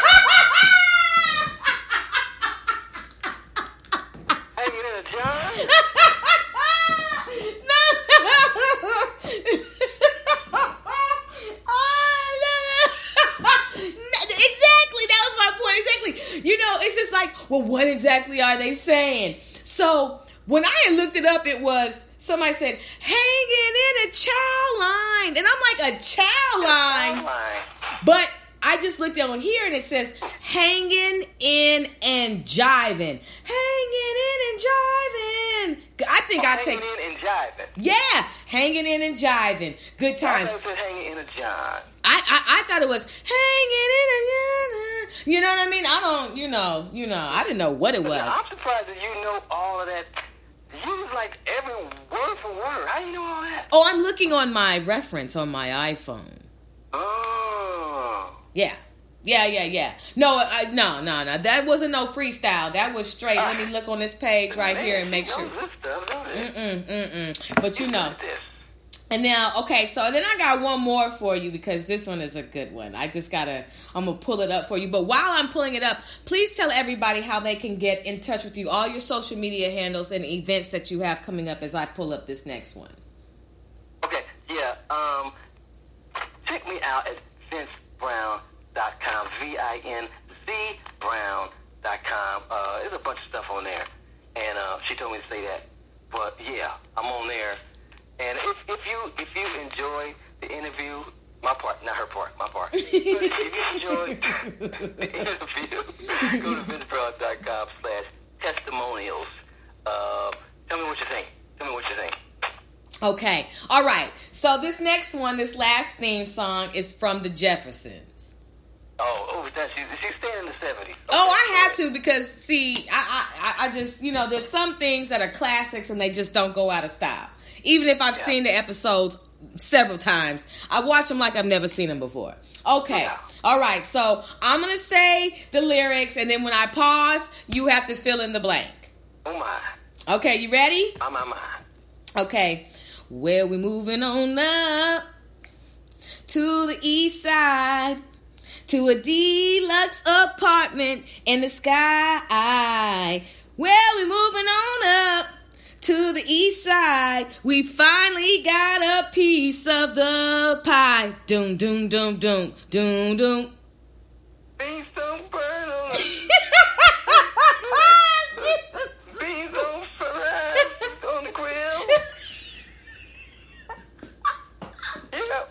Hanging in a John? You know, it's just like, well, what exactly are they saying? So when I had looked it up, it was, somebody said, hanging in a chow line. And I'm like, a chow line? But I just looked on here and it says, hanging in and jiving. Hanging in and jiving. I think oh, I take... Hanging in and jiving. Yeah, hanging in and jiving. Good times. I thought it said hanging in a John. I, I, I thought it was hanging in a, you know what I mean? I don't, you know, you know, I didn't know what it was. I'm surprised that you know all of that. You was like every word for word. How do you know all that? Oh, I'm looking on my reference on my iPhone. Oh. Yeah. Yeah, yeah, yeah. No, I, no, no, no. That wasn't no freestyle. That was straight. Uh, Let me look on this page right man, here and make sure. This stuff, don't it? Mm-mm, mm-mm. But you know. And now, okay, so then I got one more for you because this one is a good one. I just gotta, I'm gonna pull it up for you. But while I'm pulling it up, please tell everybody how they can get in touch with you, all your social media handles and events that you have coming up as I pull up this next one. Okay, yeah. Um, check me out at vince brown dot com, V I N Z brown dot com. Uh, there's a bunch of stuff on there, and uh, she told me to say that. But yeah, I'm on there. And if, if you if you enjoy the interview, my part, not her part, my part. If you enjoy the interview, go to vince brown dot com slash testimonials. Uh, tell me what you think. Tell me what you think. Okay. All right. So this next one, this last theme song is from the Jeffersons. Oh, oh, that she, she's staying in the seventies. Okay. Oh, I have to because, see, I, I, I just, you know, there's some things that are classics and they just don't go out of style. Even if I've yeah. seen the episodes several times, I watch them like I've never seen them before. Okay. Yeah. All right. So I'm going to say the lyrics, and then when I pause, you have to fill in the blank. Oh, my. Okay. You ready? Oh, my, my. Okay. Well, we're moving on up to the east side, to a deluxe apartment in the sky. Well, we're moving on up to the east side. We finally got a piece of the pie. Doom, doom, doom, doom, doom, doom. Beans don't burn on the... Beans don't fry on the grill. Yeah.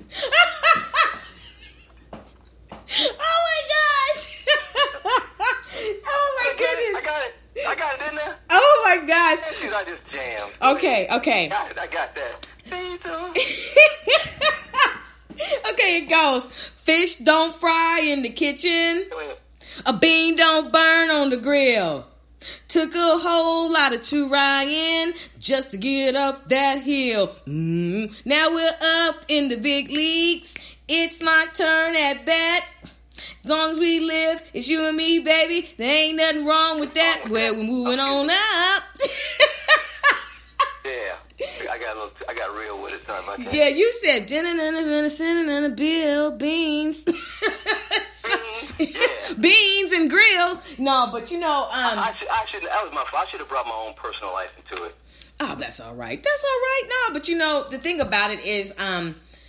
Oh my gosh. Oh my goodness. I got it. I got it, didn't I? Oh my gosh. I just jammed. Okay, okay. Got it, I got that. Okay, it goes. Fish don't fry in the kitchen. A bean don't burn on the grill. Took a whole lot of trying just to get up that hill. Mm. Now we're up in the big leagues. It's my turn at bat. As long as we live, it's you and me, baby. There ain't nothing wrong with that. Well, we're moving on up. Yeah, I got a little, I got real with it. Sorry about that. Yeah, you said dinner and a venison and a bill, beans, yeah. beans and grill. No, but you know, um, I, I should, I should, that was my fault. I should have brought my own personal life into it. Oh, that's all right. That's all right. No, but you know, the thing about it is, um.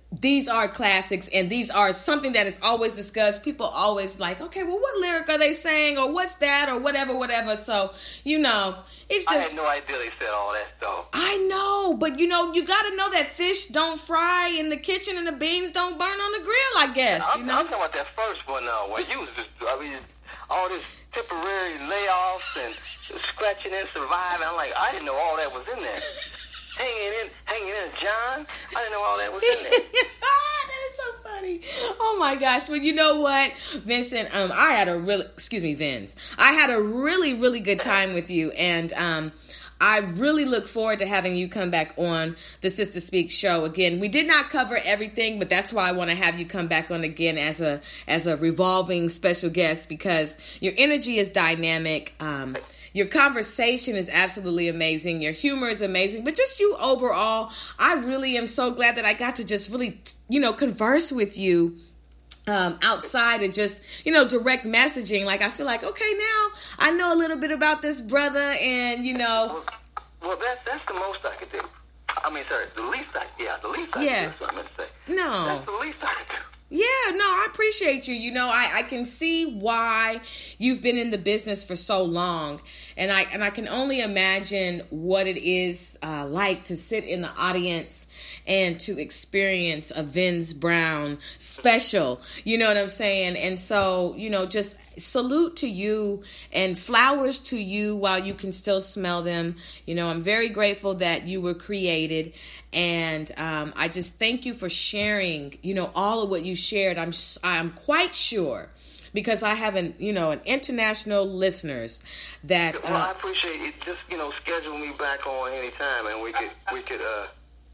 these are classics, and these are something that is always discussed. People always like, okay, well, what lyric are they saying, or what's that, or whatever, whatever. So, you know, it's just... I had no idea they said all that stuff. I know, but, you know, you got to know that fish don't fry in the kitchen and the beans don't burn on the grill, I guess, I'm, you know? I'm talking about that first one now, where you was just, I mean, all this temporary layoffs and scratching and surviving. I'm like, I didn't know all that was in there. Hanging in, hanging in, John. I didn't know all that was in there. That is so funny. Oh my gosh. Well, you know what, Vincent? Um, I had a really, excuse me, Vince. I had a really, really good time with you, and um, I really look forward to having you come back on the Sister Speak show again. We did not cover everything, but that's why I want to have you come back on again as a as a revolving special guest, because your energy is dynamic. Um, Your conversation is absolutely amazing. Your humor is amazing. But just you overall, I really am so glad that I got to just really, you know, converse with you um, outside of just, you know, direct messaging. Like, I feel like, okay, now I know a little bit about this brother, and, you know. Well, well that's, that's the most I could do. I mean, sorry, the least I, yeah, the least I Yeah. could do. That's what I meant to say. No. That's the least I could do. Yeah, no, I appreciate you. You know, I, I can see why you've been in the business for so long. And I and I can only imagine what it is uh, like to sit in the audience and to experience a Vince Brown special. You know what I'm saying? And so, you know, just salute to you and flowers to you while you can still smell them. You know, I'm very grateful that you were created. And um, I just thank you for sharing, you know, all of what you shared. I'm I'm quite sure, because I have an, you know, an international listeners that. Well, uh, I appreciate it. Just, you know, schedule me back on anytime, and we could we could uh,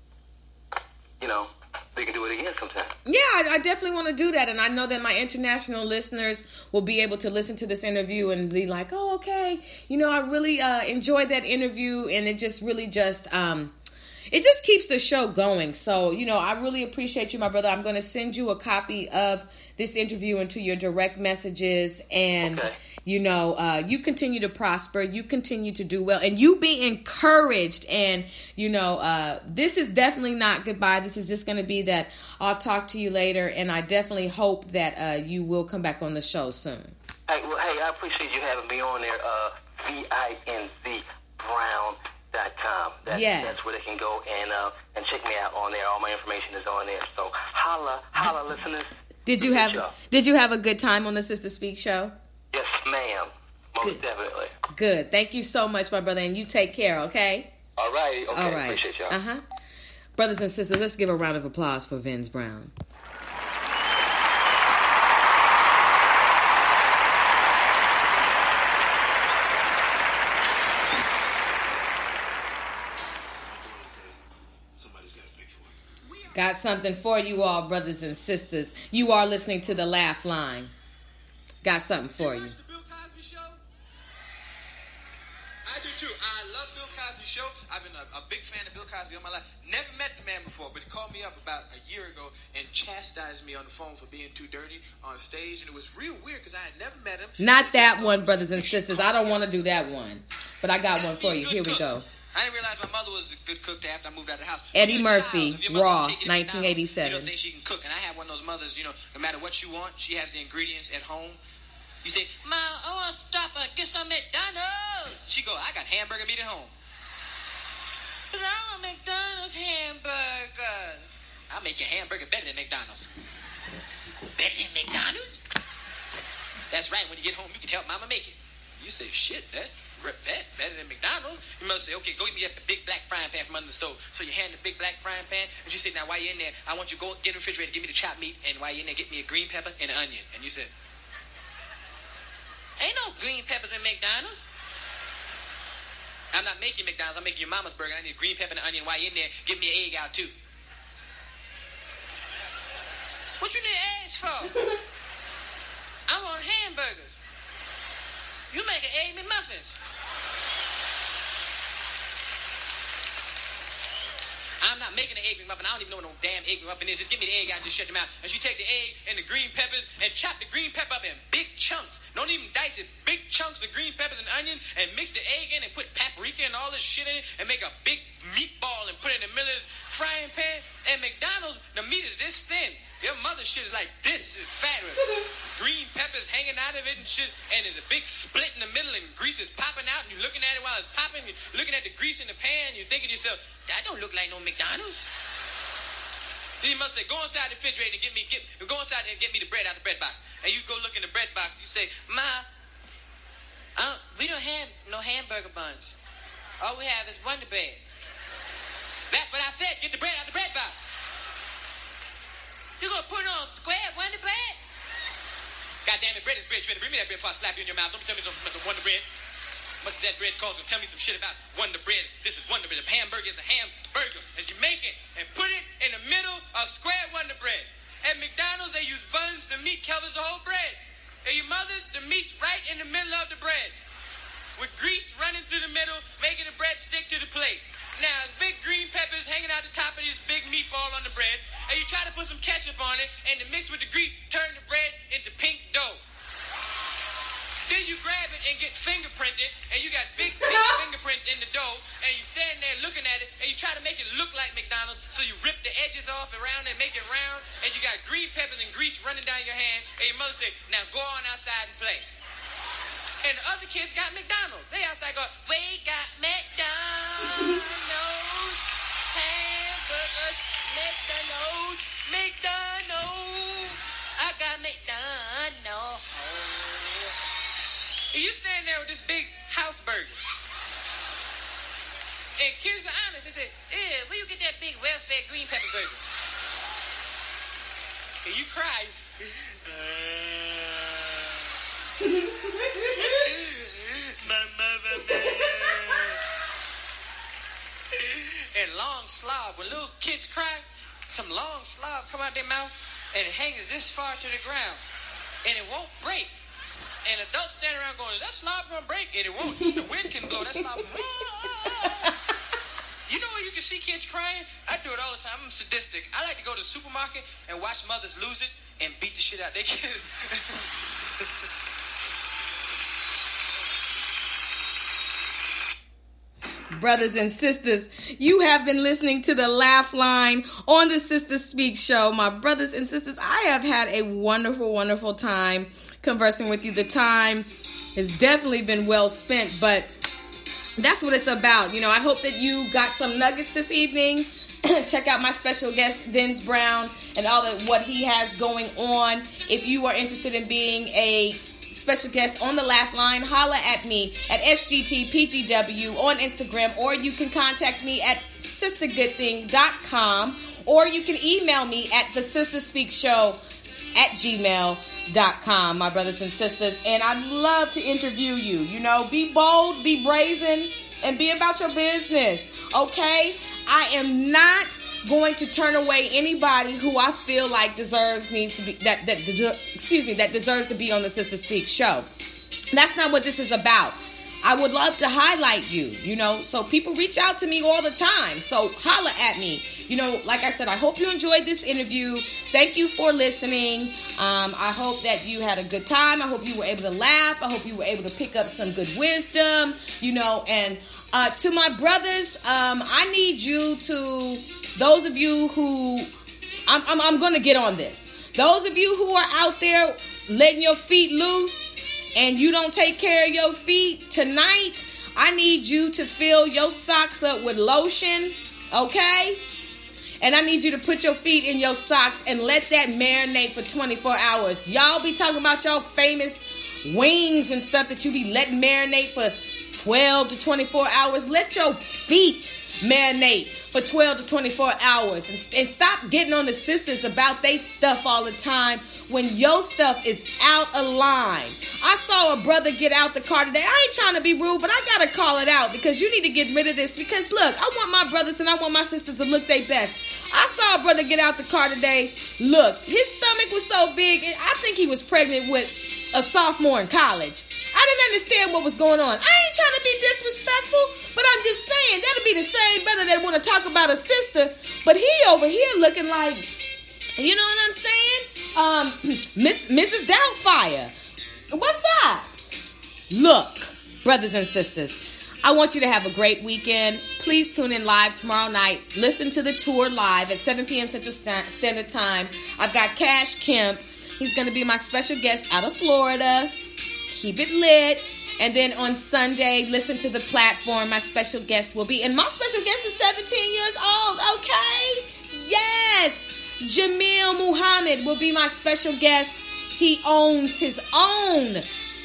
you know, we could do it again sometime. Yeah, I, I definitely want to do that, and I know that my international listeners will be able to listen to this interview and be like, oh, okay, you know, I really uh, enjoyed that interview, and it just really just. Um, It just keeps the show going. So, you know, I really appreciate you, my brother. I'm going to send you a copy of this interview into your direct messages. And, okay. you know, uh, you continue to prosper. You continue to do well. And you be encouraged. And, you know, uh, this is definitely not goodbye. This is just going to be that I'll talk to you later. And I definitely hope that uh, you will come back on the show soon. Hey, well, hey, I appreciate you having me on there. Uh, V I N Z Brown. Dot com. That's, yes. that's where they can go and uh, and check me out on there. All my information is on there. So holla, holla, listeners. Did you have Did you have a good time on the Sister Speak show? Yes, ma'am. Most Good. definitely. Good. Thank you so much, my brother, and you take care. Okay. All right. Okay. All right. Appreciate y'all. Uh huh. Brothers and sisters, let's give a round of applause for Vince Brown. Got something for you all, brothers and sisters. You are listening to The Laugh Line. Got something for you. You watch the Bill Cosby Show? I do too. I love Bill Cosby Show. I've been a, a big fan of Bill Cosby all my life. Never met the man before, but he called me up about a year ago and chastised me on the phone for being too dirty on stage, and it was real weird because I had never met him. Not that one, brothers and sisters. I don't want to do that one. But I got one for you. Here we go. I didn't realize my mother was a good cook after I moved out of the house. Eddie When you're a Murphy, child, if your mother Raw, take you to nineteen eighty-seven. McDonald's, you don't think she can cook. And I have one of those mothers, you know, no matter what you want, she has the ingredients at home. You say, Mom, I want to stop and get some McDonald's. She go, I got hamburger meat at home. But I want McDonald's hamburger. I'll make your hamburger better than McDonald's. Better than McDonald's? That's right. When you get home, you can help Mama make it. You say, shit, that's that better than McDonald's. You must say, okay, go get me a big black frying pan from under the stove. So you hand the big black frying pan, and she said, now while you're in there, I want you to go get in the refrigerator, give me the chopped meat, and while you're in there, get me a green pepper and an onion. And you said, ain't no green peppers in McDonald's. I'm not making McDonald's, I'm making your mama's burger. I need a green pepper and an onion. While you're in there, give me an egg out too. What you need eggs for? I want hamburgers. You make an egg McMuffins. I'm not making an egg McMuffin. I don't even know what no damn egg McMuffin is. Just give me the egg out and just shut them out. And she take the egg and the green peppers and chop the green pepper up in big chunks. Don't even dice it. Big chunks of green peppers and onion and mix the egg in and put paprika and all this shit in it and make a big meatball and put it in the middle of this frying pan. And McDonald's, the meat is this thin. Your mother's shit is like this, is fat with green peppers hanging out of it and shit, and there's a big split in the middle and grease is popping out, and you're looking at it while it's popping, you're looking at the grease in the pan, you're thinking to yourself, that don't look like no McDonald's. Then your mother say, go inside the refrigerator and get me, get, go inside and get me the bread out the bread box. And you go look in the bread box, and you say, Ma, uh, we don't have no hamburger buns. All we have is Wonder Bread. That's what I said, get the bread out the bread box. You gonna put it on square Wonder Bread? God damn it, bread is bread. You better bring me that bread before I slap you in your mouth. Don't tell me some, some Wonder Bread. What's that bread called? So tell me some shit about Wonder Bread. This is Wonder Bread. The hamburger is a hamburger. As you make it and put it in the middle of square Wonder Bread. At McDonald's, they use buns. The meat covers the whole bread. At your mother's, the meat's right in the middle of the bread. With grease running through the middle, making the bread stick to the plate. Now, big green peppers hanging out the top of this big meatball on the bread, and you try to put some ketchup on it, and to mix with the grease, turn the bread into pink dough. Then you grab it and get fingerprinted, and you got big, big fingerprints in the dough, and you stand there looking at it, and you try to make it look like McDonald's, so you rip the edges off around and make it round, and you got green peppers and grease running down your hand, and your mother say, now go on outside and play. And the other kids got McDonald's. They outside go, we got McDonald's, hamburgers, McDonald's, McDonald's, I got McDonald's. And you stand there with this big house burger. And kids are honest. They say, ew, where you get that big well-fed green pepper burger? And you cry. My mother made and long slob. When little kids cry, some long slob come out their mouth and it hangs this far to the ground. And it won't break. And adults stand around going, is that slob gonna break? And it won't. The wind can blow that slob. You know where you can see kids crying? I do it all the time. I'm sadistic. I like to go to the supermarket and watch mothers lose it and beat the shit out of their kids. Brothers and sisters, you have been listening to the Laugh Line on the Sister Speak Show. My brothers and sisters, I have had a wonderful, wonderful time conversing with you. The time has definitely been well spent, but that's what it's about. You know, I hope that you got some nuggets this evening. Check out my special guest, Vince Brown, and all that what he has going on. If you are interested in being a special guest on the Laugh Line, holla at me at S G T P G W on Instagram, or you can contact me at sister good thing dot com, or you can email me at the sister speak show at gmail dot com, my brothers and sisters. And I'd love to interview you. You know, be bold, be brazen, and be about your business. Okay? I am not going to turn away anybody who I feel like deserves needs to be that that excuse me that deserves to be on the Sister Speak Show. That's not what this is about. I would love to highlight you, you know, so people reach out to me all the time. So holla at me. You know, like I said, I hope you enjoyed this interview. Thank you for listening. Um, I hope that you had a good time. I hope you were able to laugh. I hope you were able to pick up some good wisdom, you know, and uh, to my brothers, um, I need you to, those of you who, I'm, I'm, I'm going to get on this. Those of you who are out there letting your feet loose and you don't take care of your feet tonight, I need you to fill your socks up with lotion, okay? And I need you to put your feet in your socks and let that marinate for twenty-four hours. Y'all be talking about y'all famous wings and stuff that you be letting marinate for twelve to twenty-four hours. Let your feet marinate for twelve to twenty-four hours. And, and stop getting on the sisters about they stuff all the time when your stuff is out of line. I saw a brother get out the car today. I ain't trying to be rude, but I got to call it out because you need to get rid of this. Because, look, I want my brothers and I want my sisters to look their best. I saw a brother get out the car today. Look, his stomach was so big. I think he was pregnant with a sophomore in college. I didn't understand what was going on. I ain't trying to be disrespectful, but I'm just saying that'll be the same brother that want to talk about a sister, but he over here looking like, you know what I'm saying? Um, Miss Missus Doubtfire. What's up? Look, brothers and sisters, I want you to have a great weekend. Please tune in live tomorrow night. Listen to the tour live at seven p.m. Central Standard Time. I've got Cash Kemp. He's going to be my special guest out of Florida. Keep it lit. And then on Sunday, listen to the platform. My special guest will be, and my special guest is seventeen years old, okay? Yes! Jamil Muhammad will be my special guest. He owns his own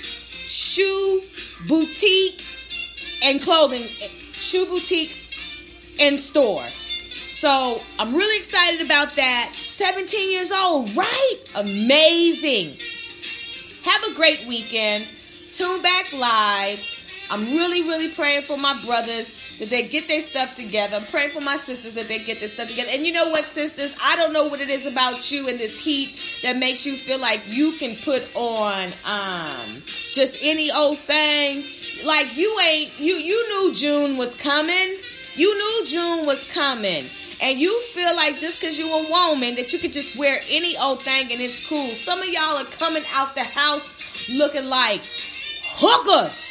shoe boutique and clothing, shoe boutique and store. So I'm really excited about that. seventeen years old, right? Amazing. Have a great weekend. Tune back live. I'm really, really praying for my brothers that they get their stuff together. I'm praying for my sisters that they get their stuff together. And you know what, sisters? I don't know what it is about you in this heat that makes you feel like you can put on um, just any old thing. Like you ain't, you, you knew June was coming. You knew June was coming. And you feel like just because you're a woman that you could just wear any old thing and it's cool. Some of y'all are coming out the house looking like hookers.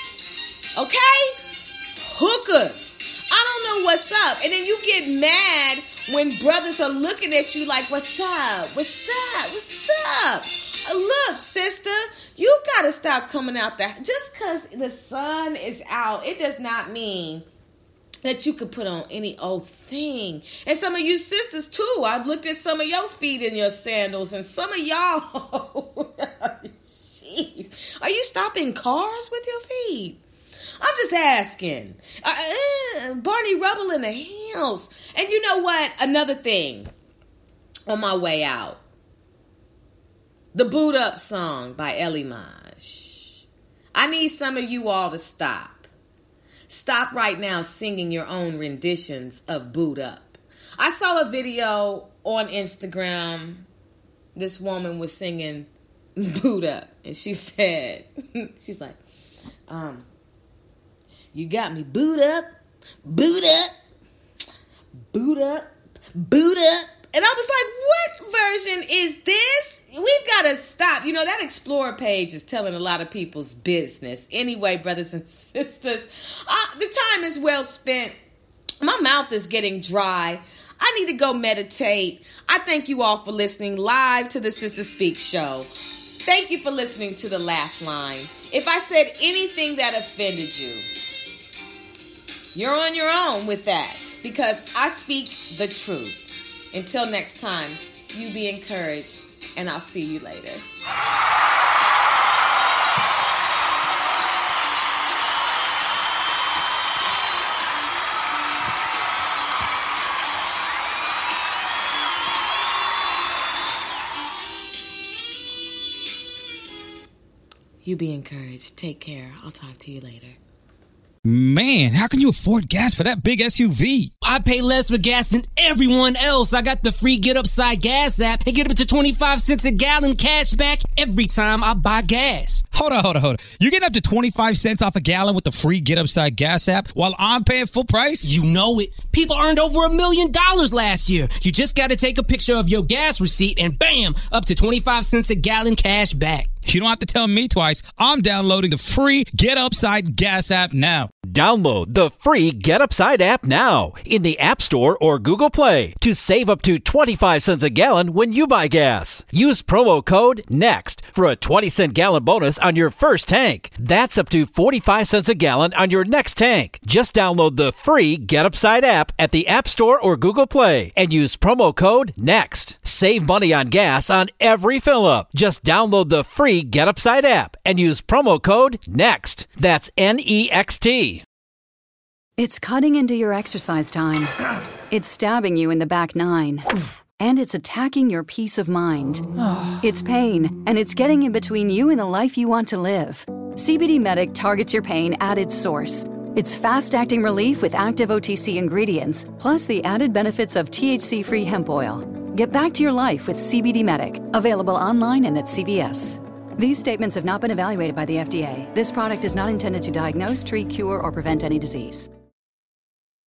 Okay? Hookers. I don't know what's up. And then you get mad when brothers are looking at you like, what's up? What's up? What's up? Uh, look, sister, you got to stop coming out there. Just because the sun is out, it does not mean that you could put on any old thing. And some of you sisters, too. I've looked at some of your feet in your sandals, and some of y'all, jeez, are you stopping cars with your feet? I'm just asking. Uh, uh, Barney Rubble in the house. And you know what? Another thing on my way out. The Boot Up song by Ellie Maj. I need some of you all to stop. Stop right now singing your own renditions of Boot Up. I saw a video on Instagram. This woman was singing Boot Up. And she said, she's like, um, you got me boot up, boot up, boot up, boot up. And I was like, what version is this? We've got to stop. You know, that Explorer page is telling a lot of people's business. Anyway, brothers and sisters, uh, the time is well spent. My mouth is getting dry. I need to go meditate. I thank you all for listening live to the Sister Speak show. Thank you for listening to the Laugh Line. If I said anything that offended you, you're on your own with that because I speak the truth. Until next time, you be encouraged, and I'll see you later. You be encouraged. Take care. I'll talk to you later. Man, how can you afford gas for that big S U V? I pay less for gas than everyone else. I got the free Get Upside Gas app and get up to twenty-five cents a gallon cash back every time I buy gas. Hold on, hold on, hold on. You're getting up to twenty-five cents off a gallon with the free Get Upside Gas app while I'm paying full price? You know it. People earned over a million dollars last year. You just got to take a picture of your gas receipt and bam, up to twenty-five cents a gallon cash back. You don't have to tell me twice. I'm downloading the free Get Upside Gas app now. Download the free Get Upside app now in the App Store or Google Play to save up to twenty-five cents a gallon when you buy gas. Use promo code NEXT for a twenty cent gallon bonus on your first tank. That's up to forty-five cents a gallon on your next tank. Just download the free Get Upside app at the App Store or Google Play and use promo code NEXT. Save money on gas on every fill up. Just download the free Get Upside app and use promo code NEXT. That's N E X T. It's cutting into your exercise time. It's stabbing you in the back nine. And it's attacking your peace of mind. It's pain, and it's getting in between you and the life you want to live. C B D Medic targets your pain at its source. It's fast-acting relief with active O T C ingredients, plus the added benefits of T H C-free hemp oil. Get back to your life with C B D Medic. Available online and at C V S. These statements have not been evaluated by the F D A. This product is not intended to diagnose, treat, cure, or prevent any disease.